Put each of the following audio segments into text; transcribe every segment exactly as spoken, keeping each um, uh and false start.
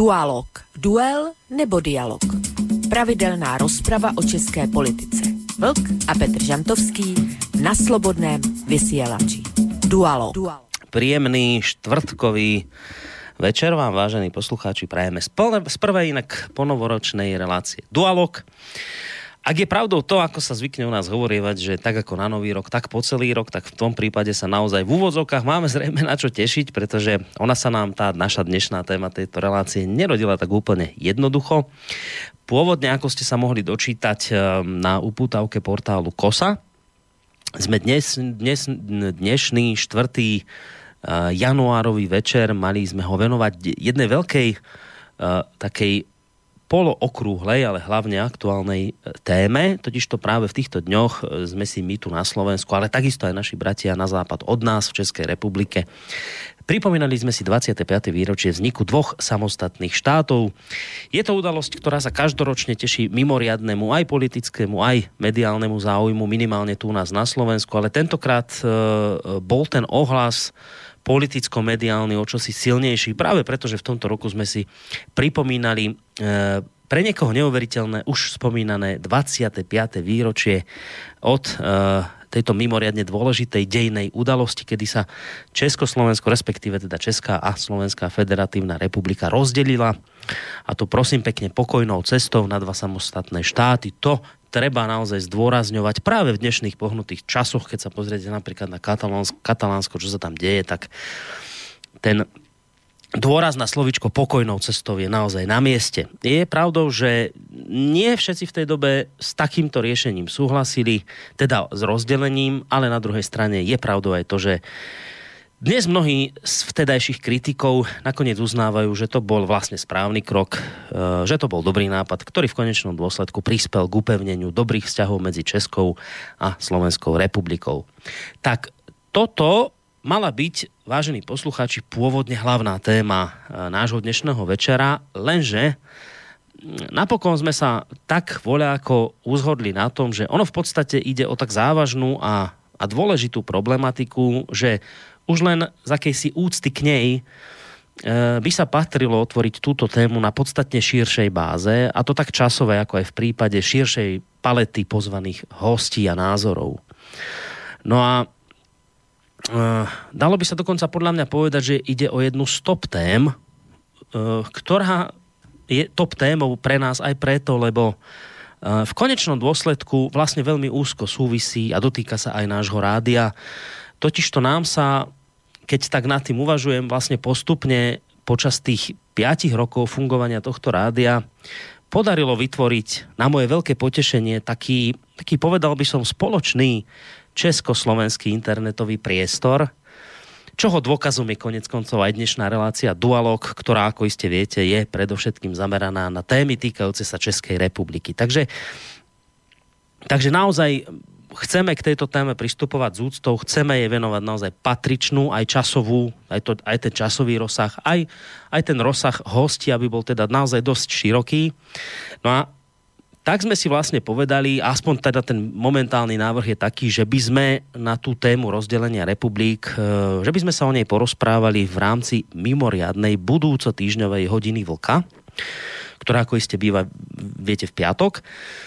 Dualog. Duel nebo dialog. Pravidelná rozprava o české politice. Vlk a Petr Žantovský na Slobodném vysielači. Dualog. Príjemný štvrtkový večer vám, vážení poslucháči, prajeme z, plne, z prvej inak ponovoročnej relácie Dualog. Ak je pravdou to, ako sa zvykne u nás hovorievať, že tak ako na nový rok, tak po celý rok, tak v tom prípade sa naozaj v úvodzovkách máme zrejme na čo tešiť, pretože ona sa nám, tá naša dnešná téma tejto relácie, nerodila tak úplne jednoducho. Pôvodne, ako ste sa mohli dočítať na upútavke portálu Kosa, sme dnes, dnes dnešný štvrtý januárový večer mali sme ho venovať jednej veľkej takej polookrúhlej, ale hlavne aktuálnej téme, totižto práve v týchto dňoch sme si my tu na Slovensku, ale takisto aj naši bratia na západ od nás v Českej republike pripomínali sme si dvadsiate piate výročie vzniku dvoch samostatných štátov. Je to udalosť, ktorá sa každoročne teší mimoriadnemu aj politickému, aj mediálnemu záujmu, minimálne tu u nás na Slovensku, ale tentokrát e, bol ten ohlas politicko-mediálny o čosi silnejší, práve preto, že v tomto roku sme si pripomínali e, pre niekoho neuveriteľné, už spomínané dvadsiate piate výročie od e, tejto mimoriadne dôležitej dejnej udalosti, kedy sa Československo, respektíve teda Česká a Slovenská federatívna republika rozdelila, a to prosím pekne pokojnou cestou na dva samostatné štáty. To treba naozaj zdôrazňovať práve v dnešných pohnutých časoch, keď sa pozriete napríklad na Katalánsko, Katalánsko, čo sa tam deje, tak ten dôraz na slovíčko pokojnou cestou je naozaj na mieste. Je pravdou, že nie všetci v tej dobe s takýmto riešením súhlasili, teda s rozdelením, ale na druhej strane je pravdou aj to, že dnes mnohí z vtedajších kritikov nakoniec uznávajú, že to bol vlastne správny krok, že to bol dobrý nápad, ktorý v konečnom dôsledku prispel k upevneniu dobrých vzťahov medzi Českou a Slovenskou republikou. Tak toto mala byť, vážení poslucháči, pôvodne hlavná téma nášho dnešného večera, lenže napokon sme sa tak voľako uzhodli na tom, že ono v podstate ide o tak závažnú a, a dôležitú problematiku, že už len z akejsi úcty k nej e, by sa patrilo otvoriť túto tému na podstatne širšej báze, a to tak časové, ako aj v prípade širšej palety pozvaných hostí a názorov. No a Uh, dalo by sa dokonca podľa mňa povedať, že ide o jednu z top tém, uh, ktorá je top témou pre nás aj preto, lebo uh, v konečnom dôsledku vlastne veľmi úzko súvisí a dotýka sa aj nášho rádia. Totižto nám sa, keď tak nad tým uvažujem, vlastne postupne počas tých piatich rokov fungovania tohto rádia podarilo vytvoriť na moje veľké potešenie taký, taký povedal by som spoločný československý internetový priestor, čoho dôkazom je konec koncov aj dnešná relácia Dualog, ktorá, ako iste viete, je predovšetkým zameraná na témy týkajúce sa Českej republiky. Takže, takže naozaj chceme k tejto téme pristupovať s úctou, chceme jej venovať naozaj patričnú, aj časovú, aj, to, aj ten časový rozsah, aj, aj ten rozsah hostí, aby bol teda naozaj dosť široký. No a tak sme si vlastne povedali, aspoň teda ten momentálny návrh je taký, že by sme na tú tému rozdelenia republik, že by sme sa o nej porozprávali v rámci mimoriadnej budúco týždňovej hodiny Vlka, ktorá ako iste býva, viete, v piatok,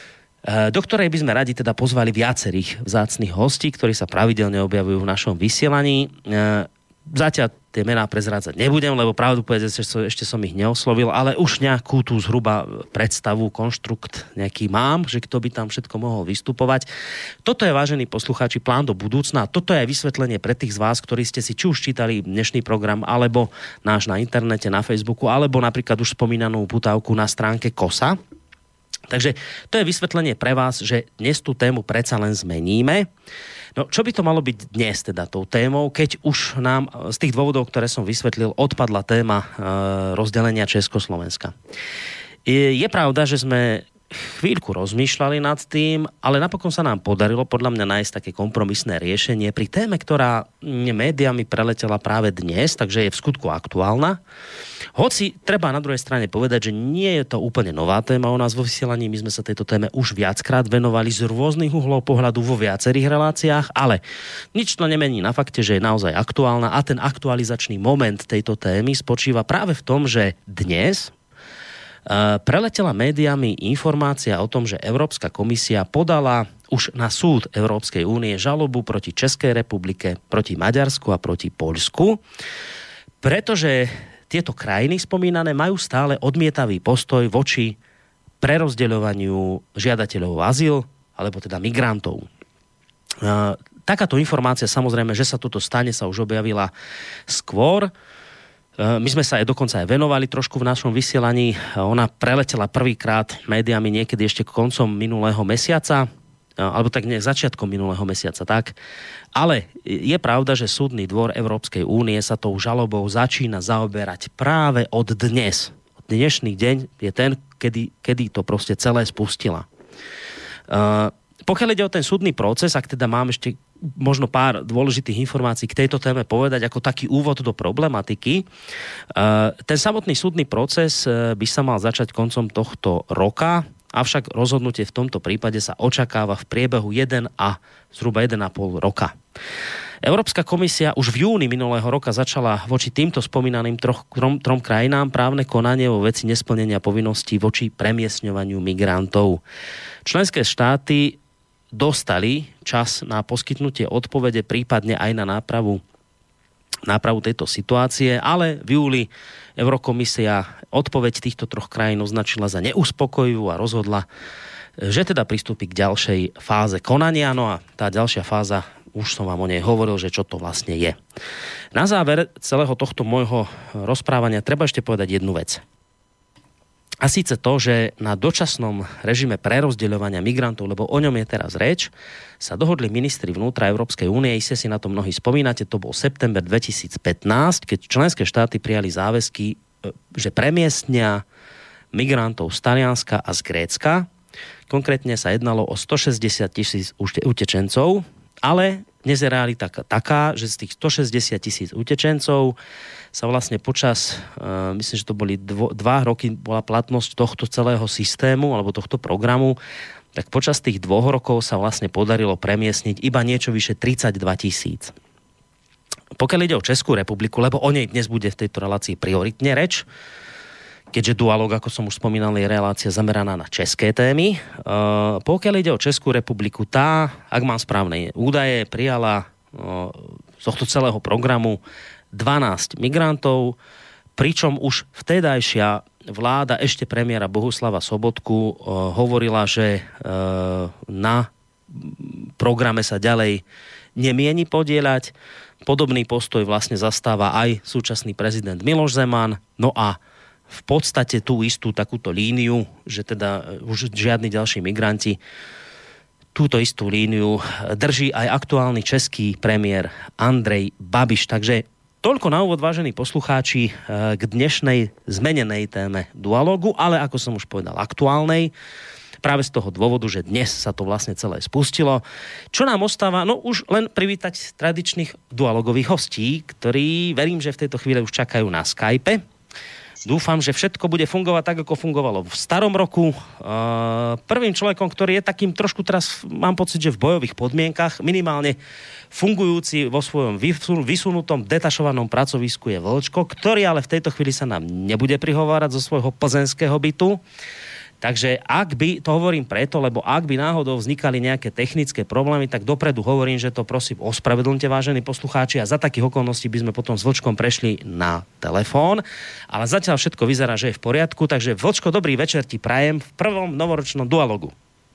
do ktorej by sme radi teda pozvali viacerých vzácnych hostí, ktorí sa pravidelne objavujú v našom vysielaní. Zatiaľ tie mená prezrádzať nebudem, lebo pravdu povedať, že ešte som ich neoslovil, ale už nejakú tú zhruba predstavu, konštrukt nejaký mám, že kto by tam všetko mohol vystupovať. Toto je, vážení poslucháči, plán do budúcna. Toto je aj vysvetlenie pre tých z vás, ktorí ste si či už čítali dnešný program, alebo náš na internete, na Facebooku, alebo napríklad už spomínanú putávku na stránke Kosa. Takže to je vysvetlenie pre vás, že dnes tú tému predsa len zmeníme. No, čo by to malo byť dnes teda tou témou, keď už nám z tých dôvodov, ktoré som vysvetlil, odpadla téma e, rozdelenia Československa. Je, je pravda, že sme chvíľku rozmýšľali nad tým, ale napokon sa nám podarilo podľa mňa nájsť také kompromisné riešenie pri téme, ktorá médiami preletela práve dnes, takže je v skutku aktuálna. Hoci treba na druhej strane povedať, že nie je to úplne nová téma u nás vo vysielaní, my sme sa tejto téme už viackrát venovali z rôznych uhlov pohľadu vo viacerých reláciách, ale nič to nemení na fakte, že je naozaj aktuálna, a ten aktualizačný moment tejto témy spočíva práve v tom, že dnes preletela médiami informácia o tom, že Európska komisia podala už na súd Európskej únie žalobu proti Českej republike, proti Maďarsku a proti Poľsku, pretože tieto krajiny spomínané majú stále odmietavý postoj voči prerozdeľovaniu žiadateľov o azyl, alebo teda migrantov. Takáto informácia, samozrejme, že sa toto stane, sa už objavila skôr. My sme sa aj dokonca aj venovali trošku v našom vysielaní. Ona preletela prvýkrát médiami niekedy ešte koncom minulého mesiaca, alebo tak nejak začiatkom minulého mesiaca, tak. Ale je pravda, že Súdny dvor Európskej únie sa tou žalobou začína zaoberať práve od dnes. Dnešný deň je ten, kedy, kedy to proste celé spustila. Uh, pokiaľ ide o ten súdny proces, ak teda mám ešte možno pár dôležitých informácií k tejto téme povedať ako taký úvod do problematiky. Ten samotný súdny proces by sa mal začať koncom tohto roka, avšak rozhodnutie v tomto prípade sa očakáva v priebehu jeden a zhruba jeden a pol roka. Európska komisia už v júni minulého roka začala voči týmto spomínaným troch, trom, trom krajinám právne konanie vo veci nesplnenia povinností voči premiestňovaniu migrantov. Členské štáty dostali čas na poskytnutie odpovede, prípadne aj na nápravu, nápravu tejto situácie, ale v júli Eurokomisia odpoveď týchto troch krajín označila za neuspokojivú a rozhodla, že teda pristúpi k ďalšej fáze konania. No a tá ďalšia fáza, už som vám o nej hovoril, že čo to vlastne je. Na záver celého tohto môjho rozprávania treba ešte povedať jednu vec. A síce to, že na dočasnom režime prerozdeľovania migrantov, lebo o ňom je teraz reč, sa dohodli ministri vnútra Európskej únie, iste si na to mnohí spomínate, to bol september dvetisícpätnásť, keď členské štáty prijali záväzky, že premiestnia migrantov z Talianska a z Grécka. Konkrétne sa jednalo o stošesťdesiat tisíc utečencov, ale dnes je realita taká, že z tých stošesťdesiat tisíc utečencov sa vlastne počas, uh, myslím, že to boli dvo, dva roky bola platnosť tohto celého systému alebo tohto programu, tak počas tých dvoch rokov sa vlastne podarilo premiestniť iba niečo vyše tridsaťdva tisíc. Pokiaľ ide o Českú republiku, lebo o nej dnes bude v tejto relácii prioritne reč, keďže Dualog, ako som už spomínal, je relácia zameraná na české témy. Uh, pokiaľ ide o Českú republiku, tá, ak mám správne údaje, prijala uh, z tohto celého programu dvanásť migrantov, pričom už vtedajšia vláda ešte premiéra Bohuslava Sobotku uh, hovorila, že uh, na programe sa ďalej nemieni podieľať. Podobný postoj vlastne zastáva aj súčasný prezident Miloš Zeman. No a v podstate tú istú takúto líniu, že teda už žiadni ďalší migranti, túto istú líniu drží aj aktuálny český premiér Andrej Babiš. Takže toľko na úvod, vážení poslucháči, k dnešnej zmenenej téme Dualogu, ale ako som už povedal, aktuálnej, práve z toho dôvodu, že dnes sa to vlastne celé spustilo. Čo nám ostáva? No už len privítať tradičných dualogových hostí, ktorí, verím, že v tejto chvíli už čakajú na Skype. Dúfam, že všetko bude fungovať tak, ako fungovalo v starom roku. Prvým človekom, ktorý je takým trošku teraz, mám pocit, že v bojových podmienkach, minimálne fungujúci vo svojom vysunutom, detašovanom pracovisku je Vlčko, ktorý ale v tejto chvíli sa nám nebude prihovárať zo svojho plzenského bytu. Takže ak by, to hovorím preto, lebo ak by náhodou vznikali nejaké technické problémy, tak dopredu hovorím, že to prosím ospravedlňte, vážení poslucháči, a za takých okolností by sme potom s Vlčkom prešli na telefón. Ale zatiaľ všetko vyzerá, že je v poriadku, takže Vlčko, dobrý večer ti prajem v prvom novoročnom Dualogu.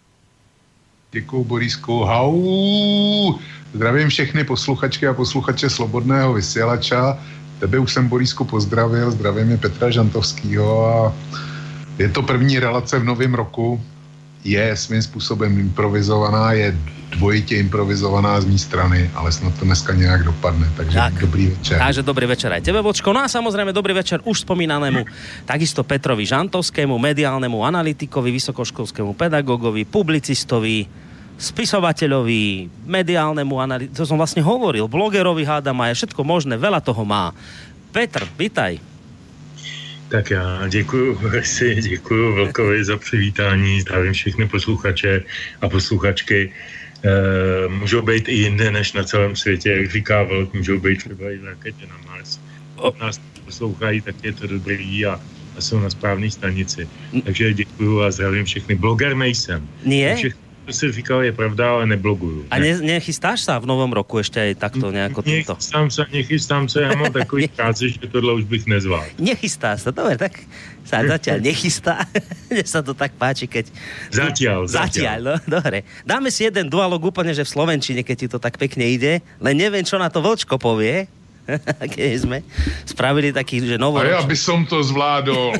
Děkuju, Borisku. Hau! Zdravím všechny posluchačky a posluchače Slobodného vysielača. Tebe už jsem, Borisku, pozdravil. Zdravím je Petra Žantovskýho a je to první relace v novém roku, je svým způsobem improvizovaná, je dvojitě improvizovaná z mý strany, ale snad to dneska nějak dopadne, takže tak, dobrý večer. Takže dobrý večer aj tebe, Vočko. No a samozrejme dobrý večer už spomínanému takisto Petrovi Žantovskému, mediálnemu analytikovi, vysokoškolskému pedagógovi, publicistovi, spisovateľovi, mediálnemu analytikovi, to som vlastne hovoril, blogerovi hádam aj všetko možné, veľa toho má. Petr, vitaj. Tak já děkuju, si děkuju Vlkovi za přivítání, zdravím všechny posluchače a posluchačky. E, můžou být i jinde než na celém světě, jak říká Vlk, můžou být třeba i v raketě na Mars. Pokud nás poslouchají, tak je to dobrý a a jsou na správné stanici. Takže děkuju a zdravím všechny. Bloger nejsem. Nie? Všechno, co si říkal, je pravda, ale nebloguju. A ne, nechystáš sa v novom roku ešte aj takto nejako? Nechystám sa, nechystám sa, ja mám takový práci, že tohle už bych nezvládl. Nechystá sa, dobre, tak sa zatiaľ nechystá. Mne sa to tak páči, keď... Zatiaľ, zatiaľ. Zatiaľ, no, dobre. Dáme si jeden dualog úplne, že v slovenčine, keď ti to tak pekne ide, len neviem, čo na to Vlčko povie. Keď sme spravili taký, že novoročný... A ja by som to zvládol.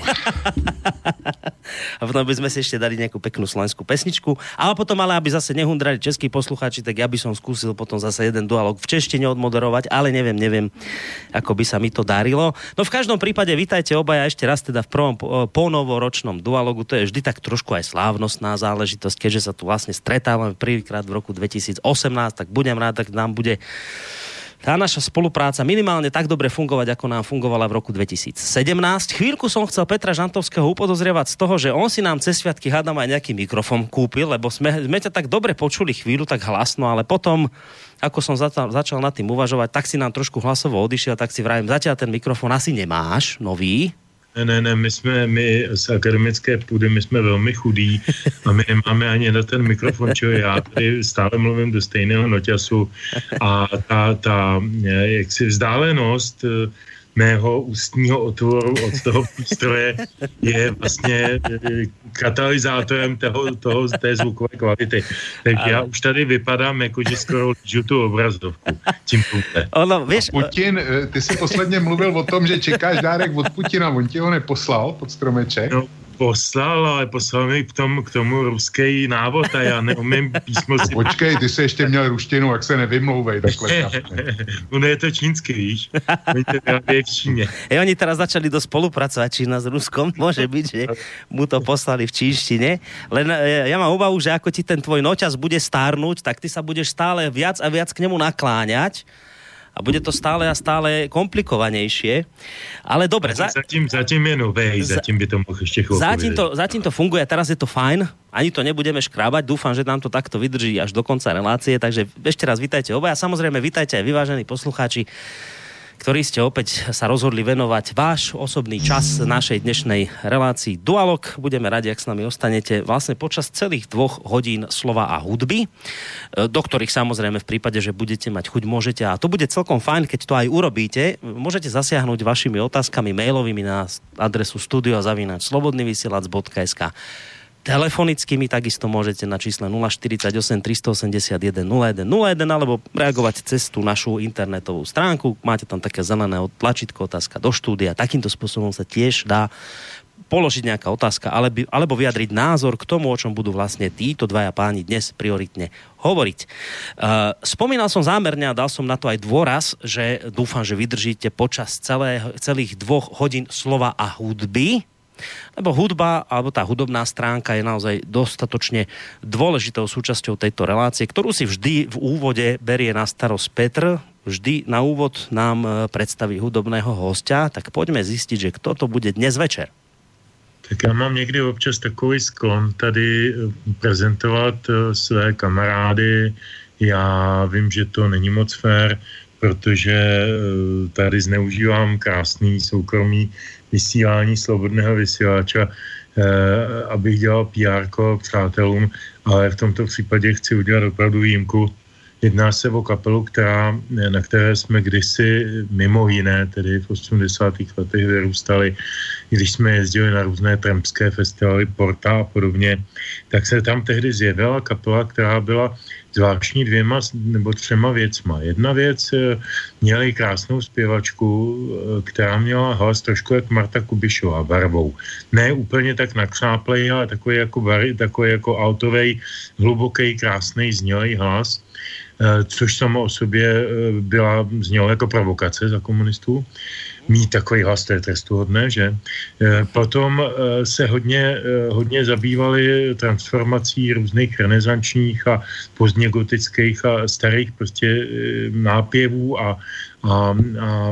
A potom by sme si ešte dali nejakú peknú slovenskú pesničku. Ale potom, ale aby zase nehundrali českí poslucháči, tak ja by som skúsil potom zase jeden dualog v češtine odmoderovať, ale neviem, neviem, ako by sa mi to darilo. No v každom prípade vítajte obaja ešte raz teda v prvom ponovoročnom dualogu. To je vždy tak trošku aj slávnostná záležitosť, keďže sa tu vlastne stretávame prvýkrát v roku dvetisícosemnásť, tak budem rád, tak nám bude tá naša spolupráca minimálne tak dobre fungovať, ako nám fungovala v roku dvetisícsedemnásť. Chvíľku som chcel Petra Žantovského upodozrievať z toho, že on si nám cez sviatky hádam aj nejaký mikrofón kúpil, lebo sme, sme ťa tak dobre počuli chvíľu, tak hlasno, ale potom, ako som začal, začal nad tým uvažovať, tak si nám trošku hlasovo odišiel, tak si vravím, zatiaľ ten mikrofón asi nemáš, nový. Ne, ne, ne, my jsme, my z akademické půdy, my jsme velmi chudí a my nemáme ani na ten mikrofon, čo já tady stále mluvím do stejného noťasu a ta, ta jaksi vzdálenost mého ústního otvoru od toho přístroje je vlastně katalyzátorem toho, toho, té zvukové kvality. Takže já už tady vypadám, jako že skoro lížu tu obrazovku. Tím ono, víš, Putin, ty jsi posledně mluvil o tom, že čekáš dárek od Putina, on ti ho neposlal pod stromeček? No, poslal, ale poslal mi k tomu, k tomu ruský návod a já neumím písmo si... Počkej, ty jsi ještě měl ruštinu, jak se nevymlouvej takhle. Ono je to čínsky, víš? Oni to vyrábějí v Číně. E, oni teraz začali dosť spolupracovať, Čína s Ruskom. Môže byť, že mu to poslali v čínštine. Len ja mám obavu, že ako ti ten tvoj noťaz bude stárnuť, tak ty sa budeš stále viac a viac k nemu nakláňať. A bude to stále a stále komplikovanejšie. Ale dobre. Za... Zatím, zatím je novej, zatím by to mohl ešte chvíľku zatím to, zatím to funguje, teraz je to fajn. Ani to nebudeme škrábať. Dúfam, že nám to takto vydrží až do konca relácie. Takže ešte raz vítajte obaja. Samozrejme, vítajte aj vyvážení poslucháči, ktorí ste opäť sa rozhodli venovať váš osobný čas našej dnešnej relácii Dualog. Budeme radi, ak s nami ostanete vlastne počas celých dvoch hodín slova a hudby, do ktorých samozrejme v prípade, že budete mať chuť, môžete, a to bude celkom fajn, keď to aj urobíte, môžete zasiahnuť vašimi otázkami mailovými na adresu studio zavináč slobodnyvysielac bodka es ká. Telefonickými takisto môžete na čísle nula štyridsaťosem tristoosemdesiatjeden nula jeden nula jeden alebo reagovať cez tú našu internetovú stránku. Máte tam také zelené tlačítko otázka do štúdia. Takýmto spôsobom sa tiež dá položiť nejaká otázka alebo, alebo vyjadriť názor k tomu, o čom budú vlastne títo dvaja páni dnes prioritne hovoriť. Uh, spomínal som zámerne a dal som na to aj dôraz, že dúfam, že vydržíte počas celé, celých dvoch hodín slova a hudby, lebo hudba, alebo tá hudobná stránka je naozaj dostatočne dôležitou súčasťou tejto relácie, ktorú si vždy v úvode berie na starosť Petr. Vždy na úvod nám predstaví hudobného hostia, tak poďme zistiť, že kto to bude dnes večer. Tak já mám někdy občas takový sklon tady prezentovat své kamarády. Já vím, že to není moc fér, protože tady zneužívám krásný soukromý vysílání slobodného vysílača, eh, abych dělal pé érko přátelům, ale v tomto případě chci udělat opravdu výjimku. Jedná se o kapelu, která, na které jsme kdysi mimo jiné, tedy v osmdesátých letech vyrůstali, když jsme jezdili na různé trampské festivaly, Porta a podobně, tak se tam tehdy zjevila kapela, která byla zvláštní dvěma nebo třema věcma. Jedna věc, měli krásnou zpěvačku, která měla hlas trošku jak Marta Kubišová barvou. Ne úplně tak nakřáplej, ale takový jako, bar, takový jako altovej, hluboký, krásný, znělý hlas, což samo o sobě byla, znělo jako provokace za komunistů. Mít takový hlas, to je trestuhodné, že? Potom se hodně, hodně zabývali transformací různých renesančních a pozdně gotických a starých prostě nápěvů a, a, a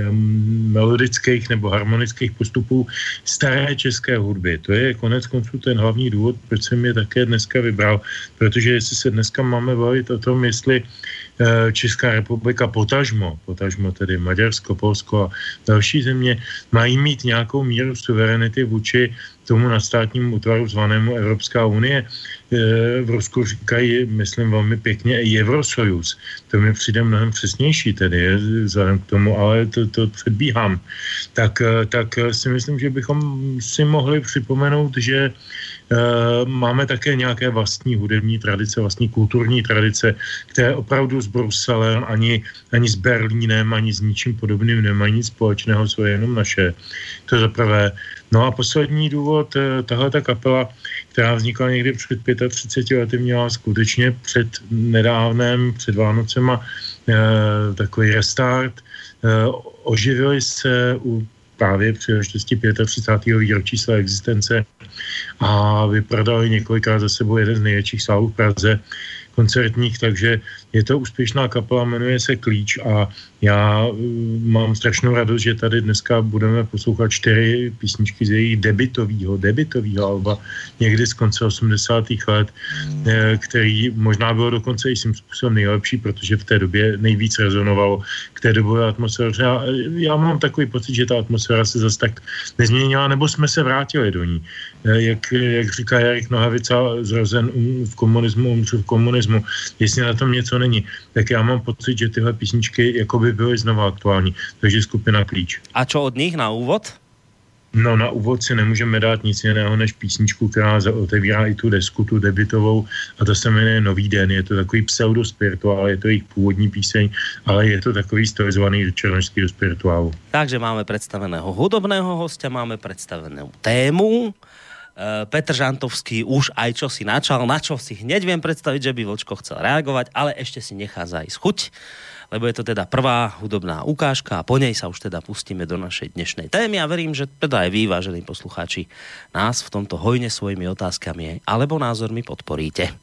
melodických nebo harmonických postupů staré české hudby. To je konec konců ten hlavní důvod, proč jsem je také dneska vybral, protože jestli se dneska máme bavit o tom, jestli Česká republika, potažmo, potažmo tedy Maďarsko, Polsko a další země, mají mít nějakou míru suverenity vůči tomu nadstátnímu útvaru zvanému Evropská unie. V Rusku říkají, myslím velmi pěkně, i Eurosojuz. To mi přijde mnohem přesnější tedy, vzhledem k tomu, ale to, to předbíhám. Tak, tak si myslím, že bychom si mohli připomenout, že Uh, máme také nějaké vlastní hudební tradice, vlastní kulturní tradice, které opravdu s Bruselem, ani, ani s Berlínem, ani s ničím podobným nemají nic společného, jsou jenom naše. To za prvé. No a poslední důvod, tahle ta kapela, která vznikla někdy před třiceti pěti lety, měla skutečně před nedávném, před Vánocema uh, takový restart. Uh, oživili se u právě příležitosti třicátého pátého výročí své existence a vyprodali několikrát za sebou jeden z největších sálů v Praze koncertních, takže je to úspěšná kapela, jmenuje se Klíč a já mám strašnou radost, že tady dneska budeme poslouchat čtyři písničky z jejich debitového, debitového alba někdy z konce osmdesátých let, který možná bylo dokonce i svým způsobem nejlepší, protože v té době nejvíc rezonovalo k té dobové atmosféře. Já, já mám takový pocit, že ta atmosféra se zase tak nezměnila, nebo jsme se vrátili do ní. Jak, jak říká Jarek Nohavica, zrozen v komunismu, umřel v komunismu, jestli na tom něco není, tak já mám pocit, že tyhle písničky jakoby byly znova aktuální. Takže skupina Klíč. A čo od nich na úvod? No na úvod si nemůžeme dát nic jiného než písničku, která otevírá i tu desku, tu debitovou, a to se jmenuje Nový den. Je to takový pseudospirituál, je to jejich původní píseň, ale je to takový stylizovaný do černošského spirituálu. Takže máme predstaveného hudobného hostia, máme predstavenú tému. Petr Žantovský už aj čo si načal, na čo si hneď viem predstaviť, že by Vlčko chcel reagovať, ale ešte si nechá zájsť chuť, lebo je to teda prvá hudobná ukážka a po nej sa už teda pustíme do našej dnešnej témy a verím, že teda aj vy, vážení poslucháči, nás v tomto hojne svojimi otázkami alebo názormi podporíte.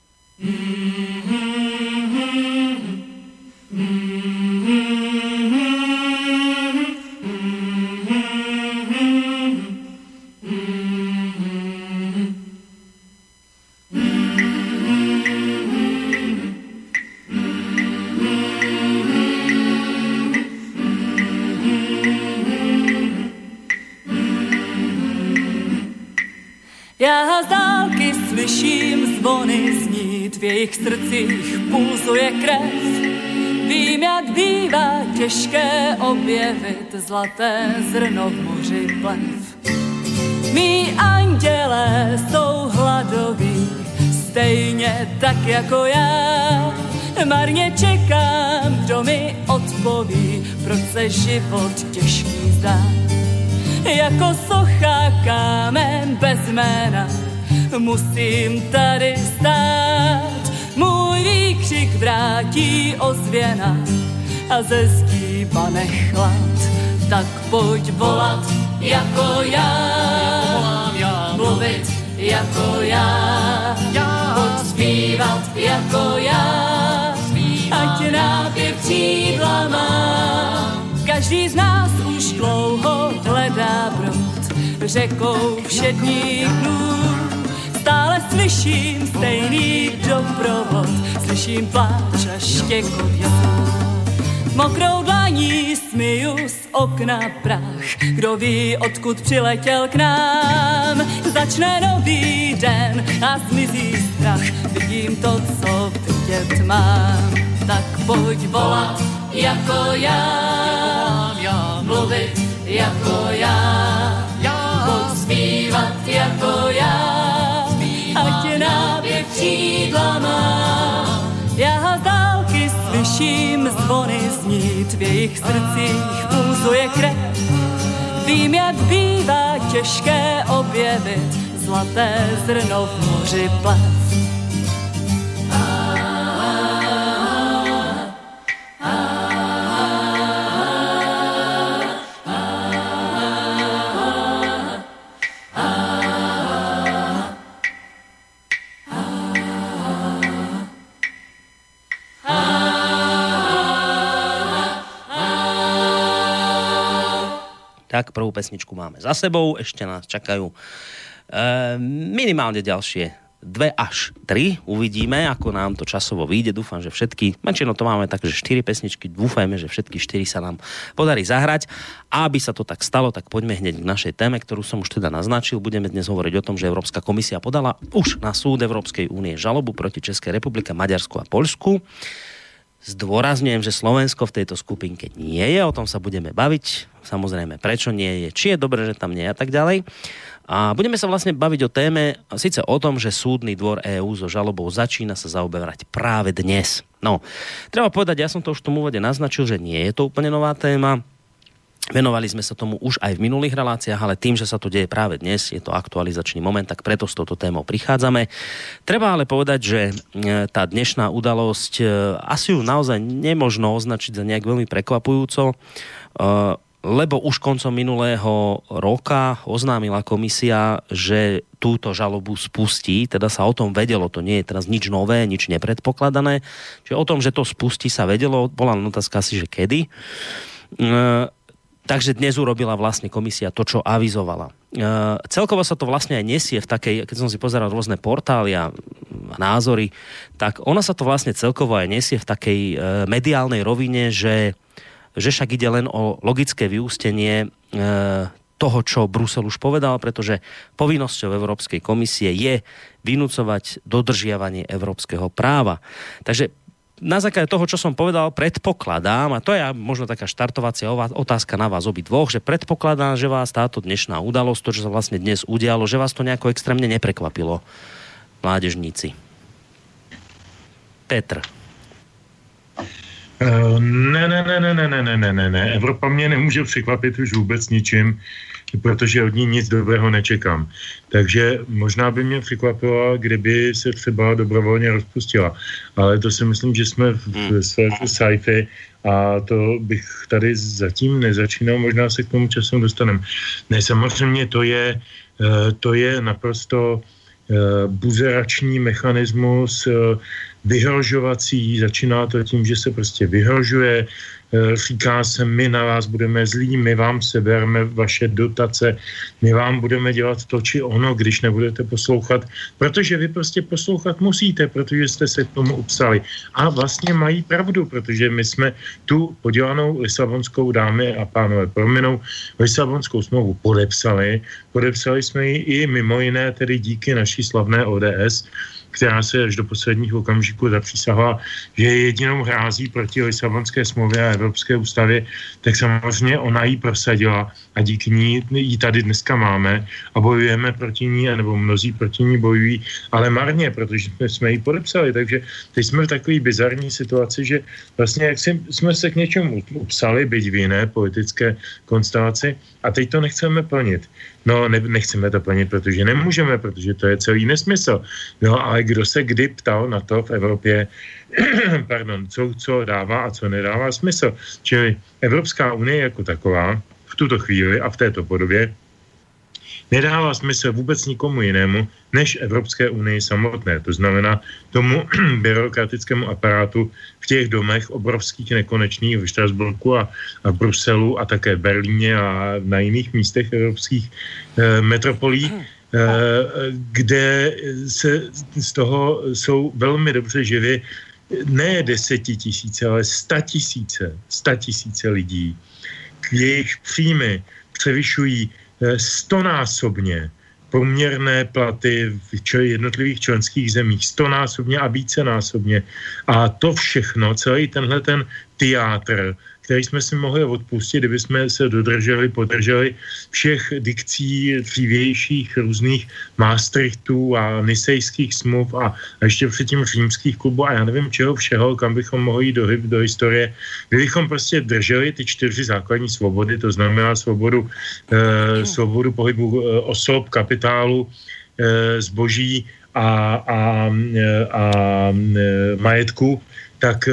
Já z dálky slyším zvony znít, v jejich srdcích pulzuje krev. Vím, jak bývá těžké objevit zlaté zrno v moři plev. Mí andělé jsou hladoví, stejně tak jako já. Marně čekám, kdo mi odpoví, proč se život těžký zdá. Jako socha kámen bez jména musím tady stát. Můj výkřik vrátí ozvěna a ze zdí bane chlad. Tak pojď volat jako já, mluvit jako já, pojď zpívat jako já, ať nápěv křídla má. Každý z nás už dlouho hledá brod řekou všedních dnů. Stále slyším stejný doprovod, slyším pláč a štěkot jasů. Mokrou dlaní smiju z okna prach, kdo ví, odkud přiletěl k nám. Začne nový den a zmizí strach, vidím to, co vidět mám. Tak pojď volat jako já, mluvit jako já, pojď zpívat jako já, ať nápěv křídla má. Já z dálky slyším zvony znít, v jejich srdcích pulzuje krev. Vím, jak bývá těžké objevit zlaté zrno v moři plev. Tak, prvú pesničku máme za sebou, ešte nás čakajú e, minimálne ďalšie dve až tri. Uvidíme, ako nám to časovo vyjde. Dúfam, že všetky, menšino to máme tak, že štyri pesničky, dúfajme, že všetky štyri sa nám podarí zahrať. A aby sa to tak stalo, tak poďme hneď k našej téme, ktorú som už teda naznačil. Budeme dnes hovoriť o tom, že Európska komisia podala už na súd Európskej únie žalobu proti Českej republike, Maďarsku a Poľsku. Zdôrazňujem, že Slovensko v tejto skupinke nie je, o tom sa budeme baviť. Samozrejme, prečo nie je, či je dobré, že tam nie je a tak ďalej. A budeme sa vlastne baviť o téme, síce o tom, že súdny dvor EÚ so žalobou začína sa zaoberať práve dnes. No, treba povedať, ja som to už v tom úvode naznačil, že nie je to úplne nová téma. Venovali sme sa tomu už aj v minulých reláciách, ale tým, že sa to deje práve dnes, je to aktualizačný moment, tak preto s touto témou prichádzame. Treba ale povedať, že tá dnešná udalosť, asi ju naozaj nemožno označiť za nejak veľmi prekvapujúco, lebo už koncom minulého roka oznámila komisia, že túto žalobu spustí, teda sa o tom vedelo, to nie je teraz nič nové, nič nepredpokladané, čiže o tom, že to spustí, sa vedelo, bola len otázka asi, že kedy. E, takže dnes urobila vlastne komisia to, čo avizovala. E, celkovo sa to vlastne aj nesie v takej, keď som si pozeral rôzne portály a názory, tak ona sa to vlastne celkovo aj nesie v takej e, mediálnej rovine, že že však ide len o logické vyústenie e, toho, čo Brusel už povedal, pretože povinnosťou Európskej komisie je vynúcovať dodržiavanie európskeho práva. Takže na základe toho, čo som povedal, predpokladám, a to je možno taká štartovacia otázka na vás obidvoch, že predpokladám, že vás táto dnešná udalosť, to, čo sa vlastne dnes udialo, že vás to nejako extrémne neprekvapilo, mládežníci. Petr. Ne, ne, ne, ne, ne, ne, ne, ne, ne, ne. Evropa mě nemůže překvapit už vůbec ničím, protože od ní nic dobrého nečekám. Takže možná by mě překvapilo, kdyby se třeba dobrovolně rozpustila. Ale to si myslím, že jsme v sféře sci-fi a to bych tady zatím nezačínal, možná se k tomu časem dostaneme. Ne, samozřejmě to je, to je naprosto buzerační mechanismus, vyhrožovací, začíná to tím, že se prostě vyhrožuje, říká se, my na vás budeme zlí, my vám sebereme vaše dotace, my vám budeme dělat to či ono, když nebudete poslouchat, protože vy prostě poslouchat musíte, protože jste se k tomu upsali. A vlastně mají pravdu, protože my jsme tu podělanou Lisabonskou, dámy a pánové, prominou, Lisabonskou smlouvu podepsali, podepsali jsme ji i mimo jiné tedy díky naší slavné O D S, která se až do posledních okamžiků zapřísahla, že je jedinou hrází proti Lisabonské smlouvě a Evropské ústavě, tak samozřejmě ona ji prosadila a díky ní ji tady dneska máme a bojujeme proti ní, nebo mnozí proti ní bojují, ale marně, protože jsme, jsme ji podepsali, takže teď jsme v takové bizarní situaci, že vlastně jak jsme se k něčemu upsali, byť v jiné politické konstelaci, a teď to nechceme plnit. No, ne, nechceme to plnit, protože nemůžeme, protože to je celý nesmysl. No, ale kdo se kdy ptal na to v Evropě, pardon, co, co dává a co nedává smysl. Čili Evropská unie jako taková v tuto chvíli a v této podobě nedává smysl vůbec nikomu jinému, než Evropské unii samotné. To znamená tomu byrokratickému aparátu v těch domech obrovských nekonečných v Štrasburku a, a v Bruselu a také v Berlíně a na jiných místech evropských eh, metropolí, eh, kde se z toho jsou velmi dobře živi ne desetitisíce, ale statisíce, statisíce lidí. Jejich příjmy převyšují stonásobně poměrné platy v jednotlivých členských zemích, stonásobně a vícenásobně. A to všechno, celý tenhle ten teátr, který jsme si mohli odpustit, kdyby jsme se dodrželi, podrželi všech dikcí dřívějších různých Maastrichtů a nisejských smluv a, a ještě předtím římských klubů a já nevím čeho všeho, kam bychom mohli jít do, do historie. Kdybychom prostě drželi ty čtyři základní svobody, to znamená svobodu, eh, svobodu pohybu eh, osob, kapitálu, eh, zboží a, a, a, a majetku, tak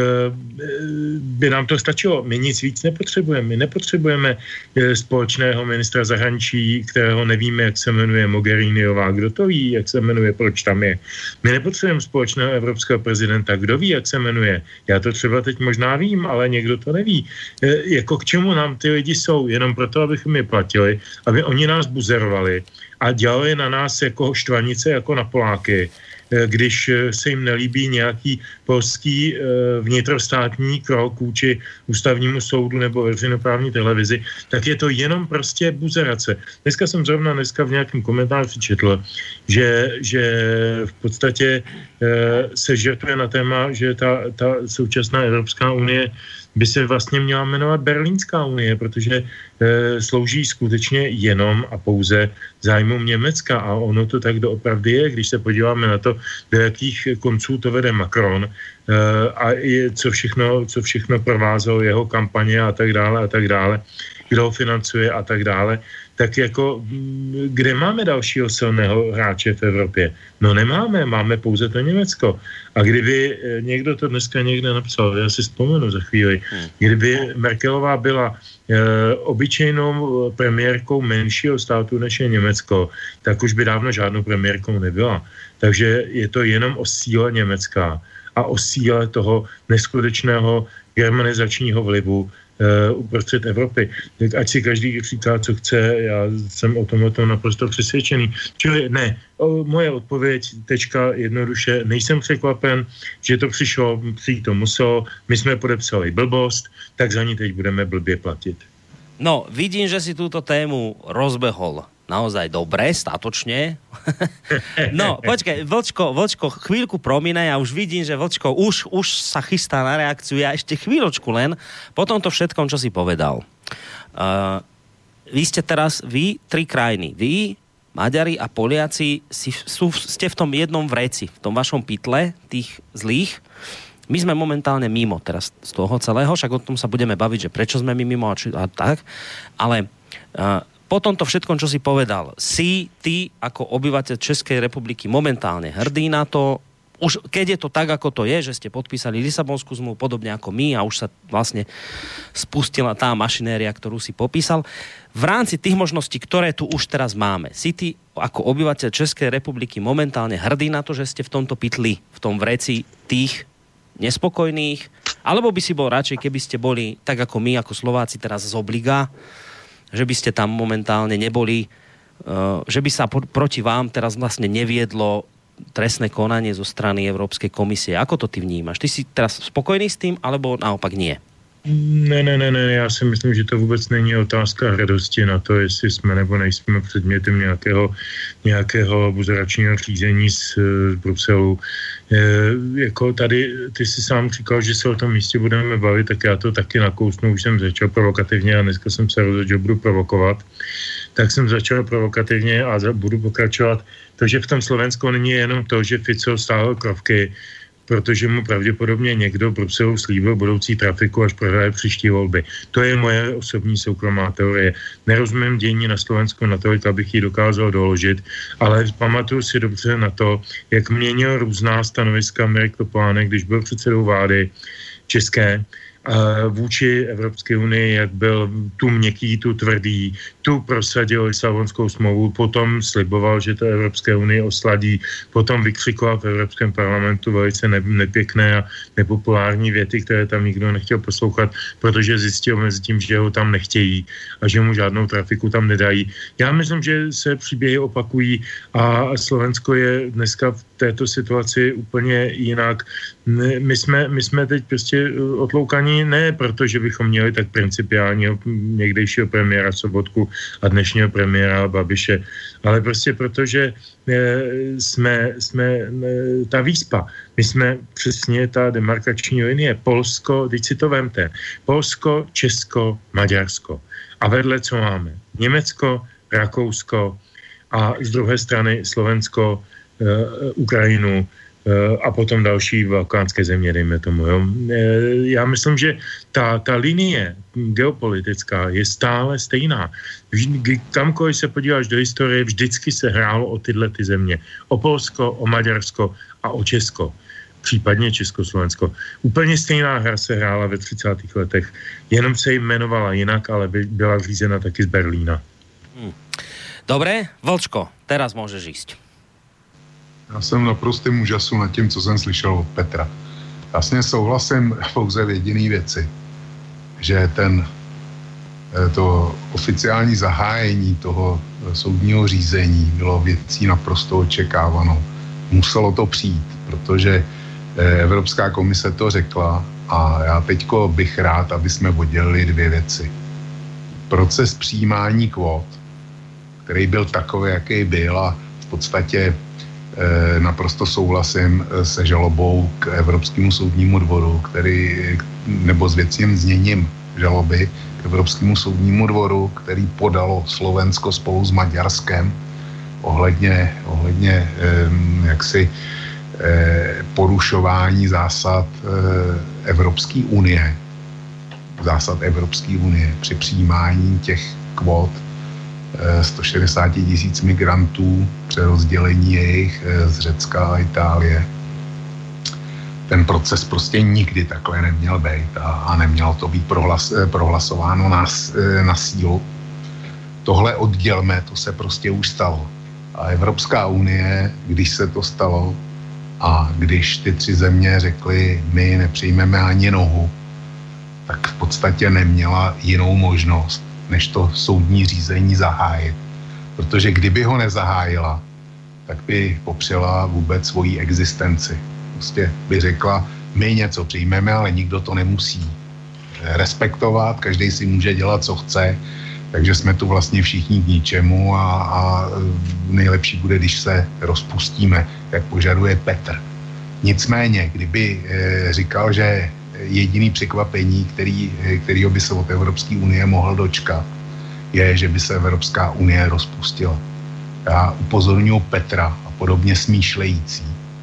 by nám to stačilo. My nic víc nepotřebujeme. My nepotřebujeme společného ministra zahraničí, kterého nevíme, jak se jmenuje, Mogheriniová. Kdo to ví, jak se jmenuje, proč tam je? My nepotřebujeme společného evropského prezidenta. Kdo ví, jak se jmenuje? Já to třeba teď možná vím, ale někdo to neví. Jako k čemu nám ty lidi jsou? Jenom proto, abychom je platili, aby oni nás buzerovali a dělali na nás jako štvanice, jako na Poláky, když se jim nelíbí nějaký polský vnitrostátní krok vůči ústavnímu soudu nebo veřejnoprávní televizi, tak je to jenom prostě buzerace. Dneska jsem zrovna dneska v nějakém komentáři četl, že, že v podstatě se žertuje na téma, že ta, ta současná Evropská unie by se vlastně měla jmenovat Berlínská unie, protože e, slouží skutečně jenom a pouze zájmům Německa a ono to tak doopravdy je, když se podíváme na to, do jakých konců to vede Macron e, a je, co všechno, co všechno provázelo jeho kampaně a tak dále a tak dále, kdo ho financuje a tak dále, tak jako kde máme dalšího silného hráče v Evropě? No nemáme, máme pouze to Německo. A kdyby někdo to dneska někde napsal, já si vzpomenu za chvíli, kdyby Merkelová byla e, obyčejnou premiérkou menšího státu než je Německo, tak už by dávno žádnou premiérkou nebyla. Takže je to jenom o síle Německa a o síle toho neskutečného germanizačního vlivu uprostřed Evropy. Tak ať si každý říká, co chce, já jsem o tom, o tom naprosto přesvědčený. Čili ne, o, moje odpověď, tečka, jednoduše, nejsem překvapen, že to přišlo, přijít to muselo, my jsme podepsali blbost, tak za ní teď budeme blbě platit. No, vidím, že si túto tému rozbehol naozaj dobre, statočne. No, počkaj, Vlčko, Vlčko, chvíľku promíne, ja už vidím, že Vlčko už, už sa chystá na reakciu, ja ešte chvíľočku len, po tomto všetkom, čo si povedal. Uh, vy ste teraz, vy, tri krajiny, vy, Maďari a Poliaci, si, sú, ste v tom jednom vreci, v tom vašom pytle, tých zlých. My sme momentálne mimo teraz z toho celého, však o tom sa budeme baviť, že prečo sme my mimo a, či, a tak, ale uh, po tomto všetkom, čo si povedal, si ty ako obyvateľ Českej republiky momentálne hrdý na to, už keď je to tak, ako to je, že ste podpísali Lisabonskú zmluvu podobne ako my a už sa vlastne spustila tá mašinéria, ktorú si popísal. V rámci tých možností, ktoré tu už teraz máme, si ty ako obyvateľ Českej republiky momentálne hrdý na to, že ste v tomto pytli, v tom vreci tých nespokojných, alebo by si bol radšej, keby ste boli tak ako my, ako Slováci teraz z obliga, že by ste tam momentálne neboli, že by sa proti vám teraz vlastne neviedlo trestné konanie zo strany Európskej komisie. Ako to ty vnímaš? Ty si teraz spokojný s tým, alebo naopak nie? Ne, ne, ne, ne, já si myslím, že to vůbec není otázka hrdosti na to, jestli jsme nebo nejsme předmětem nějakého, nějakého buzeračního řízení z, z Bruselu. E, jako tady, ty si sám říkal, že se o tom místě budeme bavit, tak já to taky nakousnu, už jsem začal provokativně a dneska jsem se rozhodl, že budu provokovat. Tak jsem začal provokativně a budu pokračovat. To, že v tom Slovensku není jenom to, že Fico stáhl krovky, protože mu pravděpodobně někdo v Bruselu slíbil budoucí trafiku, až prohraje příští volby. To je moje osobní soukromá teorie. Nerozumím dění na Slovensku natolik, abych ji dokázal doložit, ale pamatuju si dobře na to, jak měnil různá stanoviska Mirek Topolánek, když byl předsedou vlády české, vůči Evropské unii, jak byl tu měkký, tu tvrdý, tu prosadil Lisabonskou smlouvu, potom sliboval, že to Evropské unii osladí, potom vykřikoval v Evropském parlamentu velice nepěkné a nepopulární věty, které tam nikdo nechtěl poslouchat, protože zjistil mezi tím, že ho tam nechtějí a že mu žádnou trafiku tam nedají. Já myslím, že se příběhy opakují a Slovensko je dneska v této situaci úplně jinak. My jsme, my jsme teď prostě otloukaní ne proto, že bychom měli tak principiálního někdejšího premiéra Sobotku a dnešního premiéra Babiše, ale prostě proto, že jsme, jsme ta výspa. My jsme přesně ta demarkační linie. Polsko, teď si to vemte. Polsko, Česko, Maďarsko. A vedle co máme? Německo, Rakousko a z druhé strany Slovensko, Ukrajinu a potom další balkánské země, dejme tomu. Jo. Já myslím, že ta, ta linie geopolitická je stále stejná. Kamkoliv se podíváš do historie, vždycky se hrálo o tyhle ty země. O Polsko, o Maďarsko a o Česko. Případně Československo. Úplně stejná hra se hrála ve třicátých letech. Jenom se jmenovala jinak, ale by byla řízena taky z Berlína. Hmm. Dobre, Vlčko, teraz môžeš ísť. Já jsem naprostým úžasu nad tím, co jsem slyšel od Petra. Vlastně souhlasím pouze v jediný věci, že ten to oficiální zahájení toho soudního řízení bylo věcí naprosto očekávanou. Muselo to přijít, protože Evropská komise to řekla a já teďko bych rád, aby jsme oddělili dvě věci. Proces přijímání kvót, který byl takový, jaký byl a v podstatě eh, naprosto souhlasím se žalobou k Evropskému soudnímu dvoru, který, nebo s věcným zněním žaloby k Evropskému soudnímu dvoru, který podalo Slovensko spolu s Maďarskem ohledně, ohledně eh, jaksi eh, porušování zásad eh, Evropské unie, zásad Evropské unie při přijímání těch kvót sto šedesát tisíc migrantů, přerozdělení jejich z Řecka a Itálie. Ten proces prostě nikdy takhle neměl být a, a nemělo to být prohlas, prohlasováno na, na sílu. Tohle oddělme, to se prostě už stalo. A Evropská unie, když se to stalo a když ty tři země řekly, my nepřijmeme ani nohu, tak v podstatě neměla jinou možnost, než to soudní řízení zahájit. Protože kdyby ho nezahájila, tak by popřela vůbec svoji existenci. Prostě by řekla, my něco přijmeme, ale nikdo to nemusí respektovat, každý si může dělat, co chce, takže jsme tu vlastně všichni k ničemu a, a nejlepší bude, když se rozpustíme, jak požaduje Petr. Nicméně, kdyby e, říkal, že jediný překvapení, který, kterýho by se od Evropské unie mohl dočkat, je, že by se Evropská unie rozpustila. Já upozorňuji Petra a podobně smýšlející,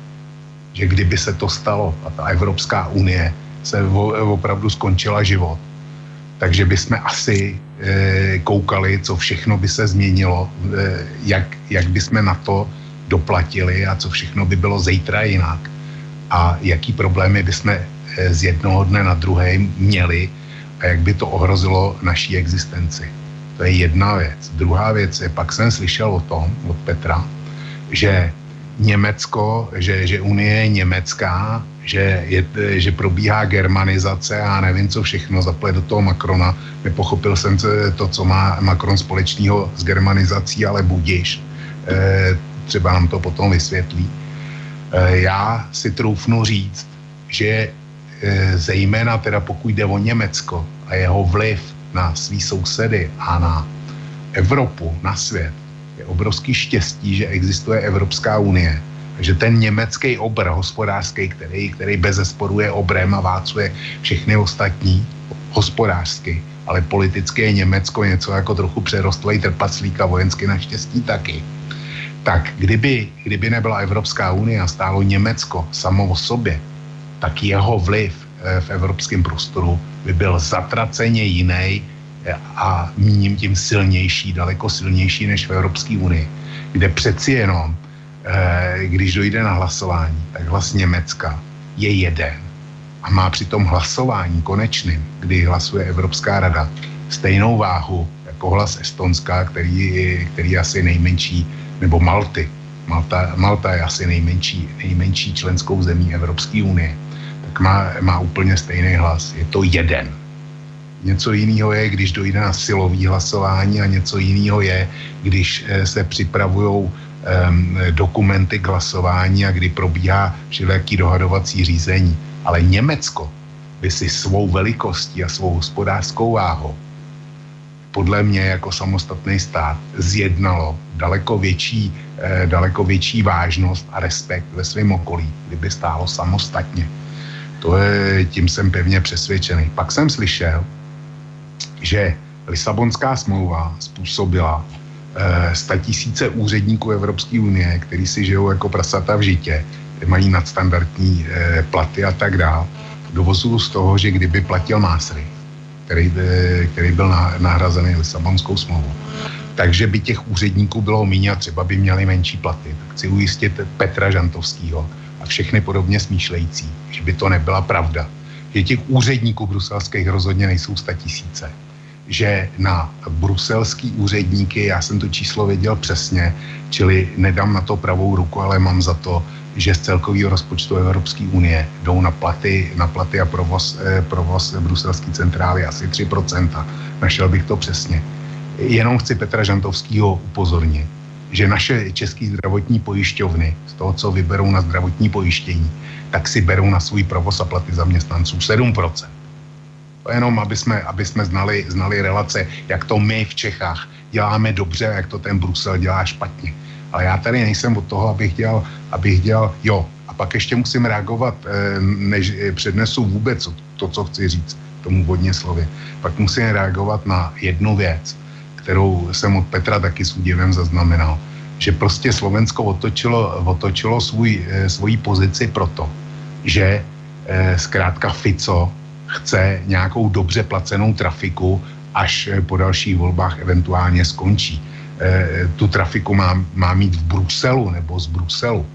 že kdyby se to stalo a ta Evropská unie se opravdu skončila život, takže bychom asi e, koukali, co všechno by se změnilo, e, jak, jak bychom na to doplatili a co všechno by bylo zítra jinak a jaký problémy bychom z jednoho dne na druhý měli a jak by to ohrozilo naší existenci. To je jedna věc. Druhá věc je, pak jsem slyšel o tom od Petra, že Německo, že, že Unie je německá, že, je, že probíhá germanizace a nevím, co všechno zaplet do toho Macrona. Nepochopil jsem to, co má Macron společného s germanizací, ale budiš. E, třeba nám to potom vysvětlí. E, já si troufnu říct, že zejména teda pokud jde o Německo a jeho vliv na svý sousedy a na Evropu, na svět, je obrovský štěstí, že existuje Evropská unie. Že ten německý obr hospodářský, který, který bezesporu je obrem a válcuje všechny ostatní hospodářsky, ale politicky je Německo něco jako trochu přerostlej trpaslík a vojensky naštěstí taky. Tak kdyby, kdyby nebyla Evropská unie a stálo Německo samo o sobě, tak jeho vliv v evropském prostoru by byl zatraceně jiný a míním tím silnější, daleko silnější než v Evropské unii, kde přeci jenom, když dojde na hlasování, tak hlas Německa je jeden a má při tom hlasování konečným, kdy hlasuje Evropská rada, stejnou váhu jako hlas Estonska, který, který je asi nejmenší, nebo Malty. Malta, Malta je asi nejmenší, nejmenší členskou zemí Evropské unie. Tak má, má úplně stejný hlas. Je to jeden. Něco jiného je, když dojde na silový hlasování a něco jiného je, když se připravují um, dokumenty k hlasování a kdy probíhá všelijaký dohadovací řízení. Ale Německo by si svou velikostí a svou hospodářskou váhou podle mě jako samostatný stát zjednalo daleko větší, eh, daleko větší vážnost a respekt ve svém okolí, kdyby stálo samostatně. To je, tím jsem pevně přesvědčený. Pak jsem slyšel, že Lisabonská smlouva způsobila eh, statisíce úředníků Evropské unie, kteří si žijou jako prasata v žitě, mají nadstandardní eh, platy a tak dále. Dovozuju z toho, že kdyby platil Masaryk, který, který byl nahrazený Lisabonskou smlouvou. Takže by těch úředníků bylo míň a třeba by měli menší platy. Tak chci ujistit Petra Žantovského a všechny podobně smýšlející, že by to nebyla pravda. Že těch úředníků bruselských rozhodně nejsou statisíce. Že na bruselský úředníky, já jsem to číslo věděl přesně, čili nedám na to pravou ruku, ale mám za to, že z celkového rozpočtu Evropské unie jdou na platy, na platy a provoz, eh, provoz bruselské centrály asi tři procenta. Našel bych to přesně. Jenom chci Petra Žantovského upozornit, že naše české zdravotní pojišťovny z toho, co vyberou na zdravotní pojištění, tak si berou na svůj provoz a platy zaměstnanců sedm procent. To jenom, aby jsme, aby jsme znali, znali relace, jak to my v Čechách děláme dobře a jak to ten Brusel dělá špatně. Ale já tady nejsem od toho, abych dělal, abych dělal, jo. A pak ještě musím reagovat, než přednesu vůbec to, co chci říct tomu vodně slově. Pak musím reagovat na jednu věc, kterou jsem od Petra taky s údivem zaznamenal, že prostě Slovensko otočilo, otočilo svůj, svoji pozici proto, že zkrátka Fico chce nějakou dobře placenou trafiku, až po dalších volbách eventuálně skončí. E, tu trafiku má, má mít v Bruselu nebo z Bruselu.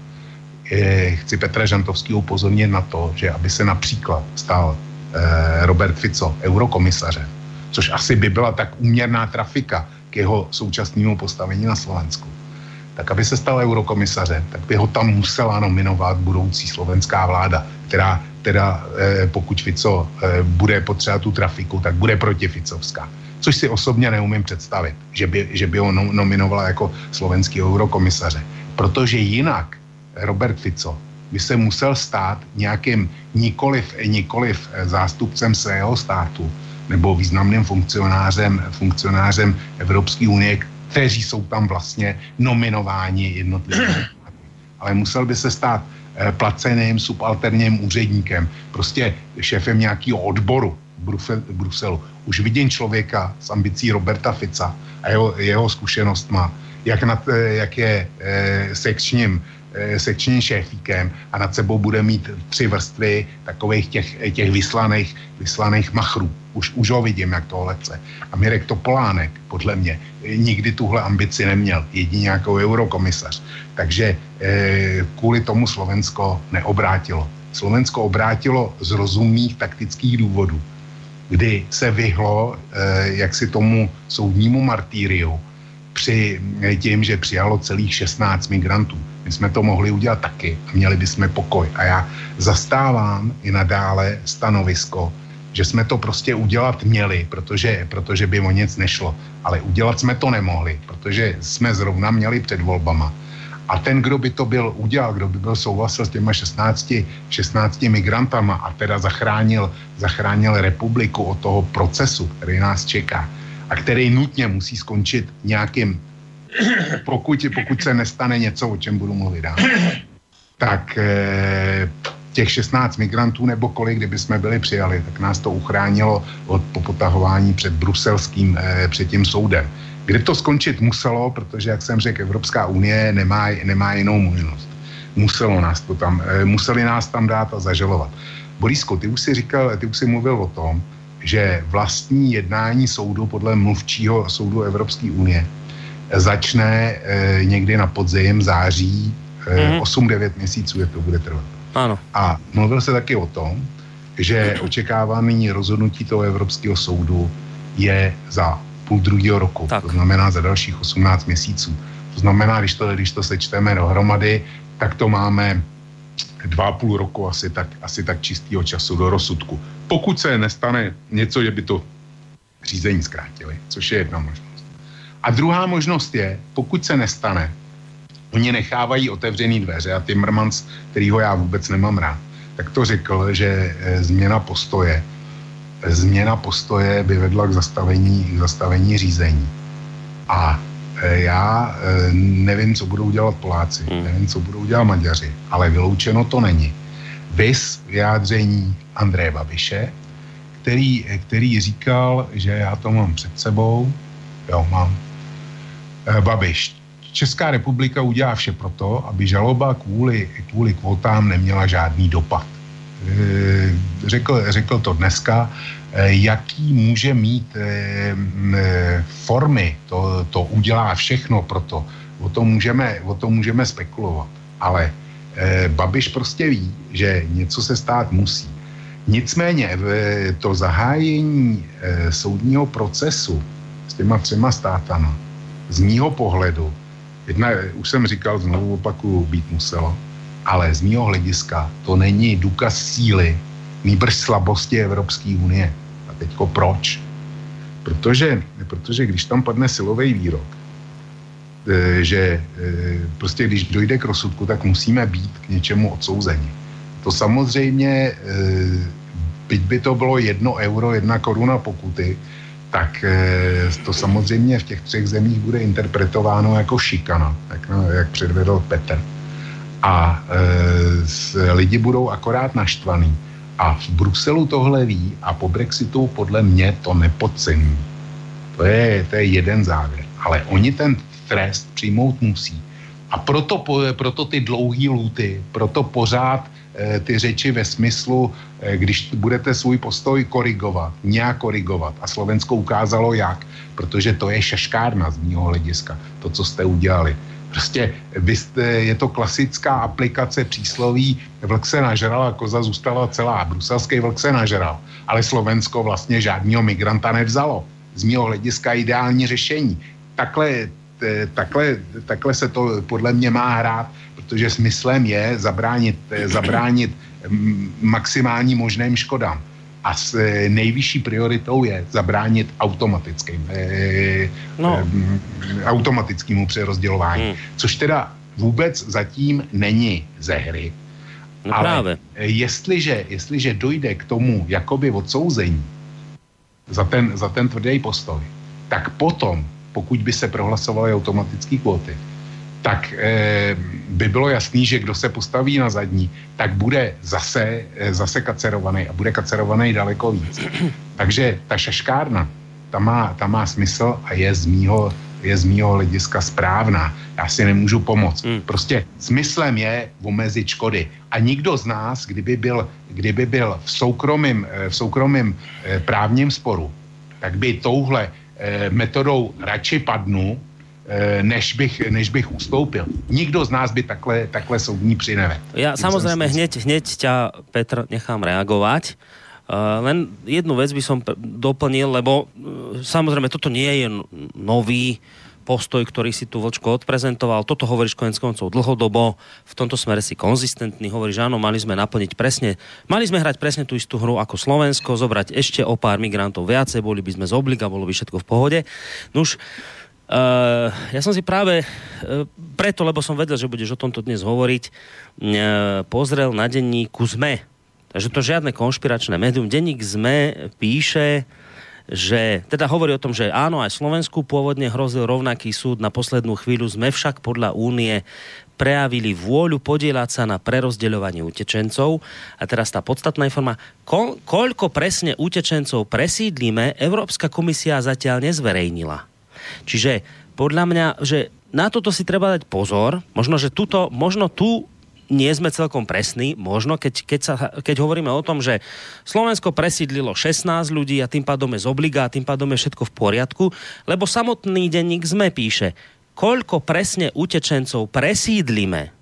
E, chci Petra Žantovského upozornit na to, že aby se například stal e, Robert Fico eurokomisařem, což asi by byla tak úměrná trafika k jeho současnému postavení na Slovensku, tak aby se stal eurokomisařem, tak by ho tam musela nominovat budoucí slovenská vláda, která teda eh, pokud Fico eh, bude potřebovat tu trafiku, tak bude protificovská. Což si osobně neumím představit, že by, že by ho no, nominovala jako slovenský eurokomisaře. Protože jinak Robert Fico by se musel stát nějakým nikoliv, nikoliv zástupcem svého státu nebo významným funkcionářem, funkcionářem Evropské unie, kteří jsou tam vlastně nominováni jednotlivými. Ale musel by se stát placeným subalterním úředníkem, prostě šéfem nějakého odboru v Bruselu. Už vidím člověka s ambicí Roberta Fica a jeho, jeho zkušenostma, jak, nad, jak je eh, sekčním, eh, sekčním šéfíkem a nad sebou bude mít tři vrstvy takových těch, těch vyslaných, vyslaných machrů. Už, už ho vidím, jak to lece. A Mirek Topolánek, podle mě, nikdy tuhle ambici neměl, jedině jako eurokomisař. Takže eh, kvůli tomu Slovensko neobrátilo. Slovensko obrátilo z rozumných taktických důvodů, kdy se vyhlo eh, jaksi tomu soudnímu martýriu při tím, že přijalo celých šestnáct migrantů. My jsme to mohli udělat taky a měli bychom pokoj. A já zastávám i nadále stanovisko, že jsme to prostě udělat měli, protože, protože by o nic nešlo. Ale udělat jsme to nemohli, protože jsme zrovna měli před volbama. A ten, kdo by to byl udělal, kdo by byl souhlasil s těma šestnácti migrantama a teda zachránil, zachránil republiku od toho procesu, který nás čeká a který nutně musí skončit nějakým, pokud, pokud se nestane něco, o čem budu mluvit dál, tak eh, těch šestnáct migrantů nebo kolik, kdyby jsme byli přijali, tak nás to uchránilo od popotahování před bruselským, eh, před tím soudem. Kde to skončit muselo, protože, jak jsem řekl, Evropská unie nemá, nemá jinou možnost. Muselo nás to tam, eh, museli nás tam dát a zažalovat. Borísko, ty už si říkal, ty už si mluvil o tom, že vlastní jednání soudu podle mluvčího soudu Evropské unie začne eh, někdy na podzim, září, eh, mm-hmm. osm devět měsíců, jak to bude trvat. Ano. A mluvil se taky o tom, že očekávaný rozhodnutí toho Evropského soudu je za půl druhého roku. Tak. To znamená za dalších osmnáct měsíců. To znamená, když to, když to sečteme dohromady, tak to máme dva a půl roku asi tak, asi tak čistého času do rozsudku. Pokud se nestane něco, že by to řízení zkrátili, což je jedna možnost. A druhá možnost je, pokud se nestane, oni nechávají otevřený dveře a Timmermans, kterýho já vůbec nemám rád, tak to řekl, že změna postoje změna postoje by vedla k zastavení, k zastavení řízení. A já nevím, co budou dělat Poláci, hmm. nevím, co budou dělat Maďaři, ale vyloučeno to není. Vys vyjádření Andreje Babiše, který, který říkal, že já to mám před sebou, jo, mám, Babiš, Česká republika udělá vše proto, aby žaloba kvůli, kvůli kvótám neměla žádný dopad. Řekl, řekl to dneska, jaký může mít formy, to, to udělá všechno proto, o tom můžeme, o tom můžeme spekulovat, ale Babiš prostě ví, že něco se stát musí. Nicméně to zahájení soudního procesu s těma třema státama, z mýho pohledu, jedna, už jsem říkal, znovu opakuju, být muselo, ale z mýho hlediska to není důkaz síly, nýbrž slabosti Evropské unie. A teďko proč? Protože, protože když tam padne silový výrok, že prostě když dojde k rozsudku, tak musíme být k něčemu odsouzeni. To samozřejmě, byť by to bylo jedno euro, jedna koruna pokuty, tak to samozřejmě v těch třech zemích bude interpretováno jako šikana, jak, jak předvedl Petr. A e, lidi budou akorát naštvaný. A v Bruselu tohle ví a po Brexitu podle mě to nepodcení. To je, to je jeden závěr. Ale oni ten trest přijmout musí. A proto, proto ty dlouhý lůty, proto pořád e, ty řeči ve smyslu, e, když budete svůj postoj korigovat, nějak korigovat. A Slovensko ukázalo jak, protože to je šaškárna z mýho hlediska, to, co jste udělali. Prostě vy jste, je to klasická aplikace přísloví vlk se nažral a koza zůstala celá. Bruselský vlk se nažral, ale Slovensko vlastně žádného migranta nevzalo. Z mýho hlediska ideální řešení. Takhle, takhle, takhle se to podle mě má hrát, protože smyslem je zabránit, zabránit maximální možným škodám. A s nejvyšší prioritou je zabránit automatickým, eh, no. eh, automatickému přerozdělování. Hmm. Což teda vůbec zatím není ze hry. No ale právě. Jestliže, jestliže dojde k tomu jakoby odsouzení za ten, za ten tvrdý postoj, tak potom, pokud by se prohlasovaly automatické kvóty, tak e, by bylo jasný, že kdo se postaví na zadní, tak bude zase, e, zase kacerovaný a bude kacerovaný daleko víc. Takže ta šaškárna, ta má, ta má smysl a je z mýho, je z mýho hlediska správná. Já si nemůžu pomoct. Hmm. Prostě smyslem je omezit škody. A nikdo z nás, kdyby byl, kdyby byl v soukromém, v soukromém e, právním sporu, tak by touhle e, metodou radši padnu, než bych, než bych ustoupil. Nikdo z nás by takhle, takhle soudní přinevedl. Ja samozrejme hneď, hneď ťa, Petr, nechám reagovať. Uh, len jednu vec by som doplnil, lebo uh, samozrejme toto nie je nový postoj, ktorý si tu Vlčko odprezentoval. Toto hovoríš koniec koncov dlhodobo. V tomto smere si konzistentný. Hovoríš, áno, mali sme naplniť presne, mali sme hrať presne tú istú hru ako Slovensko, zobrať ešte o pár migrantov viacej, boli by sme z obliga, bolo by všetko v pohode. Nuž, Uh, ja som si práve uh, preto, lebo som vedel, že budeš o tomto dnes hovoriť, uh, pozrel na denníku es em e. Takže to žiadne konšpiračné médium. Denník es em e píše, že teda hovorí o tom, že áno, aj Slovensku pôvodne hrozil rovnaký súd. Na poslednú chvíľu sme však podľa únie prejavili vôľu podieľať sa na prerozdeľovanie utečencov. A teraz tá podstatná informa, ko- koľko presne utečencov presídlíme, Európska komisia zatiaľ nezverejnila. Čiže podľa mňa, že na toto si treba dať pozor. Možno, že tuto, možno tu nie sme celkom presní. Možno, keď, keď, sa, keď hovoríme o tom, že Slovensko presídlilo šestnásť ľudí a tým pádom je z obliga a tým pádom je všetko v poriadku, lebo samotný denník es em e píše, koľko presne utečencov presídlime,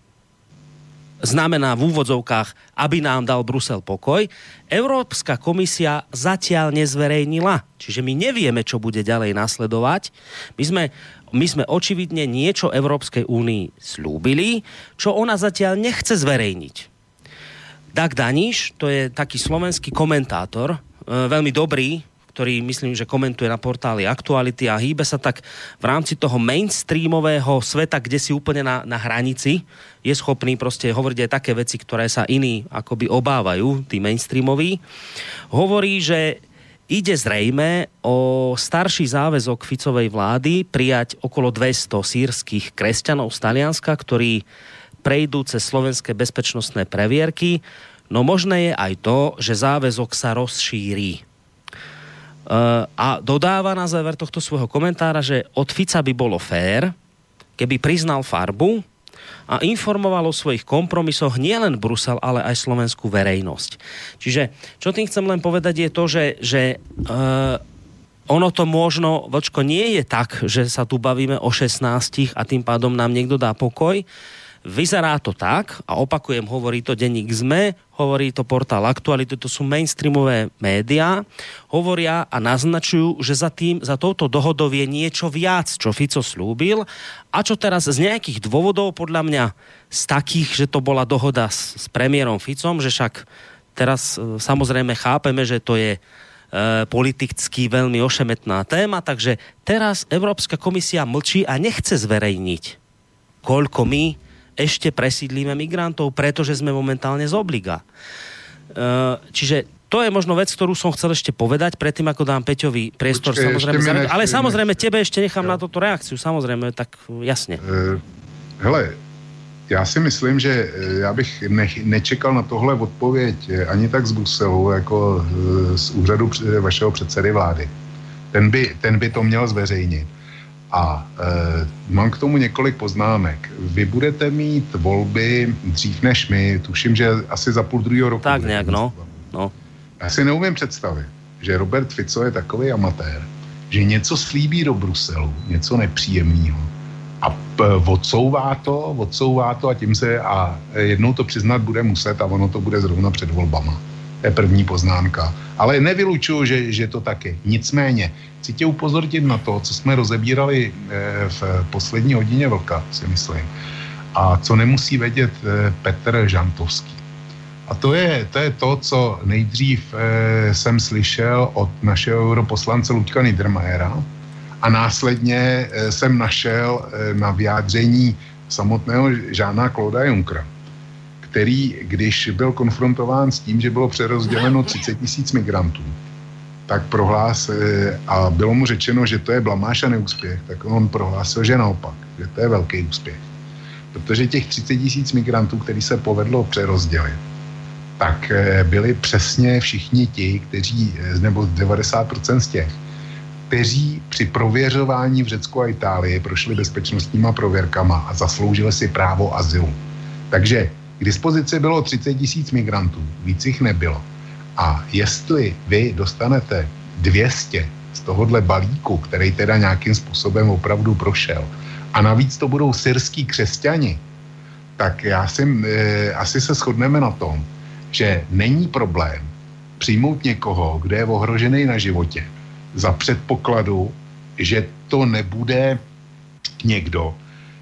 znamená v úvodzovkách, aby nám dal Brusel pokoj. Európska komisia zatiaľ nezverejnila. Čiže my nevieme, čo bude ďalej nasledovať. My sme, my sme očividne niečo Európskej únii slúbili, čo ona zatiaľ nechce zverejniť. Dag Daniš, to je taký slovenský komentátor, veľmi dobrý, ktorý myslím, že komentuje na portáli Aktuality a hýbe sa tak v rámci toho mainstreamového sveta, kde si úplne na, na hranici, je schopný proste hovoriť aj také veci, ktoré sa iní akoby obávajú, tí mainstreamoví. Hovorí, že ide zrejme o starší záväzok Ficovej vlády prijať okolo dvesto sýrskych kresťanov z Talianska, ktorí prejdú cez slovenské bezpečnostné previerky. No možné je aj to, že záväzok sa rozšíri. Uh, a dodáva na záver tohto svojho komentára, že od Fica by bolo fér, keby priznal farbu a informoval o svojich kompromisoch nielen Brusel, ale aj slovenskú verejnosť. Čiže, čo tým chcem len povedať je to, že, že uh, ono to možno, Vlčko, nie je tak, že sa tu bavíme o šestnástich a tým pádom nám niekto dá pokoj. vyzerá to tak, a opakujem, hovorí to denník es em e, hovorí to portál Aktuality, to sú mainstreamové médiá, hovoria a naznačujú, že za tým, za touto dohodou je niečo viac, čo Fico slúbil a čo teraz z nejakých dôvodov, podľa mňa z takých, že to bola dohoda s, s premiérom Ficom, že však teraz e, samozrejme chápeme, že to je e, politicky veľmi ošemetná téma, takže teraz Európska komisia mlčí a nechce zverejniť, koľko my ešte presídlíme migrantov, pretože sme momentálne z obliga. E, čiže to je možno vec, ktorú som chcel ešte povedať, predtým ako dám Peťovi priestor. Počkej, samozrejme, zareagovať, ale samozrejme nechci. Tebe ešte nechám jo. na toto reakciu, samozrejme, tak jasne. E, hele, já si myslím, že já bych ne, nečekal na tohle odpověď ani tak z Bruselu, jako z úřadu vašeho předsedy vlády. Ten by, ten by to měl zveřejnit. A e, mám k tomu několik poznámek. Vy budete mít volby dřív než my, tuším, že asi za půl druhého roku. Tak nějak, no. no. Já si neumím představit, že Robert Fico je takový amatér, že něco slíbí do Bruselu, něco nepříjemného. A p- odsouvá to, odsouvá to a tím se, a jednou to přiznat bude muset a ono to bude zrovna před volbama. To je první poznámka. Ale nevylučuju, že, že to taky. Nicméně, chci tě upozornit na to, co jsme rozebírali v poslední hodině Vlka, si myslím. A co nemusí vědět Petr Žantovský. A to je, to je to, co nejdřív jsem slyšel od našeho europoslance Luďka Niedermayera a následně jsem našel na vyjádření samotného Žána Clauda Junckera, který, když byl konfrontován s tím, že bylo přerozděleno třicet tisíc migrantů, tak prohlásil, a bylo mu řečeno, že to je blamáž a neúspěch, tak on prohlásil, že naopak, že to je velký úspěch. Protože těch třicet tisíc migrantů, který se povedlo přerozdělit, tak byli přesně všichni ti, kteří, nebo devadesát procent z těch, kteří při prověřování v Řecku a Itálii prošli bezpečnostníma prověrkama a zasloužili si právo azylu. Takže k dispozici bylo třicet tisíc migrantů, víc jich nebylo. A jestli vy dostanete dvě stě z tohohle balíku, který teda nějakým způsobem opravdu prošel, a navíc to budou syrský křesťani, tak já si, e, asi se shodneme na tom, že není problém přijmout někoho, kdo je ohrožený na životě, za předpokladu, že to nebude někdo,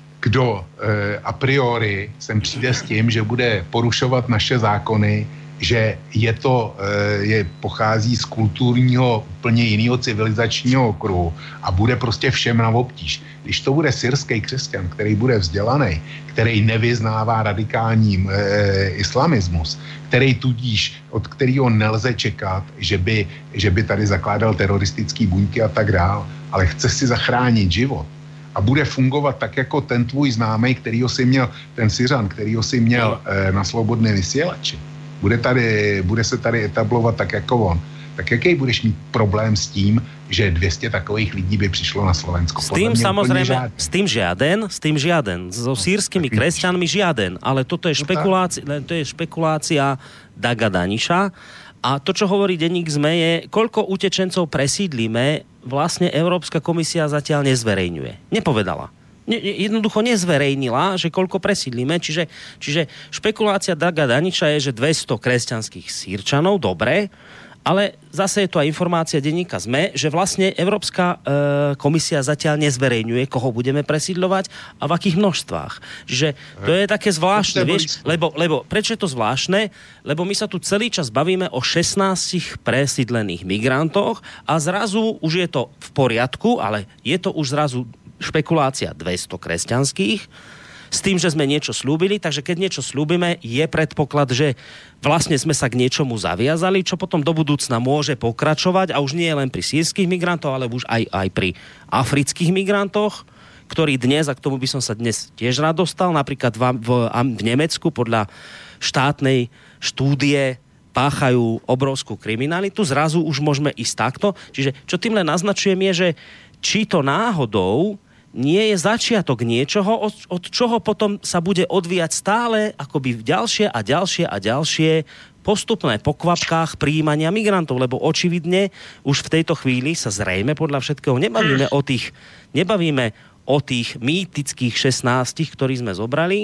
kdo e, a priori sem přijde s tím, že bude porušovat naše zákony, že je to, e, je, pochází z kulturního, úplně jiného civilizačního okruhu a bude prostě všem na obtíž. Když to bude syrský křesťan, který bude vzdělaný, který nevyznává radikální e, islamismus, který tudíž, od kterého nelze čekat, že by, že by tady zakládal teroristický buňky a tak dál, ale chce si zachránit život a bude fungovat tak jako ten tvůj známej, kterýho si měl, ten Syřan, kterýho si měl e, na Slobodné vysílači, bude, tady, bude se tady etablovat tak jako on, tak jaký budeš mít problém s tím, že dvě stě takových lidí by přišlo na Slovensko? S tým samozrejme, s tým žiaden, s tým žiaden. So sírskymi kresťanmi žiaden. Ale toto je špekulácia, to je špekulácia Daga Daniša. A to, čo hovorí denník es em e, je, koľko utečencov presídlíme, vlastne Európska komisia zatiaľ nezverejňuje. Nepovedala. Ne, jednoducho nezverejnila, že koľko presídlíme. Čiže, čiže špekulácia Daga Daniša je, že dvesto kresťanských Sýrčanov, dobre, ale zase je to aj informácia denníka es em e, že vlastne Európska e, komisia zatiaľ nezverejňuje, koho budeme presídľovať a v akých množstvách. Čiže to je také zvláštne, vieš, lebo, lebo prečo je to zvláštne? Lebo my sa tu celý čas bavíme o šestnástich presídlených migrantoch a zrazu už je to v poriadku, ale je to už zrazu špekulácia dvesto kresťanských, s tým, že sme niečo slúbili, takže keď niečo slúbime, je predpoklad, že vlastne sme sa k niečomu zaviazali, čo potom do budúcna môže pokračovať a už nie len pri sírskych migrantoch, ale už aj, aj pri afrických migrantoch, ktorí dnes, a k tomu by som sa dnes tiež rád dostal, napríklad v, v, v Nemecku podľa štátnej štúdie páchajú obrovskú kriminalitu, zrazu už môžeme ísť takto. Čiže čo tým len naznačujem je, že či to náhodou nie je začiatok niečoho, od, od čoho potom sa bude odvíjať stále akoby ďalšie a ďalšie a ďalšie postupné po kvapkách prijímania migrantov, lebo očividne už v tejto chvíli sa zrejme podľa všetkého nebavíme o tých, nebavíme o tých mýtických šestnástich, ktorí sme zobrali,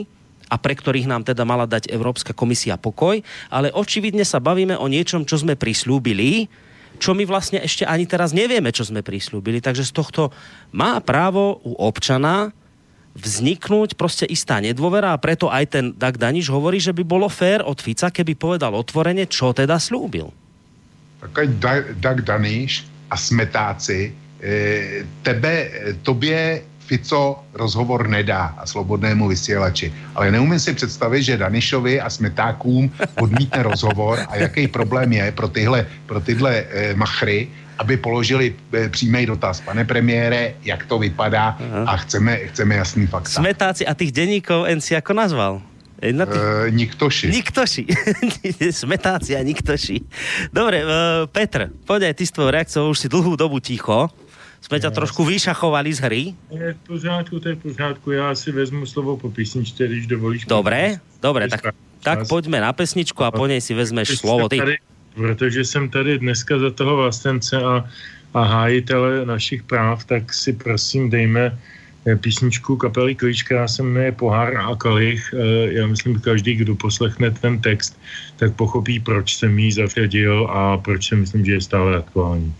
a pre ktorých nám teda mala dať Európska komisia pokoj, ale očividne sa bavíme o niečom, čo sme prislúbili, čo my vlastne ešte ani teraz nevieme, čo sme prislúbili. Takže z tohto má právo u občana vzniknúť proste istá nedôvera a preto aj ten Dag Daniš hovorí, že by bolo fér od Fica, keby povedal otvorene, čo teda slúbil. Tak Dag Daniš a smetáci e, tebe, tobě Fico rozhovor nedá a slobodnému vysílači. Ale neumím si představit, že Danišovi a smetákům odmítne rozhovor a jaký problém je pro tyhle, pro tyhle e, machry, aby položili e, přímý dotaz. Pane premiére, jak to vypadá? Aha. A chceme, chceme jasný fakta. Smetáci a tých denníkov en si ako nazval? Na tých... e, niktoši. Niktoši. Smetáci a niktoši. Dobre, e, Petr, poď aj ty s tvojou reakciou, už si dlhú dobu ticho. Jsme ťa trošku vyšachovali z hry. Je v pořádku, to je v pořádku. Já si vezmu slovo po písničce, když dovolíš. Dobre, dobre, tak, tak pojďme na pesničku a po nej si vezmeš slovo ty. Tady, protože jsem tady dneska za toho vlastence a, a hájitele našich práv, tak si prosím dejme písničku kapely Klíč, která se jmenuje Pohár a kalich. Já myslím, že každý, kdo poslechne ten text, tak pochopí, proč jsem jí zařadil a proč si myslím, že je stále aktuální.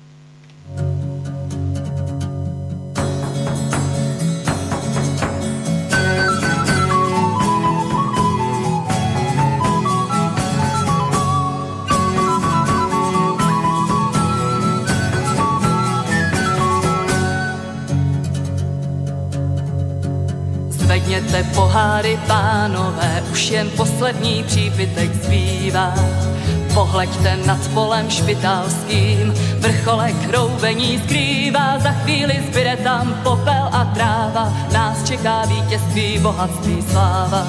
Zvedněte poháry, pánové, už jen poslední přípitek zbývá. Pohleďte nad polem špitálským, vrcholek hroubení skrývá. Za chvíli zbyde tam popel a tráva, nás čeká vítězství, bohatství, sláva.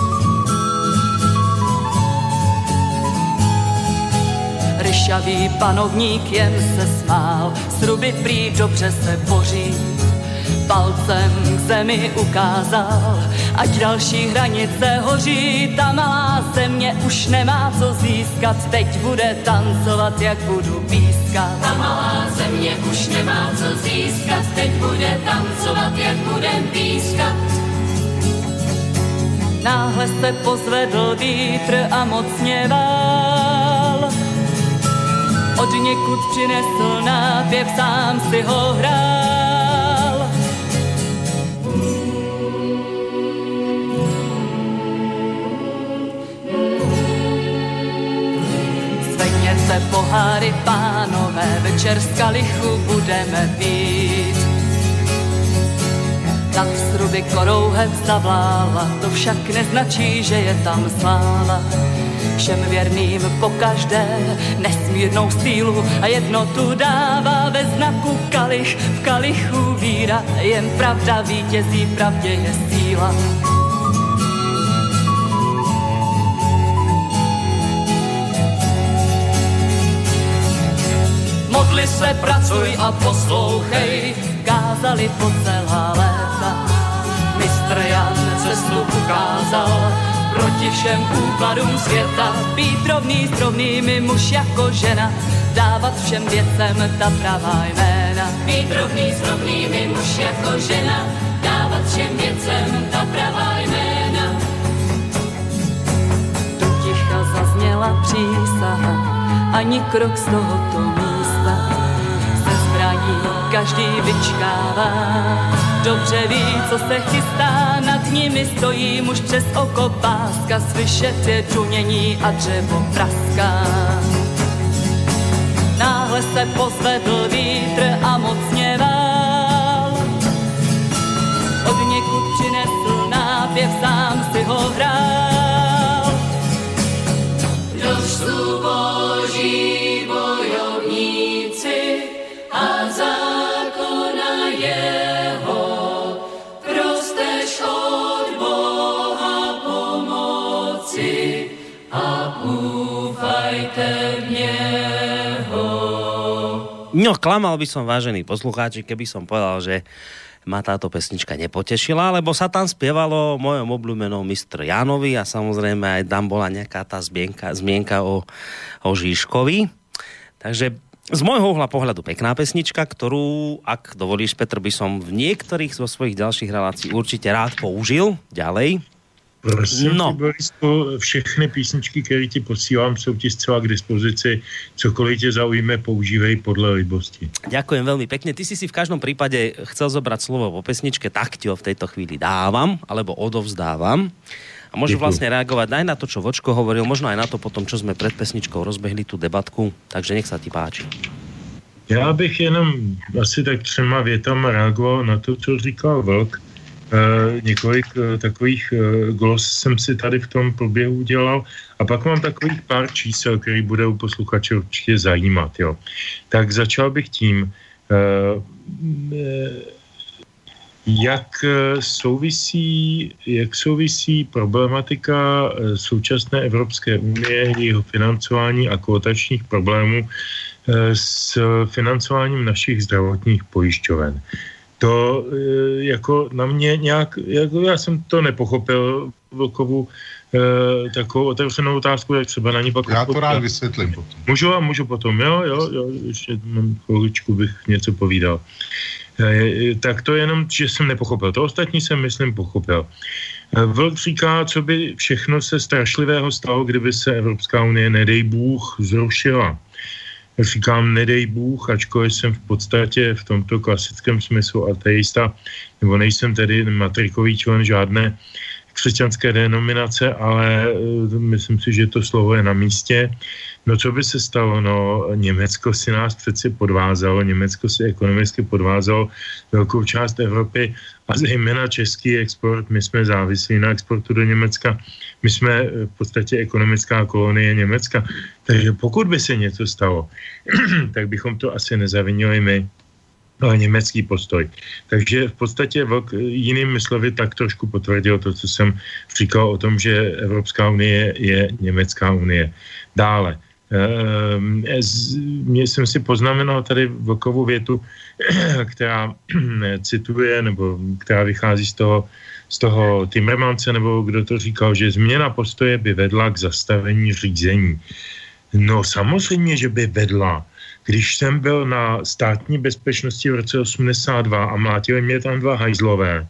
Ryšavý panovník jen se smál, sruby prý dobře se boří. Palcem k zemi ukázal, ať další hranice hoří. Ta malá země už nemá co získat, teď bude tancovat, jak budu pískat. Ta malá země už nemá co získat, teď bude tancovat, jak budem pískat. Náhle se pozvedl vítr a mocně vál. Od někud přinesl nápěv, sám si ho hrál. Zvedněte poháry, pánové, večer z kalichu budeme pít. Nad sruby korouhev zavlála, to však neznačí, že je tam sláva. Všem věrným pokaždé nesmírnou sílu a jednotu dává ve znaku kalich, v kalichu víra, jen pravda vítězí, pravdě je síla. Modli se, pracuj a poslouchej, kázali po celá léta. Mistr Jan cestu ukázal, proti všem úkladům světa. Být rovný s rovnými, muž jako žena, dávat všem věcem ta pravá jména. Být rovný s rovnými, muž jako žena, dávat všem věcem ta pravá jména. Do ticha zazněla přísaha, ani krok z tohoto místa. Se zbraní každý vyčkává, dobře ví, co se chystá, nad nimi stojí muž přes oko páska, slyšet je čunění a dřevo praská. Náhle se pozvedl vítr a mocně vál, od někud přinesl nápěv, sám si ho hrál. Došlu boží bojovníci a zákona jeho, prosteš od Boha pomoci a úfajte v něho. No, klamal by som, vážení poslucháči, keby som povedal, že ma táto pesnička nepotešila, lebo sa tam spievalo o mojom obľúbenom mistr Jánovi a samozrejme aj tam bola nejaká tá zmienka, zmienka o, o Žižkovi. Takže z môjho uhla pohľadu pekná pesnička, ktorú, ak dovolíš, Petr, by som v niektorých zo svojich ďalších relácií určite rád použil ďalej. Prosím, no. Borisku, všechny písničky, které ti posílám, jsou ti zcela k dispozici. Cokoliv tě zaujme, používej podle libosti. Ďakujem veľmi pekne. Ty si si v každom prípade chcel zobrať slovo po pesničke, tak ti ho v tejto chvíli dávam, alebo odovzdávam. A môžu vlastne reagovať aj na to, čo Vočko hovoril, možno aj na to potom, čo sme pred pesničkou rozbehli tú debatku. Takže nech sa ti páči. Já bych jenom asi tak třema větama reagoval na to, co říkal Vlk. E, několik e, takových e, glos jsem si tady v tom průběhu udělal a pak mám takových pár čísel, který bude u posluchače určitě zajímat. Jo. Tak začal bych tím, e, e, jak souvisí, jak souvisí problematika současné Evropské unie, jeho financování a kvotačních problémů s financováním našich zdravotních pojišťoven. To jako na mě nějak, jako já jsem to nepochopil, Vlkovu eh, takovou otevřenou otázku, jak třeba na ní pak... Já to rád vysvětlím potom. Můžu a můžu potom, jo, jo, jo, ještě mám chviličku, bych něco povídal. Eh, tak to jenom, že jsem nepochopil. To ostatní jsem, myslím, pochopil. Eh, Vlk říká, co by všechno se strašlivého stalo, kdyby se Evropská unie, nedej Bůh, zrušila. Říkám, nedej Bůh, ačkoliv jsem v podstatě v tomto klasickém smyslu ateista, nebo nejsem tedy matrikový člen žádné křesťanské denominace, ale myslím si, že to slovo je na místě. No co by se stalo? No Německo si nás přeci podvázalo, Německo si ekonomicky podvázalo velkou část Evropy a zejména český export. My jsme závislí na exportu do Německa. My jsme v podstatě ekonomická kolonie Německa. Takže pokud by se něco stalo, tak bychom to asi nezavinili my, ale německý postoj. Takže v podstatě Vlk jinými slovy tak trošku potvrdil to, co jsem říkal o tom, že Evropská unie je německá unie. Dále. Mě jsem si poznamenal tady Vlkovu větu, která cituje, nebo která vychází z toho, z toho Timmermanse, nebo kdo to říkal, že změna postoje by vedla k zastavení řízení. No samozřejmě, že by vedla. Když jsem byl na státní bezpečnosti v roce osmdesát dva a mlátili mě tam dva hajzlové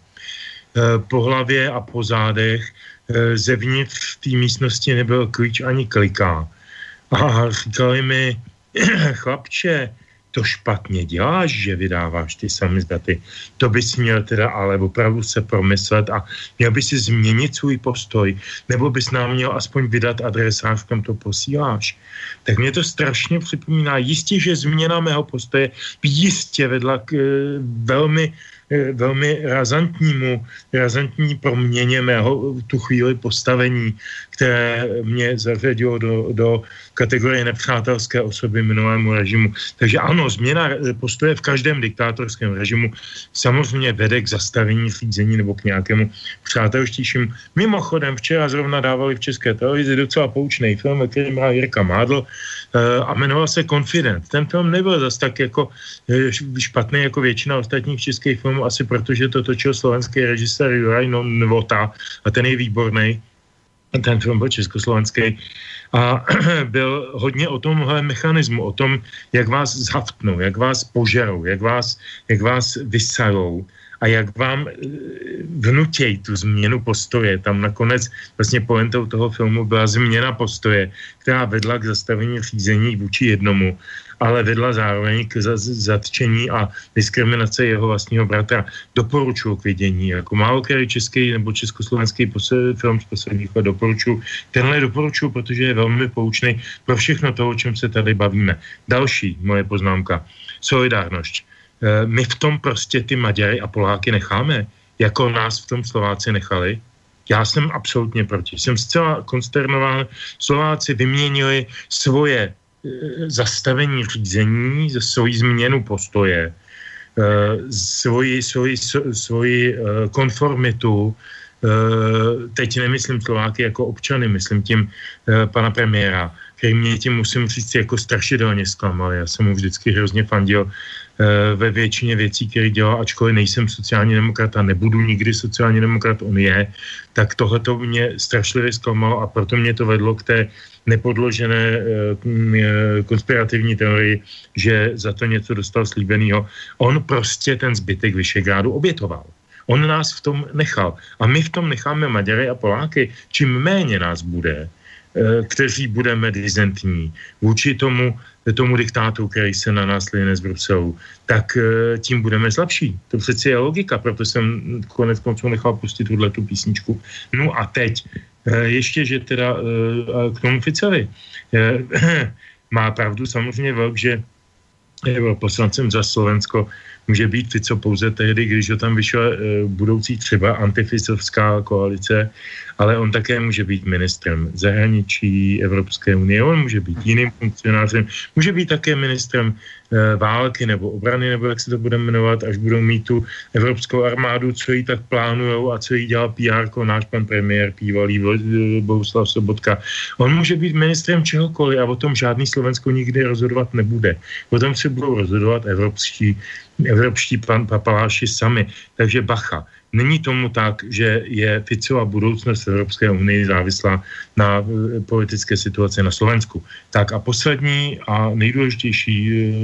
po hlavě a po zádech, zevnitř v té místnosti nebyl klíč ani kliká. A říkali mi, chlapče, to špatně děláš, že vydáváš ty samizdaty. To bys měl teda ale opravdu se promyslet a měl by si změnit svůj postoj, nebo bys nám měl aspoň vydat adresář, kam to posíláš. Tak mě to strašně připomíná. Jistě, že změna mého postoje by jistě vedla k e, velmi velmi razantnímu, razantní proměně mého tu chvíli postavení, které mě zařadilo do, do kategorie nepřátelské osoby minulému režimu. Takže ano, změna postoje v každém diktátorském režimu samozřejmě vede k zastavení řízení nebo k nějakému přátelštějšímu. Mimochodem, včera zrovna dávali v České televizi docela poučný film, který má Jirka Mádl a jmenoval se Confident. Ten film nebyl zas tak jako špatný jako většina ostatních českých filmů, asi protože to točil slovenský režisér Juraj Novota a ten je výborný. Ten film byl československý a byl hodně o tomhle mechanismu, o tom, jak vás zhaftnou, jak vás požerou, jak vás, jak vás vysajou a jak vám vnutějí tu změnu postoje. Tam nakonec vlastně pointou toho filmu byla změna postoje, která vedla k zastavení řízení vůči jednomu, ale vedla zároveň k zatčení a diskriminace jeho vlastního bratra. Doporučuji k vidění. Jako málo který český nebo československý film z posledních let doporučuji. Tenhle doporučuji, protože je velmi poučný pro všechno to, o čem se tady bavíme. Další moje poznámka. Solidárnost. My v tom prostě ty Maďary a Poláky necháme, jako nás v tom Slováci nechali. Já jsem absolutně proti. Jsem zcela konsternován. Slováci vyměnili svoje zastavení řízení, za svoji změnu postoje, svoji, svoji, svoji konformitu, teď nemyslím Slováky jako občany, myslím tím pana premiéra, který mě tím, musím říct, jako strašidelně zklamal. Já jsem mu vždycky hrozně fandil ve většině věcí, které dělal, ačkoliv nejsem sociální demokrat a nebudu nikdy sociální demokrat, on je, tak tohleto mě strašlivě zklamalo a proto mě to vedlo k té nepodložené konspirativní teorii, že za to něco dostal slíbenýho. On prostě ten zbytek Vyšegrádu obětoval. On nás v tom nechal. A my v tom necháme Maďary a Poláky. Čím méně nás bude, kteří budeme dizentní vůči tomu, tomu diktátu, který se na nás line z Bruselu, tak tím budeme slabší. To přeci je logika, proto jsem konec konců nechal pustit tuhletu písničku. No a teď, ještě, že teda k tomu Ficovi. Má pravdu samozřejmě Vlk, že poslancem za Slovensko může být Fico pouze tehdy, když ho tam vyšle budoucí třeba antificovská koalice, ale on také může být ministrem zahraničí Evropské unie, on může být jiným funkcionářem, může být také ministrem e, války nebo obrany, nebo jak se to bude jmenovat, až budou mít tu evropskou armádu, co jí tak plánujou a co jí dělá P R ko, náš pan premiér, bývalý Bohuslav Sobotka. On může být ministrem čehokoliv a o tom žádný Slovensko nikdy rozhodovat nebude. O tom se budou rozhodovat evropští, evropští pan papaláši sami. Takže bacha. Není tomu tak, že je Ficova budoucnost Evropské unii závislá na politické situaci na Slovensku. Tak a poslední a nejdůležitější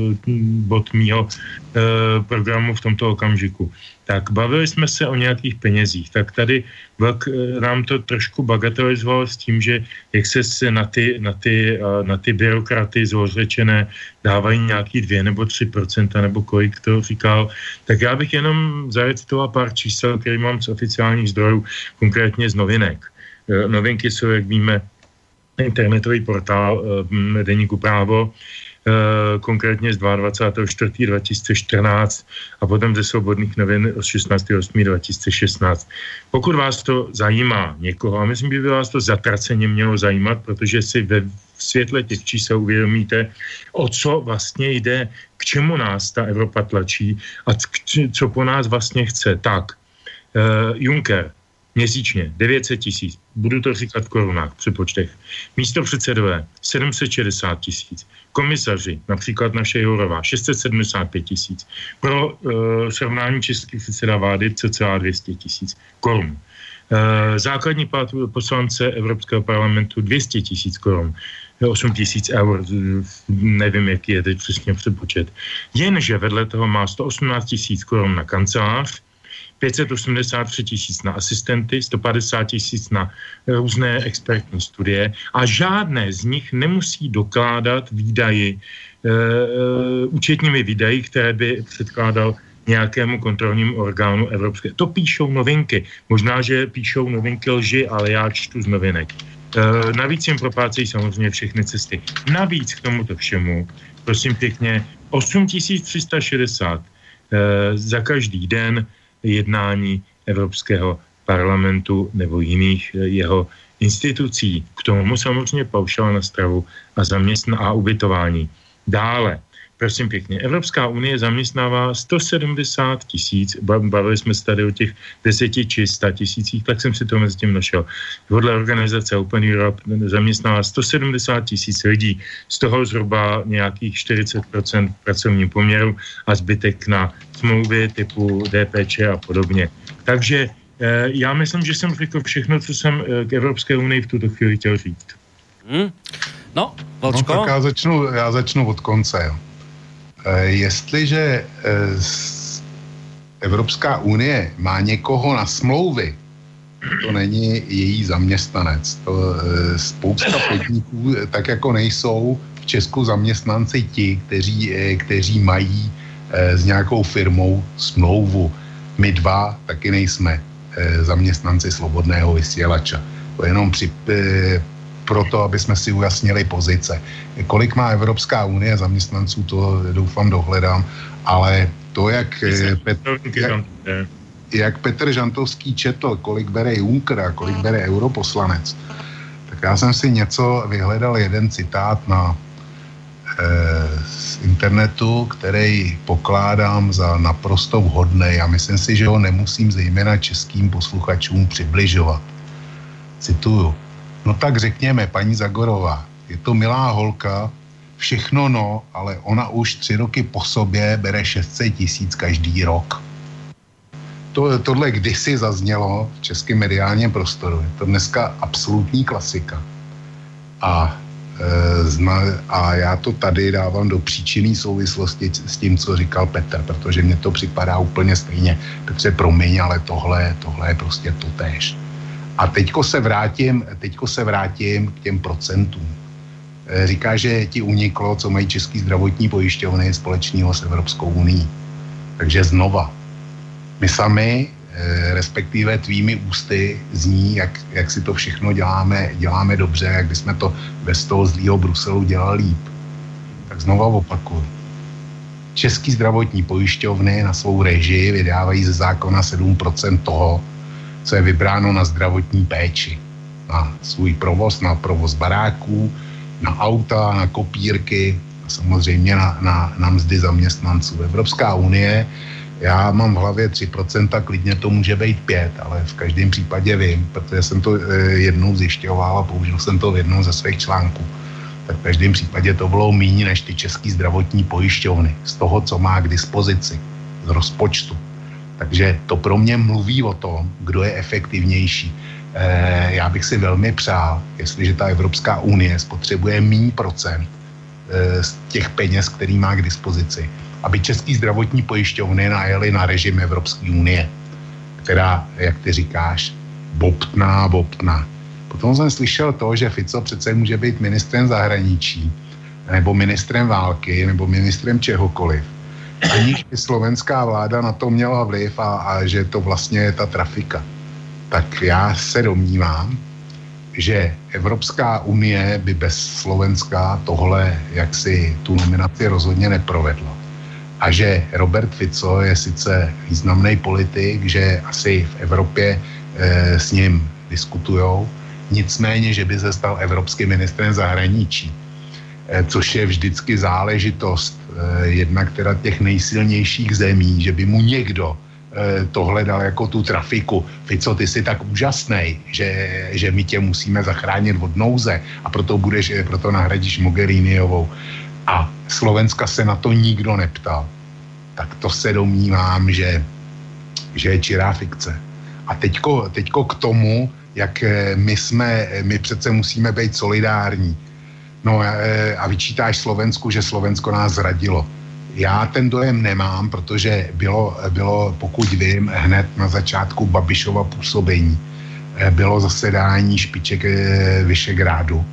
bod mýho programu v tomto okamžiku. Tak bavili jsme se o nějakých penězích. Tak tady Vlk nám to trošku bagatelizoval s tím, že jak se, se na, ty, na, ty, na ty byrokraty zlořečené dávají nějaký dvě nebo tři procenta, nebo kolik to říkal. Tak já bych jenom zarecitoval pár čísel, který mám z oficiálních zdrojů, konkrétně z novinek. Novinky jsou, jak víme, internetový portál deníku Právo, konkrétně z dvacátého čtvrtého dva tisíce čtrnáct a potom ze Svobodných novin od šestnáctého osmého dva tisíce šestnáct. Pokud vás to zajímá někoho, a myslím, že by vás to zatraceně mělo zajímat, protože si ve světle těch čísel uvědomíte, o co vlastně jde, k čemu nás ta Evropa tlačí a co po nás vlastně chce. Tak, uh, Juncker, měsíčně devět set tisíc, budu to říkat v korunách, při počtech. Místo předsedové sedm set šedesát tisíc, komisaři, například naše Jourová, šest set sedmdesát pět tisíc, pro uh, srovnání český předseda vlády cca dvě stě tisíc korun. Uh, základní plat poslance Evropského parlamentu dvě stě tisíc korun, osm tisíc eur, nevím, jaký je teď přesně přepočet. Jenže vedle toho má sto osmnáct tisíc korun na kancelář, pět set osmdesát tři tisíc na asistenty, sto padesát tisíc na různé expertní studie a žádné z nich nemusí dokládat výdaji, e, e, účetními výdaji, které by předkládal nějakému kontrolnímu orgánu evropské. To píšou novinky. Možná, že píšou novinky lži, ale já čtu z novinek. E, navíc jim proplácejí samozřejmě všechny cesty. Navíc k tomuto všemu, prosím pěkně, osm tisíc tři sta šedesát e, za každý den jednání Evropského parlamentu nebo jiných jeho institucí. K tomu samozřejmě paušál na stravu a zaměstná a ubytování. Dále, prosím pěkně, Evropská unie zaměstnává sto sedmdesát tisíc, bavili jsme se tady o těch deseti či sta tisících, tak jsem si to mezi tím našel. Podle organizace Open Europe zaměstnává sto sedmdesát tisíc lidí, z toho zhruba nějakých čtyřicet procent v pracovním poměru a zbytek na smlouvy typu D P Č a podobně. Takže eh, já myslím, že jsem řekl všechno, co jsem eh, k Evropské unii v tuto chvíli chtěl říct. Hmm. No, Vlčko? No, tak já začnu, já začnu od konce, jo. Jestliže Evropská unie má někoho na smlouvy, to není její zaměstnanec. To spousta podniků, tak jako nejsou v Česku zaměstnanci ti, kteří, kteří mají s nějakou firmou smlouvu. My dva taky nejsme zaměstnanci Slobodného vysílača. To jenom při, proto, aby jsme si ujasnili pozice. Kolik má Evropská unie zaměstnanců, to doufám dohledám, ale to, jak, Petr, jak, jak Petr Žantovský četl, kolik bere Juncker a kolik bere europoslanec, tak já jsem si něco vyhledal, jeden citát na eh, z internetu, který pokládám za naprosto vhodný a myslím si, že ho nemusím zejména českým posluchačům přibližovat. Cituju. No tak řekněme, paní Zagorová, je to milá holka, všechno no, ale ona už tři roky po sobě bere šest set tisíc každý rok. To, tohle kdysi zaznělo v českém mediálním prostoru. Je to dneska absolutní klasika. A a já to tady dávám do příčinné souvislosti s tím, co říkal Petr, protože mně to připadá úplně stejně. Petře, promiň, ale tohle, tohle je prostě totéž. A teďko se vrátím, teďko se vrátím k těm procentům. Říká, že ti uniklo, co mají český zdravotní pojišťovny společného s Evropskou unií. Takže znova, my sami, respektive tvými ústy, zní, jak, jak si to všechno děláme, děláme dobře, jak bychom to bez toho zlýho Bruselu dělali líp. Tak znova opakuju. Český zdravotní pojišťovny na svou režii vydávají ze zákona sedm procent toho, co je vybráno na zdravotní péči. Na svůj provoz, na provoz baráků, na auta, na kopírky a samozřejmě na, na, na mzdy zaměstnanců. Evropská unie, já mám v hlavě tři procenta, klidně to může být pět, ale v každém případě vím, protože jsem to jednou zjišťoval a použil jsem to v jednom ze svých článků. Tak v každém případě to bylo míň než ty český zdravotní pojišťovny z toho, co má k dispozici, z rozpočtu. Takže to pro mě mluví o tom, kdo je efektivnější. E, já bych si velmi přál, jestliže ta Evropská unie spotřebuje míň procent e, z těch peněz, který má k dispozici, aby český zdravotní pojišťovny najeli na režim Evropské unie, která, jak ty říkáš, bobtná, bobtná. Potom jsem slyšel to, že Fico přece může být ministrem zahraničí, nebo ministrem války, nebo ministrem čehokoliv. Aniž by slovenská vláda na to měla vliv a, a že to vlastně je ta trafika. Tak já se domnívám, že Evropská unie by bez Slovenska tohle jaksi tu nominaci rozhodně neprovedla. A že Robert Fico je sice významný politik, že asi v Evropě e, s ním diskutujou, nicméně, že by se stal evropským ministrem zahraničí, e, což je vždycky záležitost e, jednak teda těch nejsilnějších zemí, že by mu někdo e, tohle dal jako tu trafiku. Fico, ty jsi tak úžasnej, že, že my tě musíme zachránit od nouze a proto, budeš, proto nahradíš Mogheriniovou. A Slovenska se na to nikdo neptal. Tak to se domnívám, že, že je čirá fikce. A teďko, teďko k tomu, jak my jsme, my přece musíme být solidární. No a vyčítáš Slovensku, že Slovensko nás zradilo. Já ten dojem nemám, protože bylo, bylo, pokud vím, hned na začátku Babišova působení bylo zasedání špiček Vyšegrádu.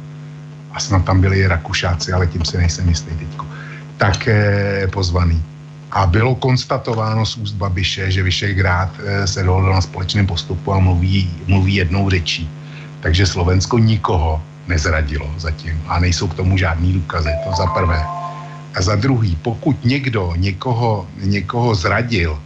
A snad tam byli Rakušáci, ale tím si nejsem jistý teďko. Tak eh, pozvaný. A bylo konstatováno z úst Babiše, že Vyšegrád eh, se dohodl na společném postupu a mluví, mluví jednou řečí. Takže Slovensko nikoho nezradilo zatím a nejsou k tomu žádný důkazy, to za prvé. A za druhý, pokud někdo někoho, někoho zradil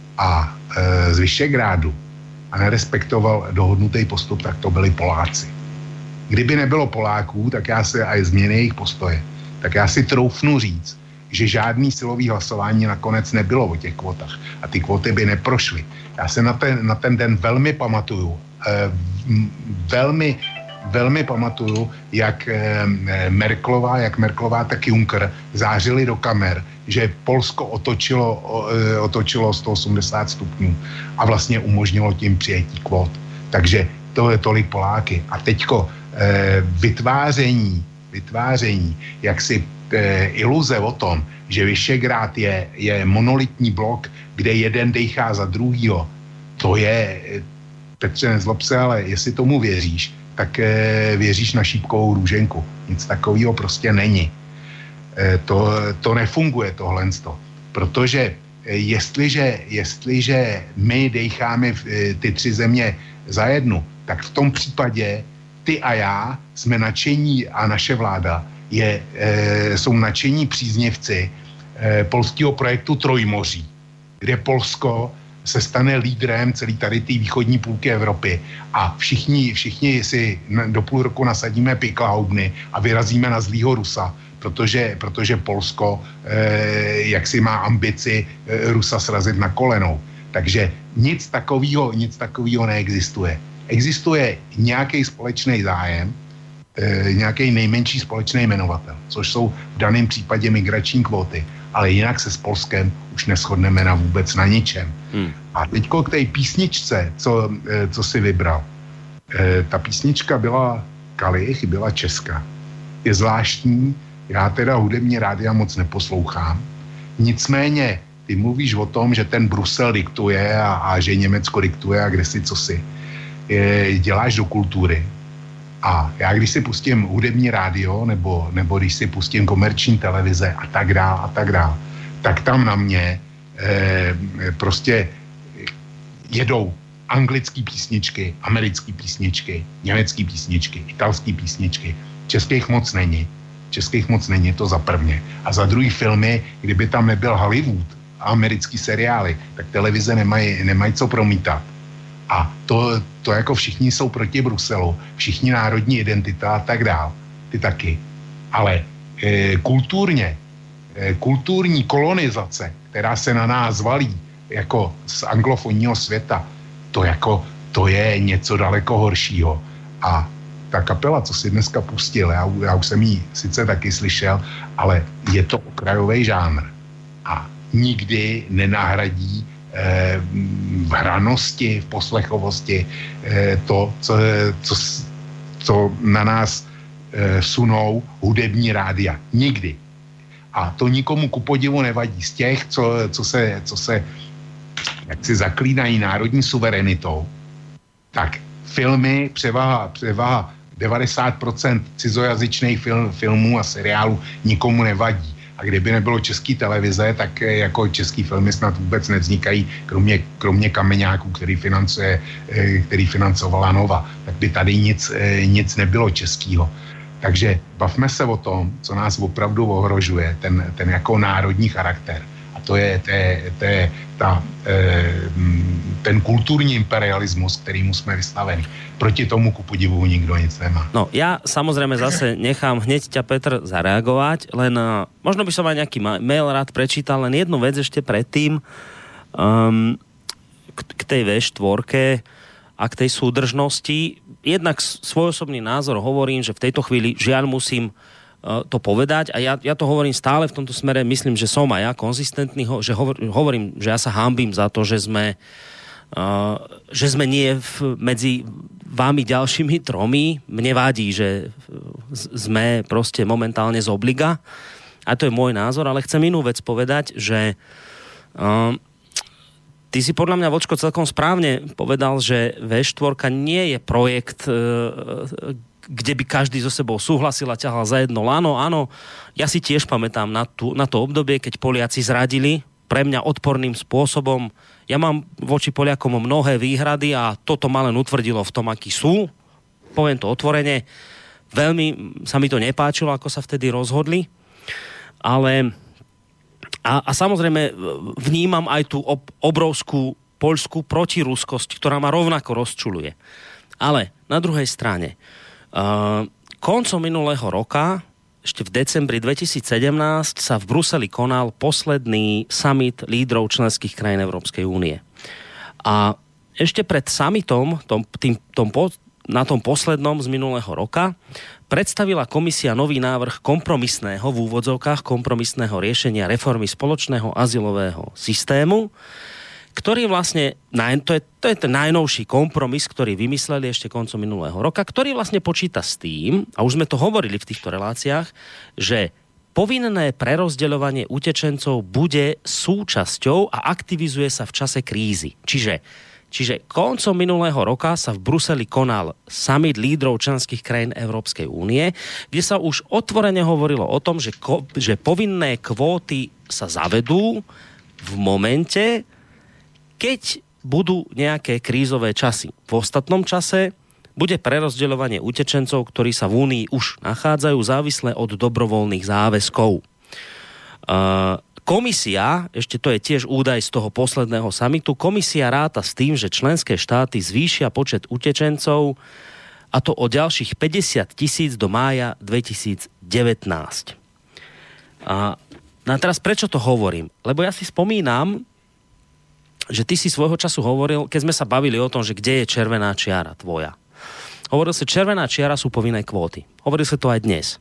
a e, z Vyšegrádu a nerespektoval dohodnutý postup, tak to byli Poláci. Kdyby nebylo Poláků, tak já si, a změny jejich postoje, tak já si troufnu říct, že žádný silový hlasování nakonec nebylo o těch kvotách a ty kvoty by neprošly. Já se na ten, na ten den velmi pamatuju, eh, velmi, velmi pamatuju, jak eh, Merkelová, jak Merkelová, tak Juncker zářili do kamer, že Polsko otočilo, eh, otočilo sto osmdesát stupňů a vlastně umožnilo tím přijetí kvot. Takže to je tolik Poláky. A teďko eh, vytváření, vytváření jaksi eh, iluze o tom, že Vyšegrád je, je monolitní blok, kde jeden dejchá za druhýho, to je, Petře, nezlob se, ale jestli tomu věříš, tak eh, věříš na šípkovou růženku. Nic takového prostě není. Eh, to, to nefunguje tohle. Protože eh, jestliže, jestliže my dejcháme eh, ty tři země za jednu, tak v tom případě ty a já jsme nadšení a naše vláda je, e, jsou nadšení příznivci e, polského projektu Trojmoří, kde Polsko se stane lídrem celý tady té východní půlky Evropy a všichni, všichni si do půl roku nasadíme piklahoubny a vyrazíme na zlýho Rusa, protože, protože Polsko e, jaksi má ambici e, Rusa srazit na kolenou. Takže nic takového, nic takového neexistuje. Existuje nějaký společný zájem, e, nějaký nejmenší společný jmenovatel, což jsou v daném případě migrační kvóty, ale jinak se s Polskem už neshodneme na vůbec na ničem. Hmm. A teďko k té písničce, co, e, co si vybral. E, ta písnička byla Kalich, byla česká. je zvláštní. Já teda hudební rádia moc neposlouchám. Nicméně, ty mluvíš o tom, že ten Brusel diktuje a, a že Německo diktuje a kde si co si. Je, děláš do kultury. A já když si pustím hudební rádio nebo, nebo když si pustím komerční televize a tak dál a tak dál, tak tam na mě eh, prostě jedou anglické písničky, americké písničky, německé písničky, italské písničky. Českých moc není. Českých moc není, to za prvně. A za druhý filmy, kdyby tam nebyl Hollywood a americký seriály, tak televize nemají, nemají co promítat. A to, to jako všichni jsou proti Bruselu, všichni národní identita a tak dál. Ty taky. Ale e, kulturně, e, kulturní kolonizace, která se na nás valí jako z anglofonního světa, to jako, to je něco daleko horšího. A ta kapela, co si dneska pustil, já, já už jsem ji sice taky slyšel, ale je to okrajový žánr. A nikdy nenahradí eh, v hranosti, v poslechovosti eh, to, co, co, co na nás eh, sunou hudební rádia. Nikdy. A to nikomu ku podivu nevadí. Z těch, co, co se, co se jak si zaklínají národní suverenitou, tak filmy, převaha, převaha devadesát procent cizojazyčných film, filmů a seriálů nikomu nevadí. A kdyby nebylo české televize, tak jako český filmy snad vůbec nevznikají, kromě, kromě Kameňáků, který, financuje, který financovala Nova. Tak by tady nic, nic nebylo českého. Takže bavme se o tom, co nás opravdu ohrožuje, ten, ten jako národní charakter. A to je, to je, to je ta, ten kulturní imperialismus, kterýmu jsme vystaveni. Proti tomu ku podivu nikto nic nemá. No, ja samozrejme zase nechám hneď ťa, Petr, zareagovať, len uh, možno by som aj nejaký mail rád prečítal, len jednu vec ešte predtým um, k, k tej vé štyri a k tej súdržnosti. Jednak svoj osobný názor hovorím, že v tejto chvíli žiaľ musím uh, to povedať a ja, ja to hovorím stále v tomto smere, myslím, že som aj ja konzistentný, že hovor, hovorím, že ja sa hanbím za to, že sme Uh, že sme nie v, medzi vámi ďalšími tromi. Mne vadí, že sme proste momentálne z obliga. A to je môj názor, ale chcem inú vec povedať, že uh, ty si podľa mňa, Vočko, celkom správne povedal, že vé štyri nie je projekt, uh, kde by každý so sebou súhlasil a ťahal za jedno lano. Áno, ja si tiež pamätám na, tú, na to obdobie, keď Poliaci zradili pre mňa odporným spôsobom. Ja mám voči Poliakom mnohé výhrady a toto ma len utvrdilo v tom, akí sú. Poviem to otvorene. Veľmi sa mi to nepáčilo, ako sa vtedy rozhodli. Ale a, a samozrejme vnímam aj tú ob, obrovskú poľskú protiruskosť, ktorá ma rovnako rozčuľuje. Ale na druhej strane uh, koncom minulého roka, ešte v decembri dvetisícsedemnásť sa v Bruseli konal posledný summit lídrov členských krajín Európskej únie. A ešte pred summitom, tom, tým, tom, na tom poslednom z minulého roka, predstavila komisia nový návrh kompromisného, v úvodzovkách kompromisného riešenia reformy spoločného azylového systému, ktorý vlastne, to je, to je ten najnovší kompromis, ktorý vymysleli ešte koncom minulého roka, ktorý vlastne počíta s tým, a už sme to hovorili v týchto reláciách, že povinné prerozdeľovanie utečencov bude súčasťou a aktivizuje sa v čase krízy. Čiže, čiže koncom minulého roka sa v Bruseli konal summit lídrov členských krajín Európskej únie, kde sa už otvorene hovorilo o tom, že, ko, že povinné kvóty sa zavedú v momente, keď budú nejaké krízové časy. V ostatnom čase bude prerozdeľovanie utečencov, ktorí sa v Únii už nachádzajú, závislé od dobrovoľných záväzkov. Uh, komisia, ešte to je tiež údaj z toho posledného samitu, komisia ráta s tým, že členské štáty zvýšia počet utečencov, a to o ďalších päťdesiat tisíc do mája dvetisícdevätnásť. Uh, no a teraz prečo to hovorím? Lebo ja si spomínam, že ty si svojho času hovoril, keď sme sa bavili o tom, že kde je červená čiara tvoja. Hovoril si, červená čiara sú povinné kvóty. Hovoril si to aj dnes.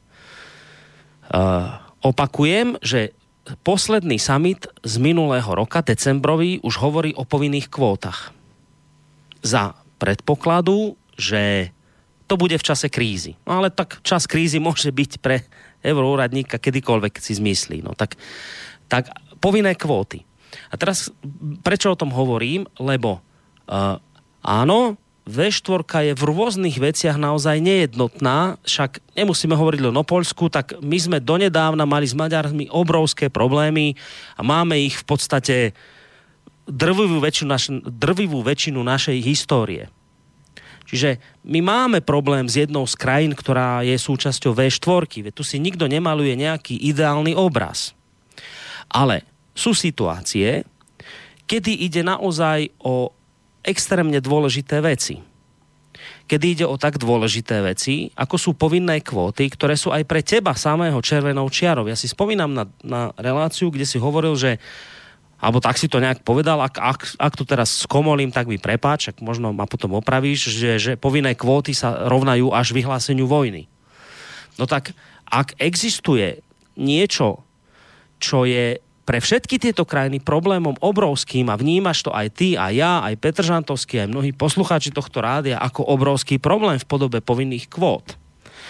Uh, opakujem, že posledný summit z minulého roka, decembrový, už hovorí o povinných kvótach. Za predpokladu, že to bude v čase krízy. No ale tak čas krízy môže byť pre euroúradníka kedykoľvek si zmyslí. No tak, tak povinné kvóty. A teraz, prečo o tom hovorím? Lebo uh, áno, vé štyri je v rôznych veciach naozaj nejednotná, však nemusíme hovoriť len o Poľsku, tak my sme donedávna mali s Maďarmi obrovské problémy a máme ich v podstate drvivú väčšinu, naš, drvivú väčšinu našej histórie. Čiže my máme problém s jednou z krajín, ktorá je súčasťou vé štyri, veď tu si nikto nemaluje nejaký ideálny obraz. Ale sú situácie, kedy ide naozaj o extrémne dôležité veci. Kedy ide o tak dôležité veci, ako sú povinné kvóty, ktoré sú aj pre teba samého červenou čiarou. Ja si spomínam na, na reláciu, kde si hovoril, že alebo tak si to nejak povedal, ak, ak, ak tu teraz skomolím, tak mi prepáč, ak možno ma potom opravíš, že, že povinné kvóty sa rovnajú až vyhláseniu vojny. No tak, ak existuje niečo, čo je pre všetky tieto krajiny problémom obrovským a vnímaš to aj ty, a ja, aj Petr Žantovský, aj mnohí poslucháči tohto rádia ako obrovský problém v podobe povinných kvót.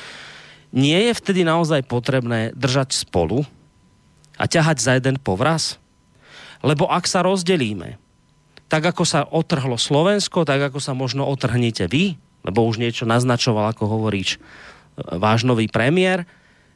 Nie je vtedy naozaj potrebné držať spolu a ťahať za jeden povraz? Lebo ak sa rozdelíme, tak ako sa otrhlo Slovensko, tak ako sa možno otrhnete vy, lebo už niečo naznačoval, ako hovoríš, váš nový premiér,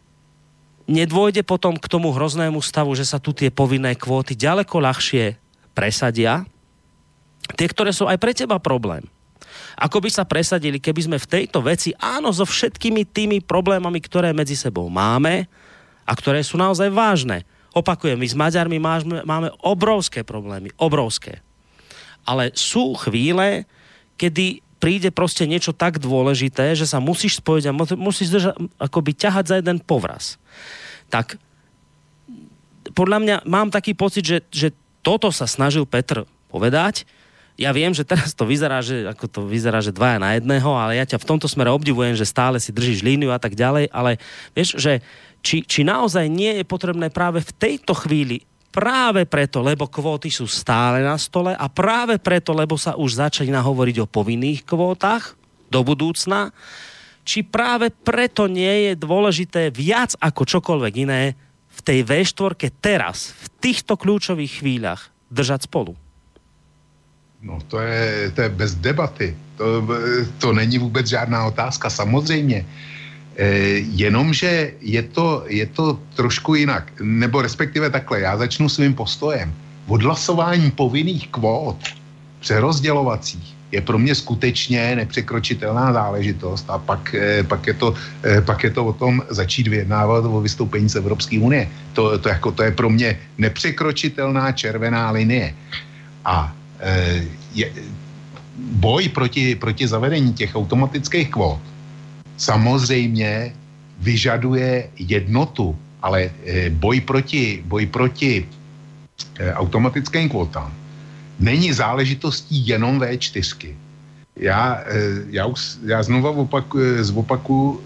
nedôjde potom k tomu hroznému stavu, že sa tu tie povinné kvóty ďaleko ľahšie presadia. Tie, ktoré sú aj pre teba problém. Ako by sa presadili, keby sme v tejto veci, áno, so všetkými tými problémami, ktoré medzi sebou máme a ktoré sú naozaj vážne. Opakujem, my s Maďarmi máme, máme obrovské problémy, obrovské. Ale sú chvíle, kedy príde proste niečo tak dôležité, že sa musíš spojiť a musíš držať, akoby ťahať za jeden povraz. Tak podľa mňa mám taký pocit, že, že toto sa snažil Petr povedať. Ja viem, že teraz to vyzerá, že ako to vyzerá, že dvaja na jedného, ale ja ťa v tomto smere obdivujem, že stále si držíš líniu a tak ďalej, ale vieš, že či, či naozaj nie je potrebné práve v tejto chvíli, práve preto, lebo kvóty sú stále na stole a práve preto, lebo sa už začína hovoriť o povinných kvótach do budúcna, či práve preto nie je dôležité viac ako čokoľvek iné v tej vé štyri teraz, v týchto kľúčových chvíľach držať spolu? No to je, to je bez debaty. To, to není vůbec žádná otázka, samozřejmě. E, jenomže je to, je to trošku jinak. Nebo respektive takhle, já začnu svým postojem. Odhlasování povinných kvót přerozdělovacích je pro mě skutečně nepřekročitelná záležitost a pak, pak, je to, pak je to o tom začít vyjednávat o vystoupení z Evropské unie. To, to, jako, to je pro mě nepřekročitelná červená linie. A je, boj proti, proti zavedení těch automatických kvót samozřejmě vyžaduje jednotu, ale boj proti, boj proti automatickým kvótám není záležitostí jenom vé čtyři. Já, já, já znovu opakuju, zopakuju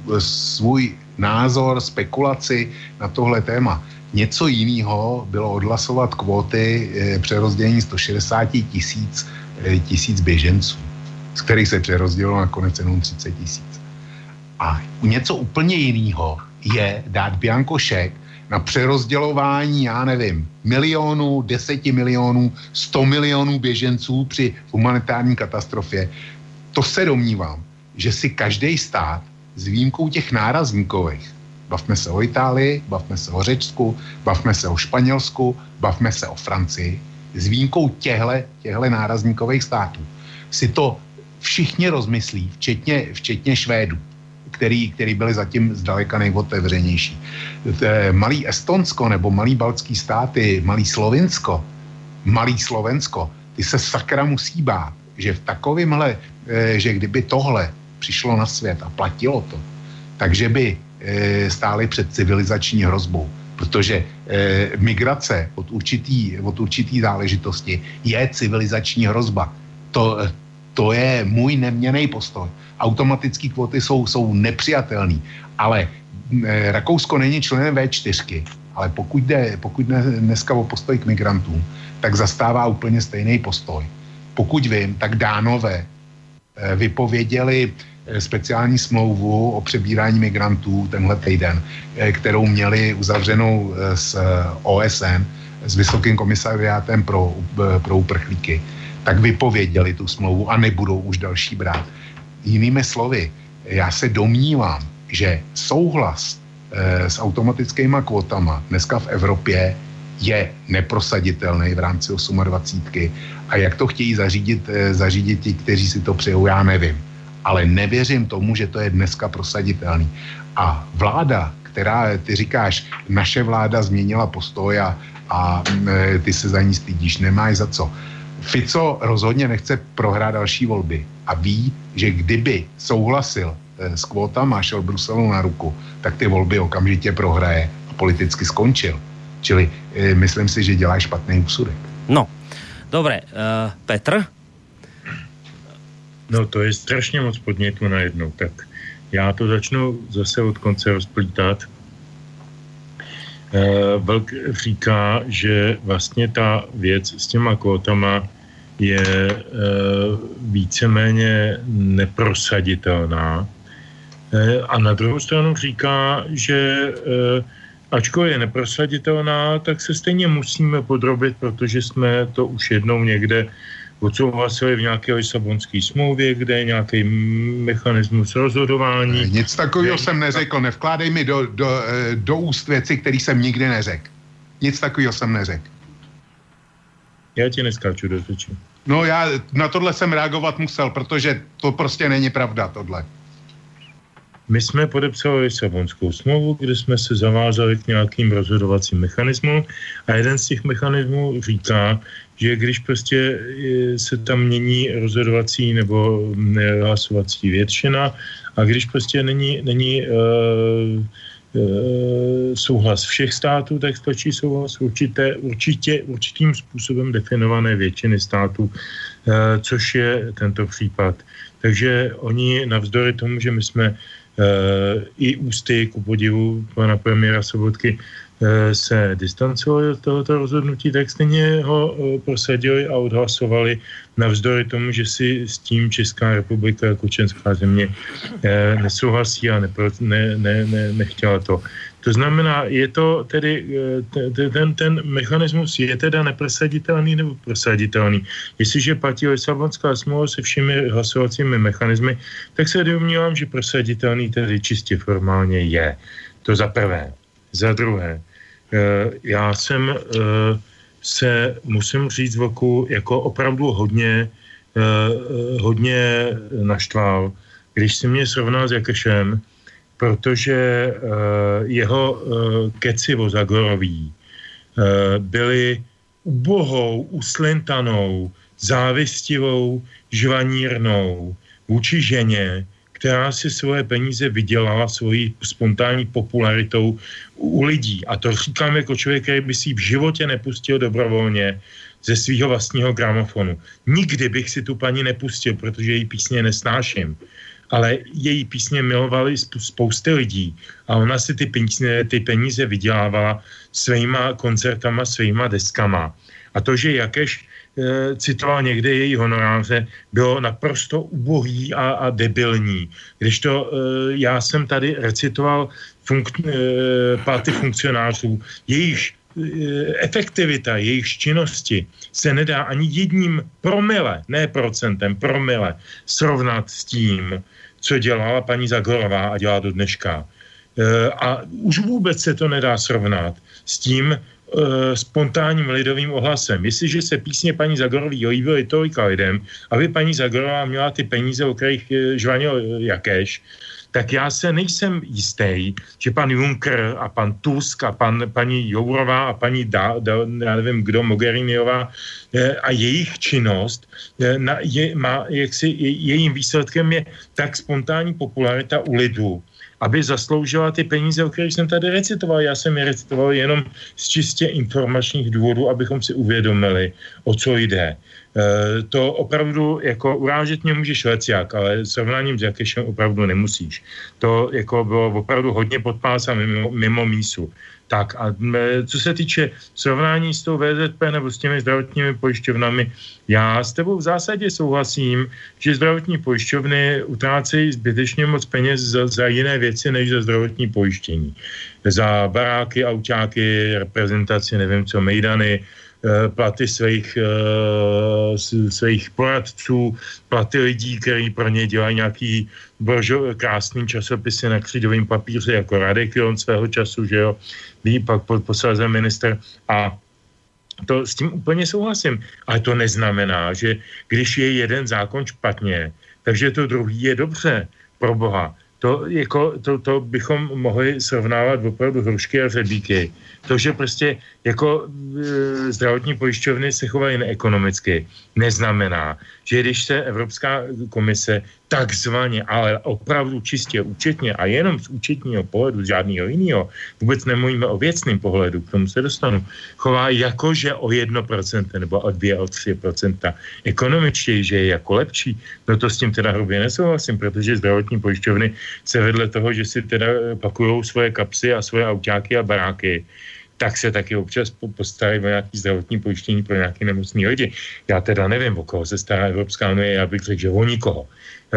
svůj názor, spekulaci na tohle téma. Něco jiného bylo odhlasovat kvóty přerozdělení sto šedesát tisíc tisíc běženců, z kterých se přerozdělilo nakonec jenom třicet tisíc. A něco úplně jiného je dát bianko šek na přerozdělování, já nevím, milionů, deseti milionů, sto milionů běženců při humanitární katastrofě. To se domnívám, že si každý stát s výjimkou těch nárazníkových, bavme se o Itálii, bavme se o Řecku, bavme se o Španělsku, bavme se o Francii, s výjimkou těhle, těhle nárazníkových států, si to všichni rozmyslí, včetně, včetně Švédů, který, který byli zatím zdaleka nejotevřenější. Malý Estonsko nebo malý baltský státy, malý Slovinsko, malý Slovensko, ty se sakra musí bát, že v takovémhle, že kdyby tohle přišlo na svět a platilo to, takže by stáli před civilizační hrozbou. Protože eh, migrace od určitý, od určitý záležitosti je civilizační hrozba. To, to je můj neměnný postoj. Automatické kvóty jsou, jsou nepřijatelný, ale eh, Rakousko není členem vé čtyři, ale pokud jde, pokud jde dneska o postoj k migrantům, tak zastává úplně stejný postoj. Pokud vím, tak Dánové eh, vypověděli speciální smlouvu o přebírání migrantů tenhle týden, kterou měli uzavřenou s O S N, s Vysokým komisariátem pro, pro uprchlíky, tak vypověděli tu smlouvu a nebudou už další brát. Jinými slovy, já se domnívám, že souhlas e, s automatickýma kvotama dneska v Evropě je neprosaditelný v rámci dvacítky osm a jak to chtějí zařídit, e, zařídit ti, kteří si to přejou, já nevím. Ale nevěřím tomu, že to je dneska prosaditelný. A vláda, která, ty říkáš, naše vláda změnila postoj a, a e, ty se za ní stydíš, nemáš za co. Fico rozhodně nechce prohrát další volby a ví, že kdyby souhlasil e, s kvótama a šel Bruselu na ruku, tak ty volby okamžitě prohraje a politicky skončil. Čili e, myslím si, že dělá špatný úsudek. No, dobré. Uh, Petr? No to je strašně moc podnětů najednou, tak já to začnu zase od konce rozplítat. Vlk říká, že vlastně ta věc s těma kvótama je víceméně neprosaditelná. A na druhou stranu říká, že ačkoliv je neprosaditelná, tak se stejně musíme podrobit, protože jsme to už jednou někde odsouhlasili v nějaké Lisabonské smlouvě, kde je nějaký mechanismus rozhodování. Nic takového jsem neřekl. Nevkládej mi do, do, do úst věci, který jsem nikdy neřekl. Nic takového jsem neřekl. Já ti neskáču do řeči. No já na tohle jsem reagovat musel, protože to prostě není pravda, tohle. My jsme podepsali Lisabonskou smlouvu, kde jsme se zavázali k nějakým rozhodovacím mechanismům a jeden z těch mechanismů říká, že když prostě se tam mění rozhodovací nebo hlasovací většina a když prostě není, není uh, uh, souhlas všech států, tak stačí souhlas určité, určitě, určitým způsobem definované většiny států, uh, což je tento případ. Takže oni navzdory tomu, že my jsme Uh, i ústy, ku podivu pana premiéra Sobotky, uh, se distancovali od tohoto rozhodnutí, tak stejně ho uh, prosadili a odhlasovali navzdory tomu, že si s tím Česká republika jako členská země uh, nesouhlasí a nepro, ne, ne, ne, nechtěla to. To znamená, je to tedy, uh, ten, ten mechanismus je teda neprosaditelný nebo prosaditelný. Jestliže platí Lisabonská smlouva se všemi hlasovacími mechanismy, tak se domnívám, že prosaditelný tedy čistě formálně je. To za prvé. Za druhé, já jsem se, musím říct, Vlku, jako opravdu hodně, hodně naštval, když si mě srovnal s Jakešem, protože jeho keci o Zagoroví byly ubohou, uslintanou, závistivou, žvanírnou vůči ženě, která si svoje peníze vydělala svojí spontánní popularitou u lidí. A to říkám jako člověk, který by si v životě nepustil dobrovolně ze svého vlastního gramofonu. Nikdy bych si tu paní nepustil, protože její písně nesnáším. Ale její písně milovali spousty lidí a ona si ty peníze, ty peníze vydělávala svýma koncertama, svýma deskama. A to, že Jakeš e, citoval někde její honoráře, bylo naprosto ubohý a, a debilní. Když to e, já jsem tady recitoval funk, e, platy funkcionářů, jejich efektivita jejich činnosti se nedá ani jedním promile, ne procentem, promile srovnat s tím, co dělala paní Zagorová a dělá do dneška. A už vůbec se to nedá srovnat s tím spontánním lidovým ohlasem. Jestliže se písně paní Zagorový líbily tolika lidem, aby paní Zagorová měla ty peníze, o kterých žvanil Jakeš, tak já se nejsem jistý, že pan Juncker a pan Tusk a pan, paní Jourová a paní da, da, já nevím kdo, Mogheriniová a jejich činnost na, je, má, jaksi, je, jejím výsledkem je tak spontánní popularita u lidů, aby zasloužila ty peníze, o kterých jsem tady recitoval. Já jsem je recitoval jenom z čistě informačních důvodů, abychom si uvědomili, o co jde. E, to opravdu, jako urážet mě můžeš lecjak, ale srovnáním s Jakešem opravdu nemusíš. To jako bylo opravdu hodně podpás a mimo, mimo mísu. Tak a co se týče srovnání s tou V Z P nebo s těmi zdravotními pojišťovnami, já s tebou v zásadě souhlasím, že zdravotní pojišťovny utrácejí zbytečně moc peněz za, za jiné věci, než za zdravotní pojištění. Za baráky, autáky, reprezentaci, nevím co, mejdany, platy svých, svých poradců, platy lidí, kteří pro ně dělají nějaký božo, krásný časopisy na křídovém papíře, jako Radek Jon svého času, že jo, ví pak posléze minister a to s tím úplně souhlasím. Ale to neznamená, že když je jeden zákon špatně, takže to druhý je dobře, pro boha. To, jako, to, to bychom mohli srovnávat opravdu hrušky a řebíky. To, že prostě jako e, zdravotní pojišťovny se chovají neekonomicky, neznamená, že když se Evropská komise takzvaně, ale opravdu čistě účetně a jenom z účetního pohledu, z žádného jiného, vůbec nemluvíme o věcném pohledu, k tomu se dostanu, chová jakože o jedno procento nebo o dvě, o tři procenta ekonomičtěji, že je jako lepší, no to s tím teda hrubě nesouhlasím, protože zdravotní pojišťovny se vedle toho, že si teda pakujou svoje kapsy a svoje autáky a baráky, tak se taky občas postarají o nějaký zdravotní pojištění pro nějaký nemocný lidi. Já teda nevím, o koho se stará Evropská unie, já bych řekl, že o nikoho. E,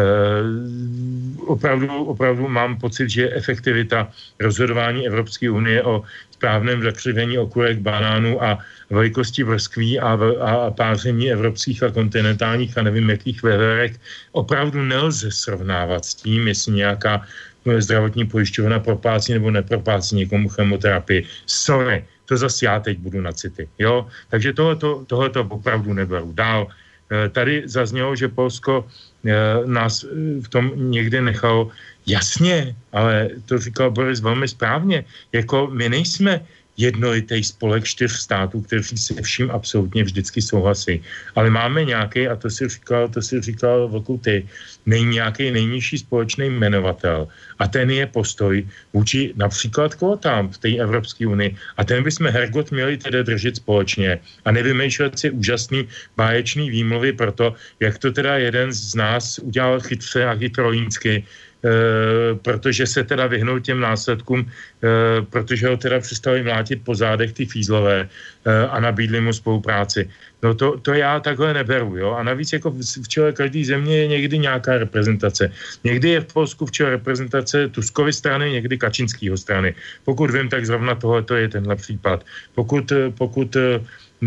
opravdu, opravdu mám pocit, že efektivita rozhodování Evropské unie o správném zakřivení okurek, banánů a velikosti vrskví a, a páření evropských a kontinentálních a nevím jakých veverek opravdu nelze srovnávat s tím, jestli nějaká zdravotní pojišťovna proplácí nebo neproplácí někomu chemoterapii. Sorry, to zase já teď budu na city, jo? Takže tohleto, tohleto opravdu neberu. Dál, tady zaznělo, že Polsko nás v tom někde nechalo. Jasně, ale to říkal Boris velmi správně. Jako my nejsme jednolitý spolek čtyř států, kteří se vším absolutně vždycky souhlasí. Ale máme nějaký, a to si říkal, to si říkal Vlku ty, nej, nějaký nejnižší společný jmenovatel. A ten je postoj vůči například kvótám v té Evropské unii. A ten bychom hergot měli teda držet společně. A nevymýšlet si úžasný báječný výmluvy pro to, jak to teda jeden z nás udělal chytře a chytrolínsky, Uh, protože se teda vyhnul těm následkům, uh, protože ho teda přestali mlátit po zádech ty fízlové uh, a nabídli mu spolupráci. No to, to já takhle neberu, jo. A navíc jako v, v čele každé země je někdy nějaká reprezentace. Někdy je v Polsku v čele reprezentace Tuskovy strany, někdy Kačinskýho strany. Pokud vím, tak zrovna tohle to je tenhle případ. Pokud, pokud uh,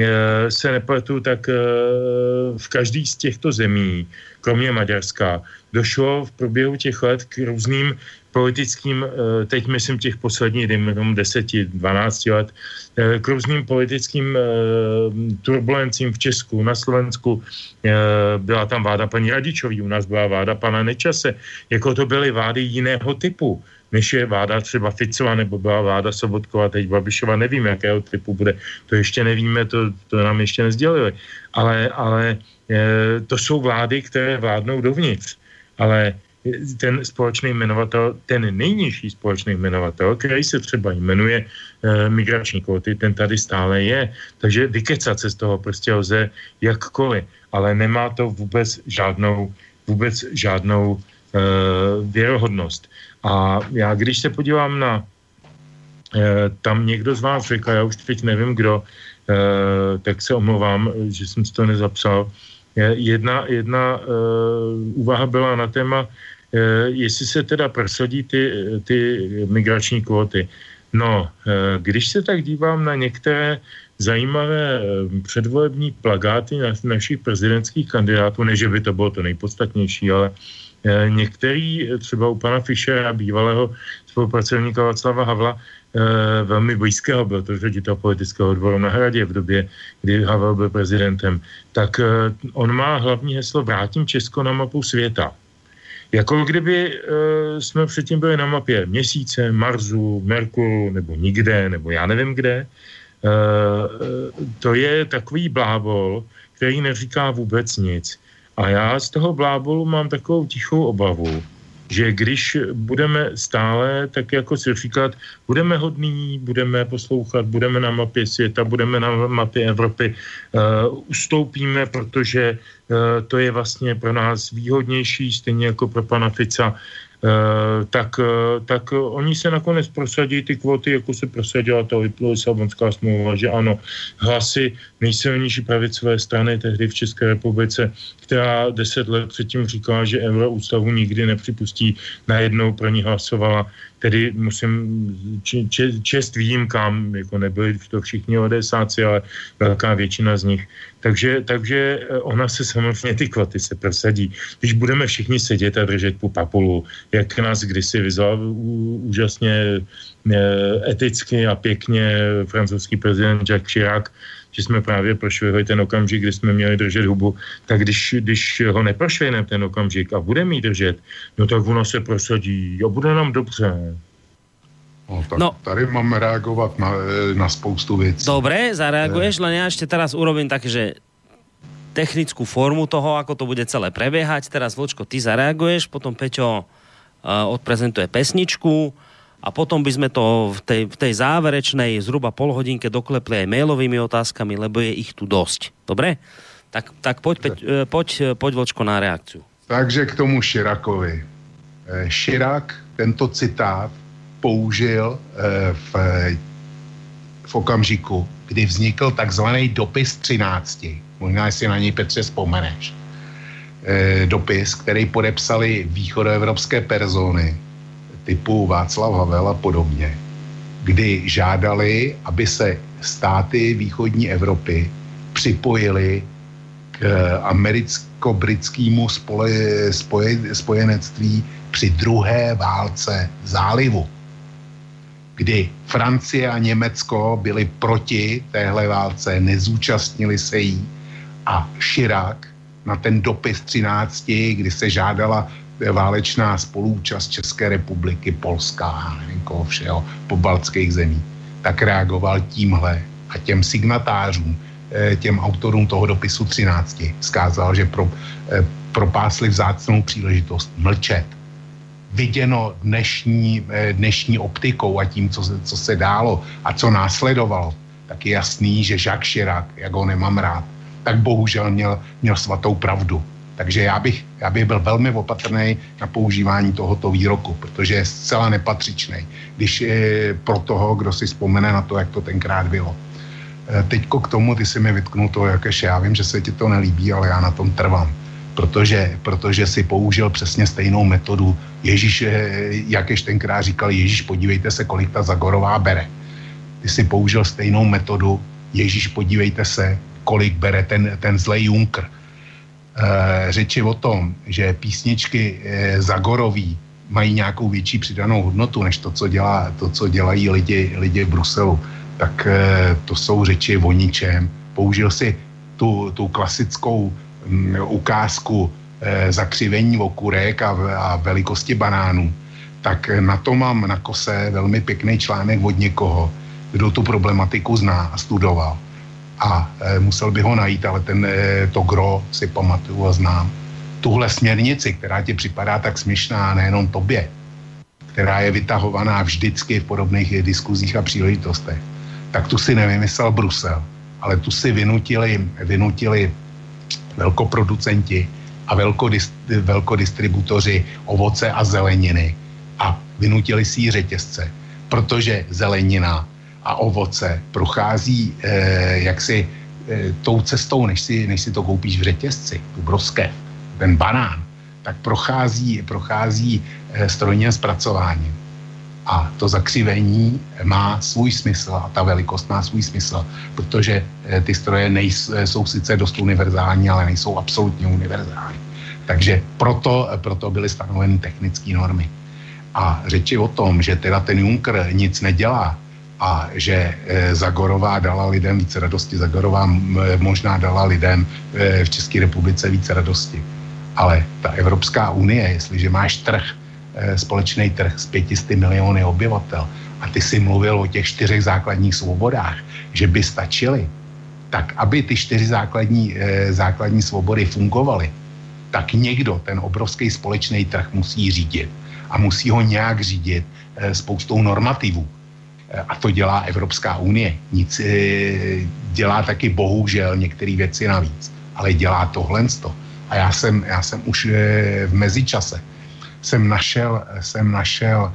se nepletu, tak uh, v každý z těchto zemí, kromě Maďarska, došlo v průběhu těch let k různým politickým, teď myslím těch posledních, dejme tomu deseti, dvanácti let, k různým politickým turbulencím v Česku, na Slovensku. Byla tam vláda paní Radičový, u nás byla vláda pana Nečase. Jako to byly vlády jiného typu, než je vláda třeba Ficova, nebo byla vláda Sobotkova, teď Babišova, nevím, jakého typu bude. To ještě nevíme, to, to nám ještě nezdělili. Ale, ale to jsou vlády, které vládnou dovnitř. Ale ten společný jmenovatel, ten nejnižší společný jmenovatel, který se třeba jmenuje e, migrační kvóty, ten tady stále je. Takže vykecat se z toho prostě lze jakkoliv, ale nemá to vůbec žádnou, vůbec žádnou e, věrohodnost. A já, když se podívám na, e, tam někdo z vás řekl, já už teď nevím kdo, e, tak se omlouvám, že jsem si to nezapsal. Jedna, jedna uh, úvaha byla na téma, uh, jestli se teda prosadí ty, ty migrační kvóty. No, uh, když se tak dívám na některé zajímavé uh, předvolební plakáty na, našich prezidentských kandidátů, ne, že by to bylo to nejpodstatnější, ale uh, některý, třeba u pana Fischera, bývalého spolupracovníka Václava Havla, Uh, velmi blízkého, byl to ředitel politického odboru na Hradě v době, kdy Havel byl prezidentem, tak uh, on má hlavní heslo Vrátím Česko na mapu světa. Jako kdyby uh, jsme předtím byli na mapě Měsíce, Marsu, Merkuru, nebo nikde, nebo já nevím kde. Uh, to je takový blábol, který neříká vůbec nic. A já z toho blábolu mám takovou tichou obavu, že když budeme stále, tak jako si říkat, budeme hodní, budeme poslouchat, budeme na mapě světa, budeme na mapě Evropy, uh, ustoupíme, protože uh, to je vlastně pro nás výhodnější, stejně jako pro pana Fica, tak, tak oni se nakonec prosadí ty kvóty, jako se prosadila ta Lisabonská smlouva, že ano, hlasy nejsilnější pravicové strany tehdy v České republice, která deset let předtím říkala, že euroústavu nikdy nepřipustí, najednou pro ní hlasovala. Tedy musím če, čest výjimkám, jako nebyli to všichni odesáci, ale velká většina z nich. Takže, takže ona se samozřejmě, ty kvoty se prosadí. Když budeme všichni sedět a držet po papulu, jak nás kdysi vyzval úžasně eticky a pěkně francouzský prezident Jacques Chirac, že jsme právě prošvihli ten okamžik, kdy jsme měli držet hubu, tak když, když ho neprošvihneme ten okamžik a budeme jí držet, no tak ono se prosadí a bude nám dobře. No, tak no. Tady máme reagovat na, na spoustu věcí. Dobre, zareaguješ, len ja ešte teraz urobím také, že technickú formu toho, ako to bude celé prebiehať. Teraz, Vlčko, ty zareaguješ, potom Peťo uh, odprezentuje pesničku a potom by sme to v tej, v tej záverečnej zhruba polhodinke doklepli aj mailovými otázkami, lebo je ich tu dosť. Dobre? Tak, tak poď, Peť, poď, poď, Vlčko, na reakciu. Takže k tomu Chiracovi. Chirac tento citát použil v, v okamžiku, kdy vznikl takzvaný dopis třinácti. Možná, jestli na něj, Petře, vzpomeneš. Dopis, který podepsali východoevropské persony typu Václav Havel a podobně, kdy žádali, aby se státy východní Evropy připojily k americko-britskému spole, spoje, spojenectví při druhé válce zálivu, kdy Francie a Německo byli proti téhle válce, nezúčastnili se jí a Chirac na ten dopis třinácti, kdy se žádala válečná spolúčast České republiky, Polska, nevím koho všeho, pobaltských zemí, tak reagoval tímhle a těm signatářům, těm autorům toho dopisu třinácti vzkázal, že pro, propásli vzácnou příležitost mlčet. Viděno dnešní, dnešní optikou a tím, co, co se dálo a co následovalo, tak je jasný, že Jacques Chirac, jak ho nemám rád, tak bohužel měl, měl svatou pravdu. Takže já bych, já bych byl velmi opatrný na používání tohoto výroku, protože je zcela nepatřičný, když je pro toho, kdo si vzpomene na to, jak to tenkrát bylo. Teďko k tomu, ty si mi vytknul to, jakéž já vím, že se ti to nelíbí, ale já na tom trvám. Protože, protože si použil přesně stejnou metodu. Ježíš, jakéž tenkrát říkal, Ježíš, podívejte se, kolik ta Zagorová bere. Ty si použil stejnou metodu, Ježíš, podívejte se, kolik bere ten, ten zlej Juncker. E, řeči o tom, že písničky e, Zagorový mají nějakou větší přidanou hodnotu, než to, co, dělá, to, co dělají lidi, lidi v Bruselu, tak e, to jsou řeči o ničem. Použil si tu, tu klasickou m, ukázku e, zakřivení okurek a, a velikosti banánů. Tak na to mám na kose velmi pěkný článek od někoho, kdo tu problematiku zná a studoval. A e, musel by ho najít, ale ten, e, to gro si pamatuju a znám. Tuhle směrnici, která ti připadá tak směšná, nejenom tobě, která je vytahovaná vždycky v podobných diskuzích a příležitostech, tak tu si nevymyslel Brusel, ale tu si vynutili, vynutili velkoproducenti a velkodist, velkodistributoři ovoce a zeleniny a vynutili si ji řetězce, protože zelenina a ovoce prochází eh, jaksi eh, tou cestou, než si, než si to koupíš v řetězci, tu broskev, ten banán, tak prochází, prochází eh, strojním zpracováním. A to zakřivení má svůj smysl a ta velikost má svůj smysl, protože eh, ty stroje nejsou, jsou sice dost univerzální, ale nejsou absolutně univerzální. Takže proto, proto byly stanoveny technické normy. A řeči o tom, že teda ten Juncker nic nedělá, a že e, Zagorová dala lidem více radosti. Zagorová m, možná dala lidem e, v České republice více radosti. Ale ta Evropská unie, jestliže máš trh, e, společný trh s pětisty miliony obyvatel a ty si mluvil o těch čtyřech základních svobodách, že by stačily, tak aby ty čtyři základní, e, základní svobody fungovaly, tak někdo ten obrovský společný trh musí řídit. A musí ho nějak řídit e, spoustou normativů. A to dělá Evropská unie. Nic dělá taky bohužel některé věci navíc, ale dělá tohle. A já jsem, já jsem už v mezičase jsem našel, jsem našel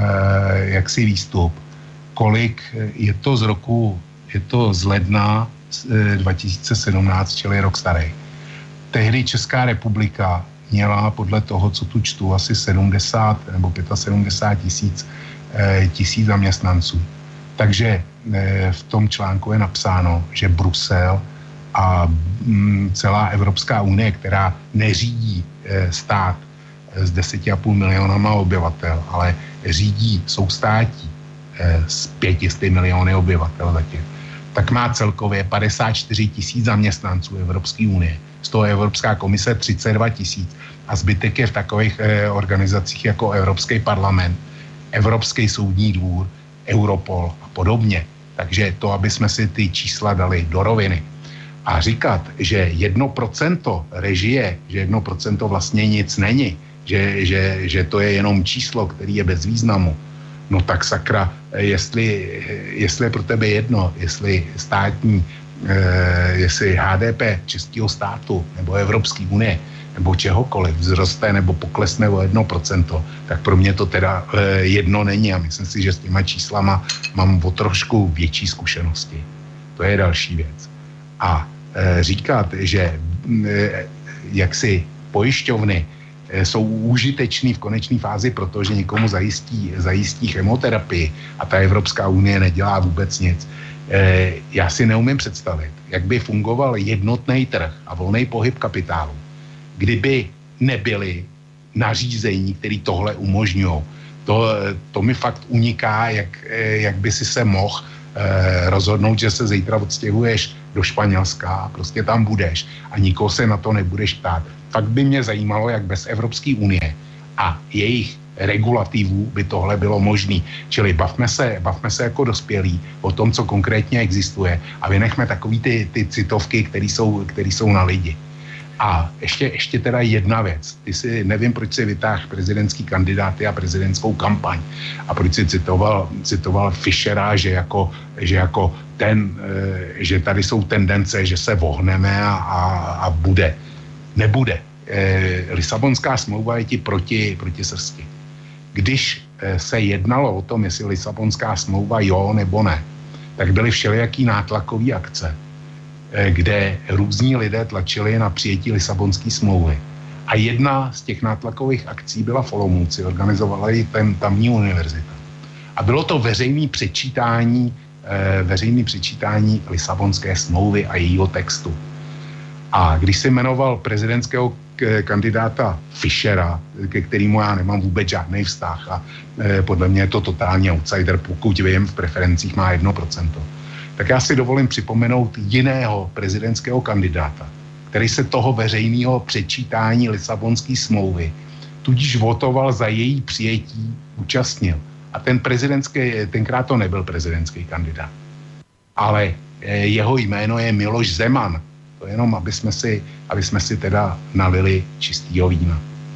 eh, jaksi výstup, kolik je to z roku, je to z ledna eh, dva tisíce sedmnáct, čili rok starý. Tehdy Česká republika měla podle toho, co tu čtu, asi sedmdesát nebo sedmdesát pět tisíc eh, tisíc zaměstnanců. Takže eh, v tom článku je napsáno, že Brusel a mm, celá Evropská unie, která neřídí eh, stát eh, s deseti a půl milionama obyvatel, ale řídí soustátí eh, s pětisty miliony obyvatel zatím, tak má celkově padesát čtyři tisíc zaměstnanců Evropské unie. Z toho Evropská komise třicet dva tisíc a zbytek je v takových eh, organizacích jako Evropský parlament, Evropský soudní dvůr, Europol a podobně. Takže to, aby jsme si ty čísla dali do roviny. A říkat, že jedno procento režie, že jedno procento vlastně nic není, že, že, že to je jenom číslo, který je bez významu, no tak sakra, jestli, jestli je pro tebe jedno, jestli státní, eh, jestli H D P českého státu nebo Evropské unie nebo čehokoliv vzroste nebo poklesne o jedno procento, tak pro mě to teda eh, jedno není a myslím si, že s těma číslama mám o trošku větší zkušenosti. To je další věc. A e, říkat, že e, jaksi pojišťovny e, jsou užitečný v konečné fázi, protože někomu zajistí, zajistí chemoterapii a ta Evropská unie nedělá vůbec nic. E, já si neumím představit, jak by fungoval jednotný trh a volný pohyb kapitálu, kdyby nebyly nařízení, které tohle umožňují. To, to mi fakt uniká, jak, jak by si se mohl eh, rozhodnout, že se zítra odstěhuješ do Španělska a prostě tam budeš a nikoho se na to nebudeš ptát. Fakt by mě zajímalo, jak bez Evropské unie a jejich regulativů by tohle bylo možné. Čili bavme se, bavme se jako dospělí o tom, co konkrétně existuje a vynechme takový ty, ty citovky, které jsou, který jsou na lidi. A ještě, ještě teda jedna věc. Ty si, nevím, proč si vytáhl prezidentský kandidáty a prezidentskou kampaň a proč si citoval, citoval Fischera, že jako, že jako ten, e, že tady jsou tendence, že se vohneme a, a, a bude. Nebude. E, Lisabonská smlouva je ti proti, proti srsti. Když e, se jednalo o tom, jestli Lisabonská smlouva jo nebo ne, tak byly všelijaký nátlakový akce, kde různí lidé tlačili na přijetí Lisabonské smlouvy. A jedna z těch nátlakových akcí byla v Olomouci, organizovala ji ten tamní univerzita. A bylo to veřejné přečítání, eh, veřejné přečítání Lisabonské smlouvy a jejího textu. A když se jmenoval prezidentského k- kandidáta Fischera, ke kterému já nemám vůbec žádný vztah a eh, podle mě je to totální outsider, pokud vím, v preferencích má jedno procento. Tak já si dovolím připomenout jiného prezidentského kandidáta, který se toho veřejného přečítání Lisabonské smlouvy tudíž votoval za její přijetí, účastnil. A ten prezidentský, tenkrát to nebyl prezidentský kandidát. Ale jeho jméno je Miloš Zeman. To jenom, aby jsme si, aby jsme si teda nalili čistýho vína.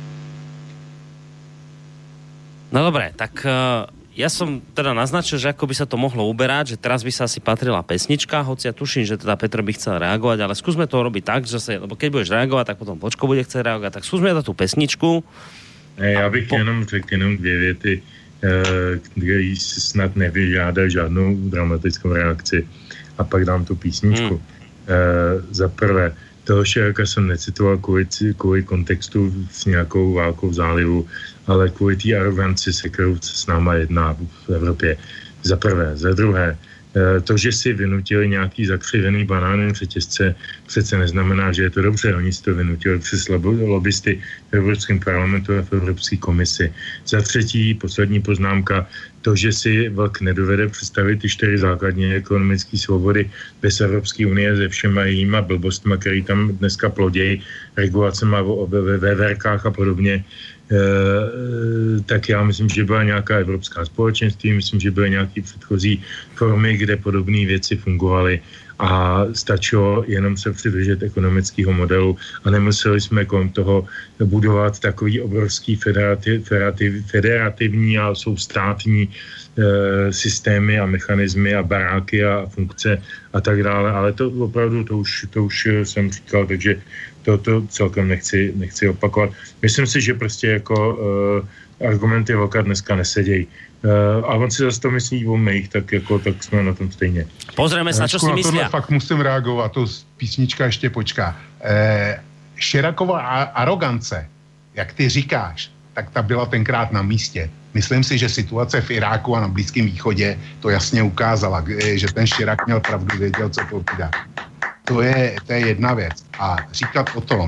No dobré, tak... Uh... Ja som teda naznačil, že ako by sa to mohlo uberať, že teraz by sa asi patrila pesnička, hoci ja tuším, že teda Petr by chcel reagovať, ale skúsme to robiť tak, že sa, lebo keď budeš reagovať, tak potom Počko bude chcieť reagovať, tak skúsme dať tú pesničku. Já bych po... jenom řekl jenom dvě věty, které si snad nevyžádá žádnou dramatickou reakci a pak dám tu písničku. Hmm. Za prvé, toho Širaka jsem necitoval kvůli, kvůli kontextu s nějakou válkou v zálivu, ale kvůli té aroganci, se kterou se s náma jedná v Evropě. Za prvé. Za druhé, to, že si vynutili nějaký zakřivený banánem řetězce, přece neznamená, že je to dobře. Oni si to vynutili přes lobbysty v Evropském parlamentu a v Evropské komisi. Za třetí, poslední poznámka, to, že si Vlk nedovede představit ty čtyři základní ekonomické svobody bez Evropské unie se všema jejíma blbostma, který tam dneska plodějí, regulacema ve veverkách a podobně, E, tak já myslím, že byla nějaká evropská společenství, myslím, že byly nějaké předchozí formy, kde podobné věci fungovaly a stačilo jenom se přidržet ekonomického modelu a nemuseli jsme kolem toho budovat takový obrovský federativ, federativ, federativní a soustátní e, systémy a mechanismy a baráky a funkce a tak dále, ale to opravdu, to už, to už jsem říkal, takže to, to celkem nechci, nechci opakovat. Myslím si, že prostě jako e, argumenty Vlka dneska nesedějí. Uh, a on si zase to myslí o mých, tak jako, tak jsme na tom stejně. Pozrieme sa, čo si myslia. Fakt musím reagovat, to písnička ještě počká. Eh, Širakova arogance, jak ty říkáš, tak ta byla tenkrát na místě. Myslím si, že situace v Iráku a na Blízkém východě to jasně ukázala, že ten Širak měl pravdu, věděl, co povídá. To je, to je jedna věc. A říkat o tom,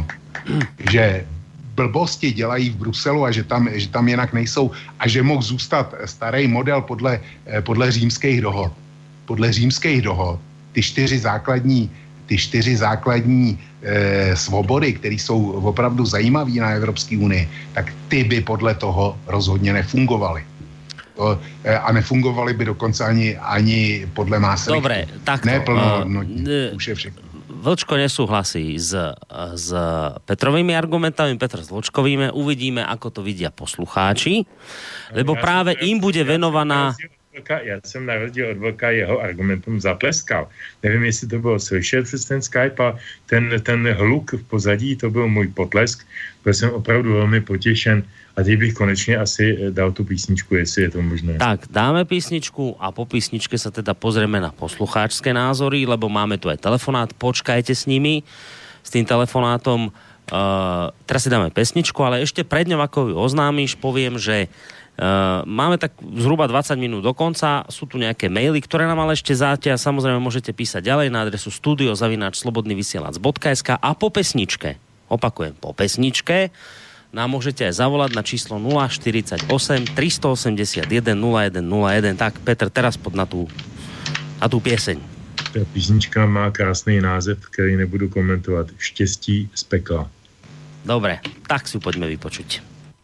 že blbosti dělají v Bruselu a že tam, že tam jinak nejsou a že mohl zůstat starý model podle, podle římských dohod. Podle římských dohod ty čtyři základní, ty čtyři základní eh, svobody, které jsou opravdu zajímavé na Evropské unii, tak ty by podle toho rozhodně nefungovaly. To, eh, a nefungovaly by dokonce ani, ani podle Maastrichtu. Dobre, takto. Ne plno, uh, už je všechno. Vlčko nesúhlasí s, s Petrovými argumentami, Petr s Vlčkovými. Uvidíme, ako to vidia poslucháči, lebo ja práve im bude venovaná... Já jsem na rozdíl od Vlka jeho argumentům zatleskal. Nevím, jestli to bylo slyšet přes ten Skype a ten, ten hluk v pozadí, to byl můj potlesk. Byl jsem opravdu velmi potěšen a teď bych konečně asi dal tu písničku, jestli je to možné. Tak, dáme písničku a po písničke sa teda pozrieme na poslucháčské názory, lebo máme tu aj telefonát, počkajte s nimi, s tým telefonátom. Uh, teraz si dáme pesničku, ale ešte pred ňou, ako ju oznámiš, poviem, že Uh, máme tak zhruba dvadsať minút do konca, sú tu nejaké maily, ktoré nám ale ešte záťa, samozrejme môžete písať ďalej na adresu studio zavináč slobodný vysielač bodka es ká a po pesničke, opakujem, po pesničke nám môžete aj zavolať na číslo nula štyridsaťosem tristoosemdesiatjeden nula jeden nula jeden. Tak Petr, teraz pod na tú, na tú pieseň. Ta písnička má krásný název, který nebudu komentovat. Štěstí z pekla. Dobre, tak si ju poďme vypočuť.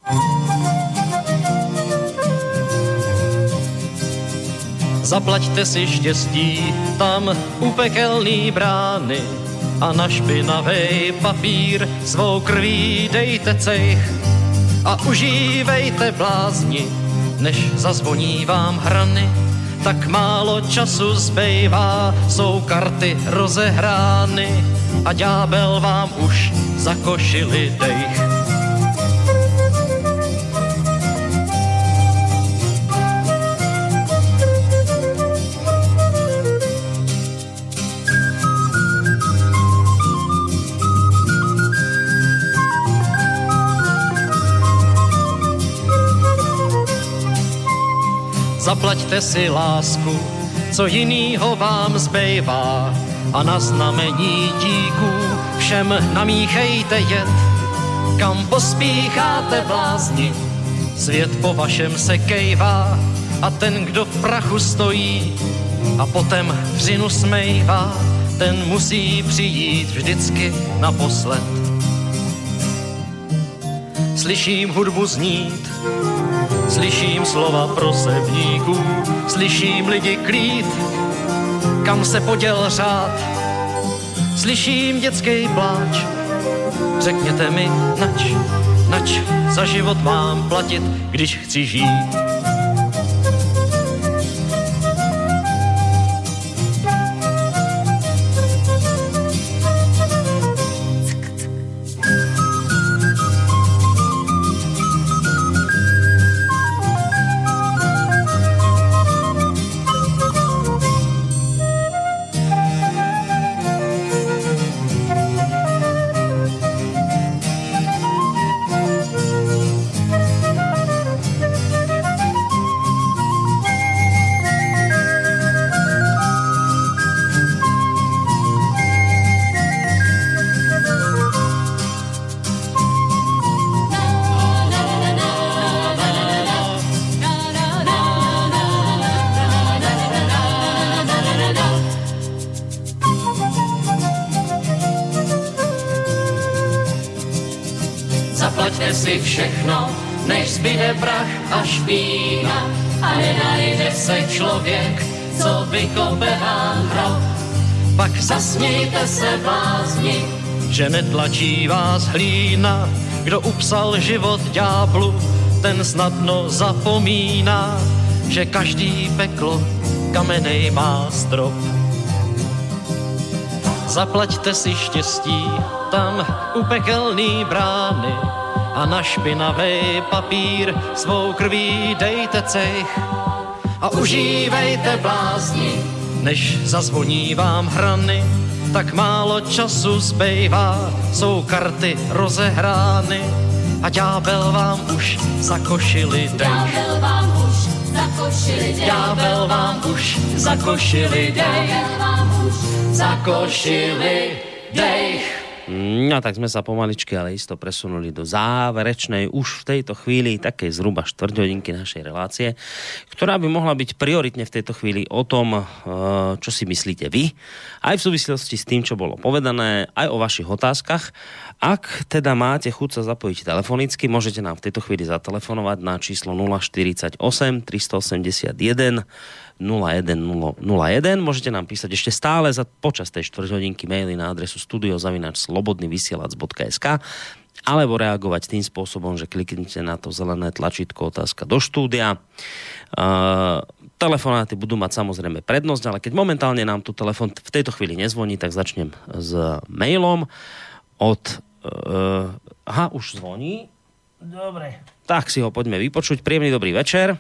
Zaplaťte si štěstí tam u pekelný brány a na špinavej papír svou krví dejte cejch a užívejte blázni, než zazvoní vám hrany. Tak málo času zbejvá, jsou karty rozehrány a ďábel vám už zakošili dejch. Zaplaťte si lásku, co jinýho vám zbejvá a na znamení díků všem namíchejte jed. Kam pospícháte blázni, svět po vašem se kejvá a ten, kdo v prachu stojí a potem vřinu smejvá, ten musí přijít vždycky naposled. Slyším hudbu znít, slyším slova prosebníků, slyším lidi klít, kam se poděl řád. Slyším dětský pláč, řekněte mi nač, nač za život mám platit, když chci žít. Zaplaťte si všechno, než zbyde prach a špína a nenajde se člověk, co vykope vám hrob. Pak Zasmějte se blázni, že netlačí vás hlína, kdo upsal život ďáblu, ten snadno zapomíná, že každý peklo kamenej má strop. Zaplaťte si štěstí tam u pekelný brány a na špinavej papír svou krví dejte cech a užívejte blázni, než zazvoní vám hrany, tak málo času zbejvá, jsou karty rozehrány a ďábel vám už zakošili dech. ďábel vám už zakošili dech. Ďábel vám už zakošili dech. Ďábel vám už Zakošili dech. No tak sme sa pomaličky, ale isto presunuli do záverečnej už v tejto chvíli takej zhruba štvrťhodinky našej relácie, ktorá by mohla byť prioritne v tejto chvíli o tom, čo si myslíte vy, aj v súvislosti s tým, čo bolo povedané, aj o vašich otázkach. Ak teda máte chuť sa zapojiť telefonicky, môžete nám v tejto chvíli zatelefonovať na číslo nula štyridsaťosem tristoosemdesiatjeden nula jeden nula jeden. Môžete nám písať ešte stále za počas tej štvrťhodinky maily na adresu studio zavináč slobodný vysielač bodka es ká alebo reagovať tým spôsobom, že kliknite na to zelené tlačítko otázka do štúdia. Uh, telefonáty budú mať samozrejme prednosť, ale keď momentálne nám tu telefon v tejto chvíli nezvoní, tak začnem s mailom od... Uh, aha, už zvoní. Dobre. Tak si ho poďme vypočuť. Príjemný dobrý večer.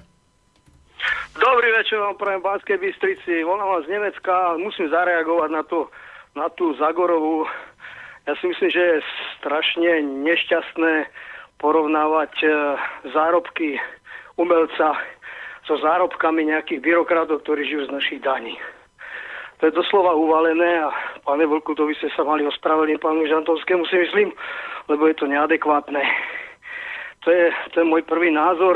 Dobrý večer vám prajem v Banskej Bystrici. Volám vás z Nemecka a musím zareagovať na, to, na tú Zagorovú. Ja si myslím, že je strašne nešťastné porovnávať e, zárobky umelca so zárobkami nejakých byrokratov, ktorí žijú z našich daní. To je doslova uvalené a pane Vlku, to by ste sa mali ospravedlniť pánu Žantovskému, si myslím, lebo je to neadekvátne. To je, to je môj prvý názor.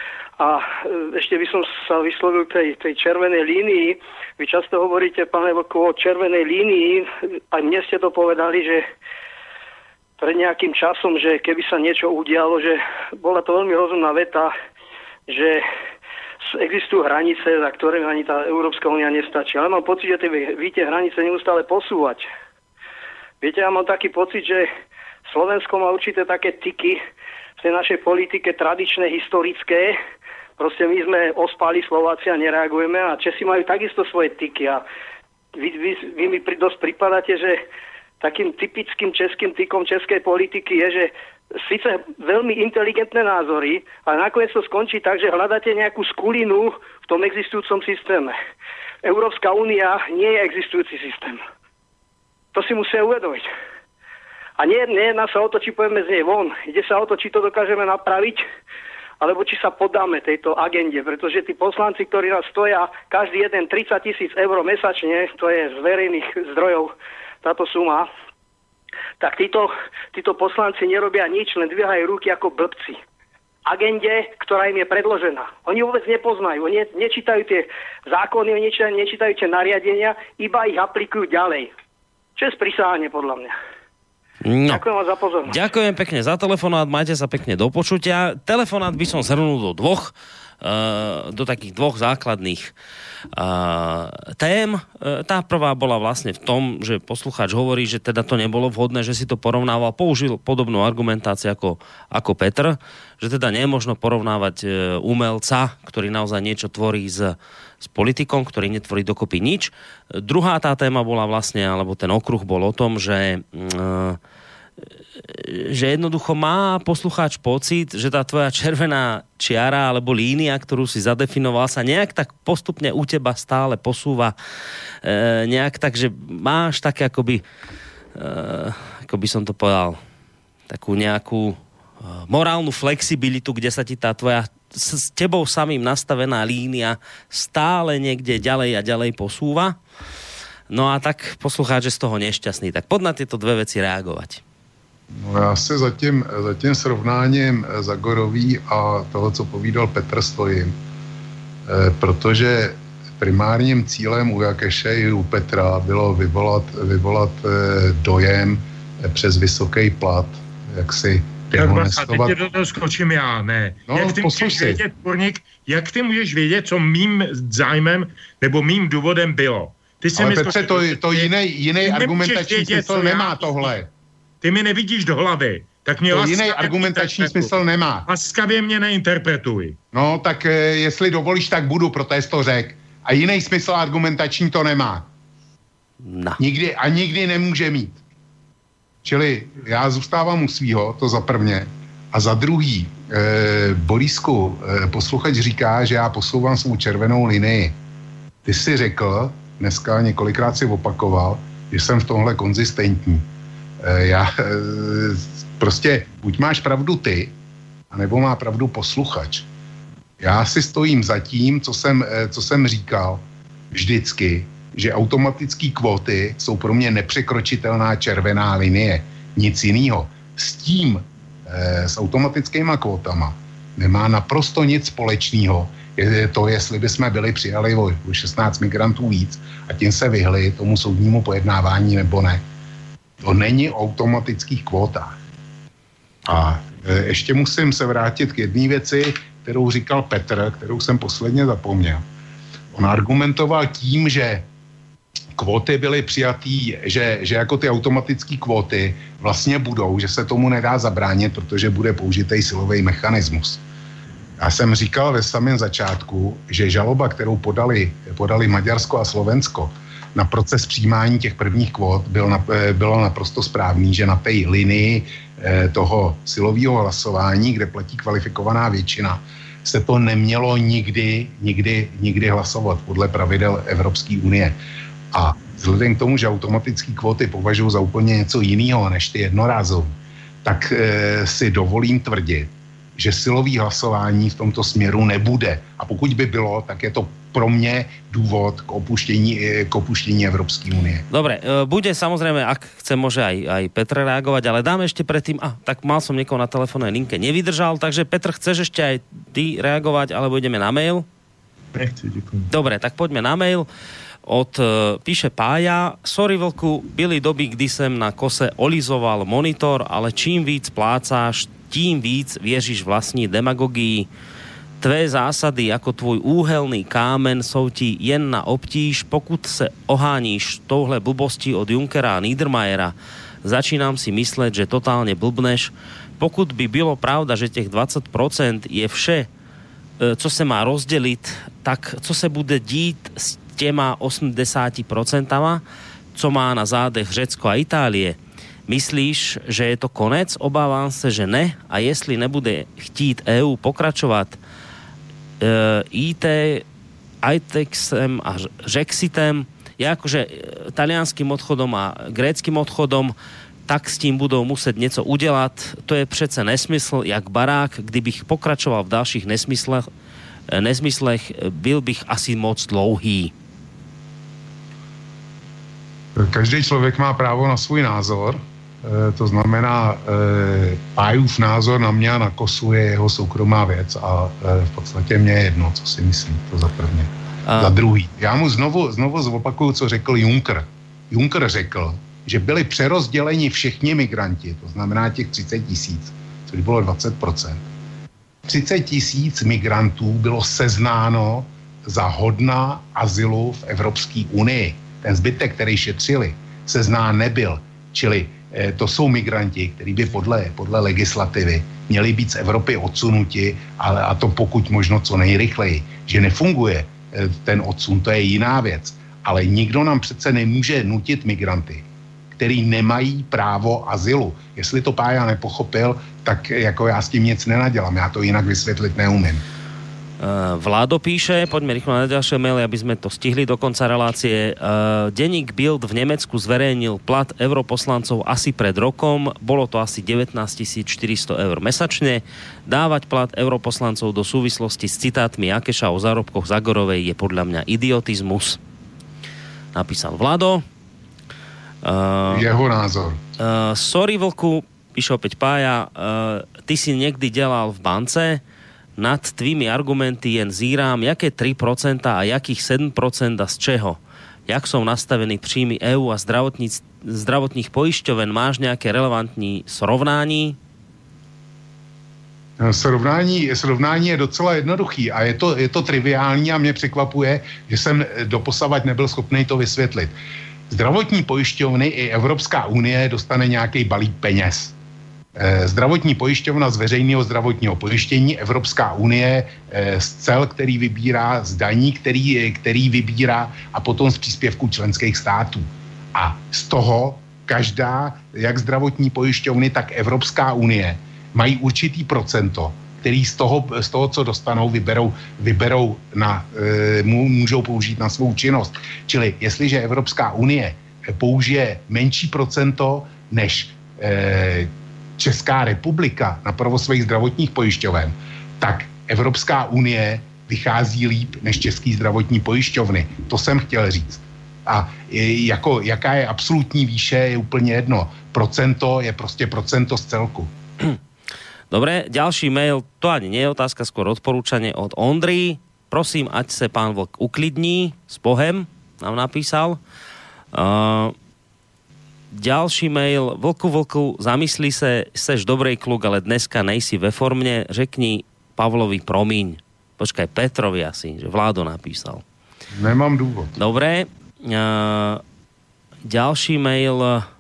A ešte by som sa vyslovil k tej, tej červenej línii. Vy často hovoríte, pane Vlku, o červenej línii. Aj mne ste to povedali, že pred nejakým časom, že keby sa niečo udialo, že bola to veľmi rozumná veta, že existujú hranice, za ktoré ani tá Európska únia nestačí. Ale mám pocit, že tie, vy tie hranice neustále posúvať. Viete, ja mám taký pocit, že Slovensko má určité také tyky v tej našej politike tradičné, historické. Proste my sme ospali Slováci a nereagujeme a Česi majú takisto svoje tyky a vy, vy, vy mi pri, dosť pripadáte, že takým typickým českým tykom českej politiky je, že síce veľmi inteligentné názory, ale nakoniec to skončí tak, že hľadáte nejakú skulinu v tom existujúcom systéme. Európska únia nie je existujúci systém. To si musia uvedomiť. A nie, nie jedná sa o to, či povieme z nej von. Ide sa o to, či to dokážeme napraviť, alebo či sa podáme tejto agende, pretože tí poslanci, ktorí nás stoja, každý jeden tridsať tisíc eur mesačne, to je z verejných zdrojov táto suma, tak títo, títo poslanci nerobia nič, len dvíhajú ruky ako blbci. Agende, ktorá im je predložená. Oni vôbec nepoznajú, oni nečítajú tie zákony, oni nečítajú, nečítajú tie nariadenia, iba ich aplikujú ďalej. Čo je sprísahanie podľa mňa. No. Ďakujem vám za pozornosť. Ďakujem pekne za telefonát, majte sa pekne do počutia. Telefonát by som zhrnul do dvoch, uh, do takých dvoch základných uh, tém. Uh, tá prvá bola vlastne v tom, že poslucháč hovorí, že teda to nebolo vhodné, že si to porovnával, použil podobnú argumentáciu ako, ako Petr, že teda nie je možno porovnávať uh, umelca, ktorý naozaj niečo tvorí s s politikom, ktorý netvorí dokopy nič. Druhá tá téma bola vlastne, alebo ten okruh bol o tom, že, že jednoducho má poslucháč pocit, že tá tvoja červená čiara alebo línia, ktorú si zadefinoval, sa nejak tak postupne u teba stále posúva nejak tak, že máš také akoby, ako by som to povedal, takú nejakú morálnu flexibilitu, kde sa ti tá tvoja s tebou samým nastavená línia stále niekde ďalej a ďalej posúva. No a tak poslucháč je z toho nešťastný. Tak pod na tieto dve veci reagovať. No já se za tím, za tím srovnáním Zagorový a toho, co povídal Petr, stojím. E, protože primárním cílem u Jakeše i u Petra bylo vyvolat, vyvolat e, dojem e, přes vysoký plat, jak si Tak a teď tě do toho skočím já, ne. No, jak ty můžeš vědět, Porník, jak ty můžeš vědět, co mým zájmem nebo mým důvodem bylo? Ty Ale Petře, to, to jiný, jiný argumentační smysl nemá tohle. Ty mi nevidíš do hlavy. Tak mě to jiný argumentační smysl nemá. Laskavě mě neinterpretuj. No, tak e, jestli dovolíš, tak budu, protože to řek. A jiný smysl argumentační to nemá. No. Nikdy a nikdy nemůže mít. Čili já zůstávám u svýho, to za prvně. A za druhý, e, Borisku, e, posluchač říká, že já posouvám svou červenou linii. Ty jsi řekl, dneska několikrát si opakoval, že jsem v tomhle konzistentní. E, já e, prostě buď máš pravdu ty, anebo má pravdu posluchač. Já si stojím za tím, co jsem, e, co jsem říkal vždycky, že automatické kvóty jsou pro mě nepřekročitelná červená linie. Nic jiného. S tím, e, s automatickýma kvótama nemá naprosto nic společného. Je to, jestli bychom byli přijali o šestnáct migrantů víc a tím se vyhli tomu soudnímu pojednávání nebo ne. To není o automatických kvótách. A e, ještě musím se vrátit k jedné věci, kterou říkal Petr, kterou jsem posledně zapomněl. On argumentoval tím, že kvóty byly přijatý, že, že jako ty automatické kvóty vlastně budou, že se tomu nedá zabránit, protože bude použitý silový mechanismus. Já jsem říkal ve samém začátku, že žaloba, kterou podali, podali Maďarsko a Slovensko na proces přijímání těch prvních kvót, byl na, bylo naprosto správný, že na té linii eh, toho silového hlasování, kde platí kvalifikovaná většina, se to nemělo nikdy, nikdy, nikdy hlasovat podle pravidel Evropské unie. A vzhledem k tomu, že automatické kvóty považuji za úplně něco jiného než ty jednorázové, tak e, si dovolím tvrdit, že silový hlasování v tomto směru nebude. A pokud by bylo, tak je to pro mě důvod k opuštění, k opuštění Evropské unie. Dobre, bude samozrejme, ak chce, môže aj, aj Petr reagovať, ale dáme ešte predtým, a tak mal som niekoho na telefónnej linke, nevydržal, takže Petr, chceš ešte aj ty reagovať, alebo ideme na mail? Nechci, ďakujem. Dobre, tak poďme na mail. Od, e, píše Pája, sorry vlku, byli doby, kdy sem na kose olizoval monitor, ale čím víc plácáš, tím víc věříš vlastní demagogii. Tvé zásady jako tvůj úhelný kámen jsou ti jen na obtíž, pokud se oháníš touhle blbostí od Junckera a Niedermayera. Začínám si myslet, že totálně blbneš. Pokud by bylo pravda, že těch dvacet procent je vše, co se má rozdělit, tak co se bude dít s těma osemdesiat procent, co má na zádech Řecko a Itálie? Myslíš, že je to konec? Obávám se, že ne. A jestli nebude chtít é ú pokračovat e, í té, ITEXem a Rexitem, ja akože talianským odchodom a gréckým odchodom, tak s tím budou muset něco udělat. To je přece nesmysl, jak barák. Kdybych pokračoval v dalších nesmyslech, nesmyslech byl bych asi moc dlouhý. Každý člověk má právo na svůj názor. E, to znamená, e, Pájův názor na mě a na Kosu je jeho soukromá věc a e, v podstatě mě je jedno, co si myslí, to za prvně. A... Za druhý. Já mu znovu, znovu zopakuju, co řekl Juncker. Juncker řekl, že byli přerozděleni všichni migranti, to znamená těch třicet tisíc, což bylo dvacet procent. třicet tisíc migrantů bylo seznáno za hodna azylu v Evropské unii. Ten zbytek, který šetřili, seznán nebyl. Čili eh, to jsou migranti, kteří by podle, podle legislativy měli být z Evropy odsunuti, ale a to pokud možno co nejrychleji. Že nefunguje eh, ten odsun, to je jiná věc. Ale nikdo nám přece nemůže nutit migranty, který nemají právo azylu. Jestli to Pája nepochopil, tak jako já s tím nic nenadělám. Já to jinak vysvětlit neumím. Uh, Vládo píše, poďme rýchlo na ďalšie maily, aby sme to stihli do konca relácie. Uh, denník Bild v Nemecku zverejnil plat europoslancov asi pred rokom. Bolo to asi devätnásť tisíc štyristo eur mesačne. Dávať plat europoslancov do súvislosti s citátmi Jakeša o zárobkoch Zagorovej je podľa mňa idiotizmus. Napísal Vlado. Uh, Jeho názor. Uh, sorry, Vlku, píše opäť Pája, uh, ty si niekdy delal v bance. Nad tvými argumenty jen zírám, jaké tri procentá a jakých sedem procent a z čeho? Jak jsou nastaveny příjmy é ú a zdravotních pojišťoven? Máš nějaké relevantní srovnání? Srovnání, srovnání je docela jednoduchý a je to, je to triviální a mě překvapuje, že jsem doposavad nebyl schopný to vysvětlit. Zdravotní pojišťovny i Evropská unie dostane nějaký balík peněz. Zdravotní pojišťovna z veřejného zdravotního pojištění, Evropská unie z cel, který vybírá, z daní, který, který vybírá a potom z příspěvků členských států. A z toho každá, jak zdravotní pojišťovny, tak Evropská unie mají určitý procento, který z toho, z toho co dostanou, vyberou, vyberou na, e, můžou použít na svou činnost. Čili jestliže Evropská unie použije menší procento než e, Česká republika na provoz svých zdravotních pojišťoven, tak Evropská unie vychází líp než český zdravotní pojišťovny. To jsem chtěl říct. A je, jako, jaká je absolutní výše, je úplně jedno. Procento je prostě procento z celku. Dobre, ďalší mail, to ani nie je otázka, skôr odporúčanie od Ondry. Prosím, ať sa pán Vlk uklidní, s Bohem nám napísal. Uh, ďalší mail, Vlku, Vlku, zamysli sa, seš dobrej kluk, ale dneska nejsi ve formě, řekni Pavlovi promiň. Počkaj, Petrovi asi, že Vládo napísal. Nemám dôvod. Dobre, uh, ďalší mail,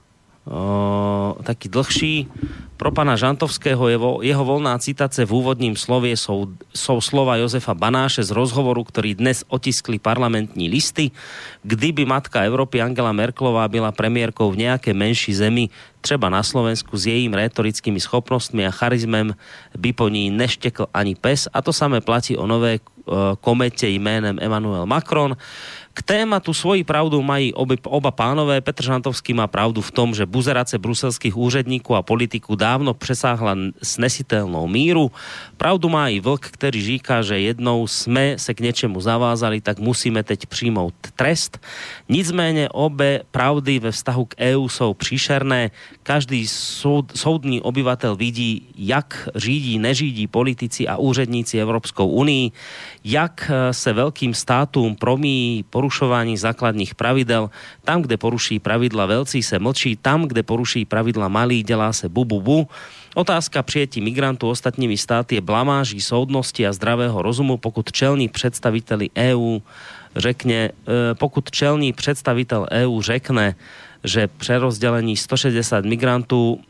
uh, taký dlhší, pro pana Žantovského jeho, jeho voľná citáce v úvodním slovie sú, sú slova Jozefa Banáše z rozhovoru, ktorý dnes otiskli parlamentní listy. Kdyby matka Európy Angela Merkelová byla premiérkou v nejakej menší zemi, třeba na Slovensku, s jejím rétorickými schopnostmi a charizmem by po ní neštekl ani pes. A to samé platí o nové uh, komete jménem Emmanuel Macron. K tématu svoji pravdu mají obi, oba pánové. Petr Žantovský má pravdu v tom, že buzerace bruselských úředníků a politiků dávno přesáhla snesitelnou míru. Pravdu má i Vlk, který říká, že jednou jsme se k něčemu zavázali, tak musíme teď přijmout trest. Nicméně obě pravdy ve vztahu k é ú jsou příšerné. Každý soud, soudný obyvatel vidí, jak řídí, neřídí politici a úředníci Evropskou unii, jak se velkým státům promíjí porušování základních pravidel. Tam, kde poruší pravidla velcí, se mlčí. Tam, kde poruší pravidla malí, dělá se bu, bu, bu. Otázka přijetí migrantů ostatními státy je blamáží soudnosti a zdravého rozumu, pokud čelní představiteli é ú řekne, pokud čelní představitel é ú řekne, že prerozdelení sto šesťdesiat migrantů,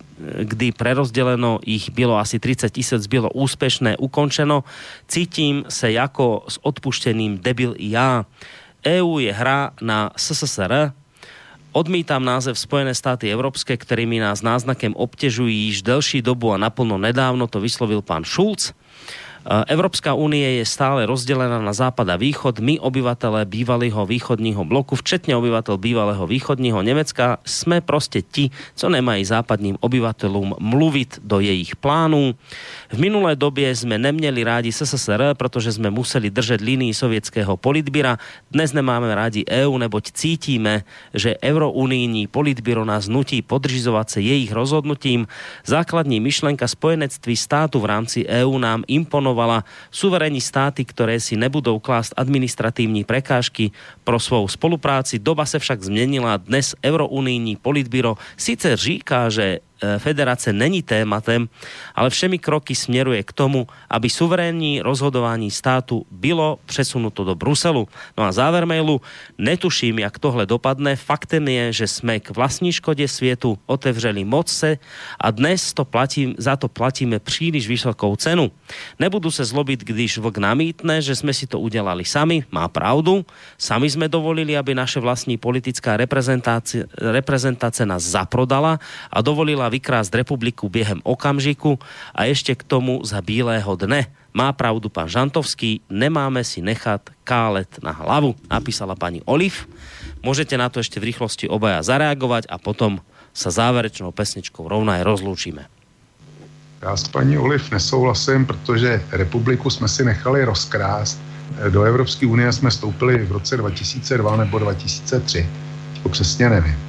kdy prerozdeleno ich bylo asi tridsať tisíc, bylo úspešné, ukončeno. Cítím se jako s odpušteným debil i já. é ú je hra na es es es er. Odmítam název Spojené státy Európske, ktorými nás náznakem obťažují již delší dobu a naplno nedávno, to vyslovil pán Schulz. Európska únie je stále rozdelená na západ a východ. My, obyvatelé bývalého východního bloku, včetne obyvateľ bývalého východního Nemecka, sme proste ti, co nemají západním obyvateľům mluvit do jejich plánů. V minulé době sme neměli rádi es es es er, protože sme museli držet línii sovětského politbíra. Dnes nemáme rádi é ú, neboť cítíme, že eurounijní politbíro nás nutí podřizovať sa jejich rozhodnutím. Základní myšlenka spojenectví státu v rámci é ú nám imponovala. Suverénní státy, ktoré si nebudou klásť administratívne prekážky pro svou spolupráci. Doba se však zmenila. Dnes eurounijní politbíro síce říká, že federace není tématem, ale všemi kroky smeruje k tomu, aby suverénní rozhodování státu bylo přesunuto do Bruselu. No a záver mailu, netuším, jak tohle dopadne. Faktem je, že sme k vlastní škode svietu otevřeli mocce a dnes to platím, za to platíme príliš vysokou cenu. Nebudu se zlobiť, když Vlk namítne, že sme si to udelali sami. Má pravdu. Sami sme dovolili, aby naše vlastní politická reprezentácia, reprezentácia nás zaprodala a dovolila vykrásť republiku biehem okamžiku a ešte k tomu za bílého dne. Má pravdu pán Žantovský, nemáme si nechať kálet na hlavu, napísala pani Oliv. Môžete na to ešte v rýchlosti obaja zareagovať a potom sa záverečnou pesničkou rovno aj rozlúčime. Já s paní Oliv nesouhlasím, protože republiku jsme si nechali rozkrást. Do Evropské unie jsme vstoupili v roce dva tisíce dva nebo dva tisíce tři. To přesně nevím.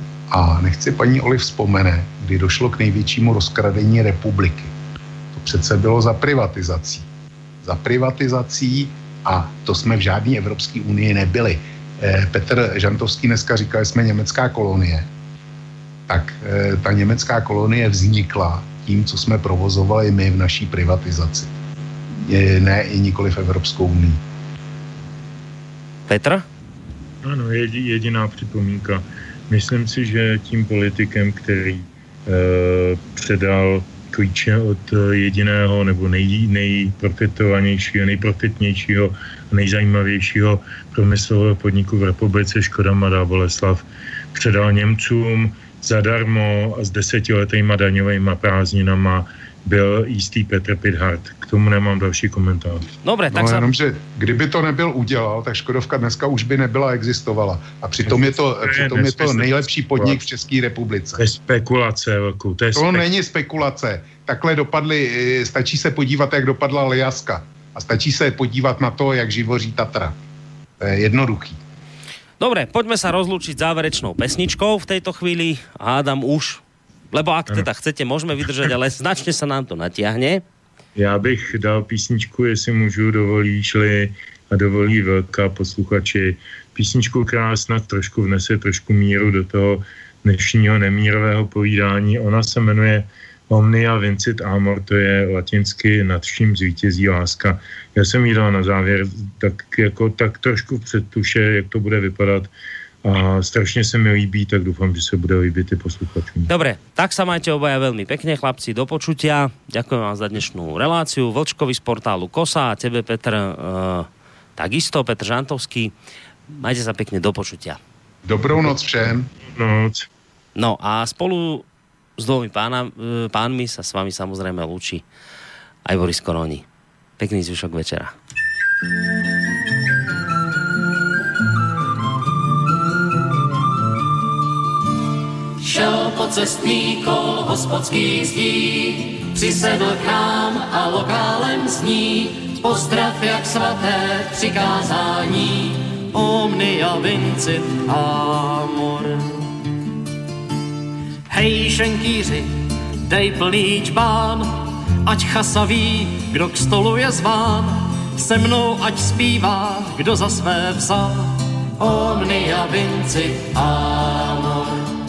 A nechci paní Oliv vzpomene, kdy došlo k největšímu rozkradení republiky. To přece bylo za privatizací. Za privatizací a to jsme v žádné Evropské unii nebyli. Petr Žantovský dneska říkal, že jsme německá kolonie. Tak ta německá kolonie vznikla tím, co jsme provozovali my v naší privatizaci. Ne i nikoli v Evropskou unii. Petr? Ano, jediná připomínka. Myslím si, že tím politikem, který e, předal klíče od jediného nebo nej, nejprofitovanějšího, nejprofitnějšího, nejzajímavějšího průmyslového podniku v republice Škoda Mladá Boleslav, předal Němcům zadarmo a s desetiletýma daňovejma prázdninama byl jistý Petr Pithart. K tomu nemám další komentář. Dobre, tak no, sa... jenom, že kdyby to nebyl udělal, tak Škodovka dneska už by nebyla existovala. A přitom je to, přitom je to nejlepší podnik v České republice. To je spekulace, velkou. To, je to spek... není spekulace. Takhle dopadly, stačí se podívat, jak dopadla Aljaska. A stačí se podívat na to, jak živoří Tatra. To je jednoduchý. Dobre, poďme sa rozlúčiť záverečnou pesničkou v tejto chvíli. Hádam už, lebo ak teda chcete, môžeme vydržať, ale značne sa nám to natiahne. Já bych dal písničku, jestli můžu, dovolíš-li a dovolí velká posluchači. Písničku, která snad trošku vnese trošku míru do toho dnešního nemírového povídání. Ona se jmenuje Omnia Vincit Amor, to je latinsky nad vším zvítězí láska. Já jsem jí dal na závěr tak, jako, tak trošku v předtuše, jak to bude vypadat. A strašne sa mi líbí, tak dúfam, že sa bude líbiť i posluchačom. Dobre, tak sa majte obaja veľmi pekne, chlapci, do počutia. Ďakujem vám za dnešnú reláciu. Vlčkovi z portálu Kosa a tebe, Petr, e, takisto, Petr Žantovský. Majte sa pekne, do počutia. Dobrou noc všem. Noc. No a spolu s dvomi pána, e, pánmi sa s vami samozrejme lúči aj Boris Koroni. Pekný zvyšok večera. Šel po cestný kol hospodských zdí, přisedl k nám a lokálem zní pozdrav jak svaté přikázání. Omnia vincit amor. Hej, šenkýři, dej plný čbán, ať chasa ví, kdo k stolu je zván. Se mnou ať zpívá, kdo za své vzal. Omnia vincit amor.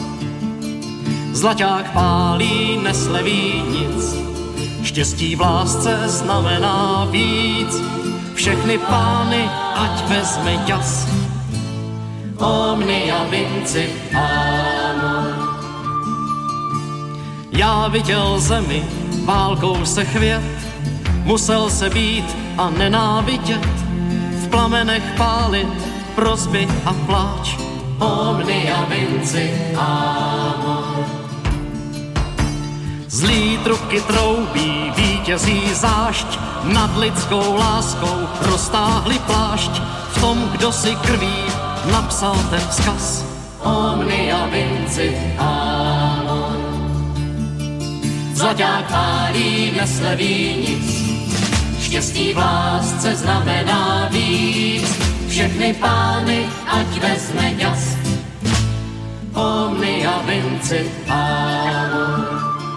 Zlaťák pálí, nesleví nic, štěstí v lásce znamená víc. Všechny pány, ať vezme ťas. Omnia vincit amor. Já viděl zemi, válkou se chvět, musel se být a nenávidět, v plamenech pálit, prosby a pláč. Omnia vincit amor. Zlý trubky troubí, vítězí zášť, nad lidskou láskou roztáhli plášť. V tom, kdo si krví napsal ten vzkaz. Omnia vincit amor. Zlaťák pálí, nesleví nic, štěstí v lásce znamená víc. Všechny pány, ať vezme ďas. Omnia vincit amor.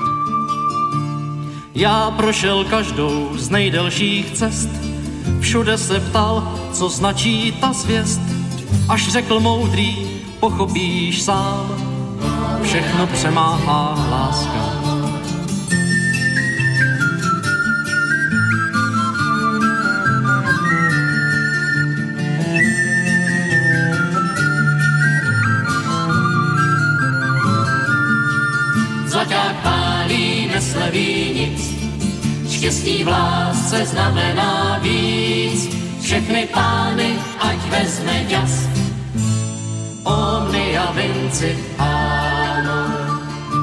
Já prošel každou z nejdelších cest, všude se ptal, co značí ta zvěst. Až řekl moudrý, pochopíš sám, všechno přemáhá láska. Zlaťák pálí, nesleví nic, štěstí v lásce znamená víc. Všechny pány, ať vezme ďas. Omnia vincit amor.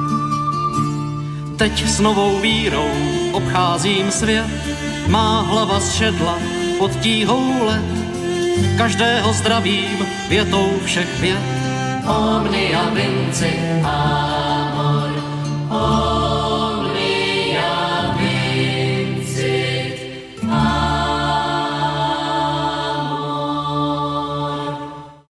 Teď s novou vírou obcházím svět, má hlava zšedla pod tíhou let. Každého zdravím větou všech vět. Omnia vincit amor. Oh.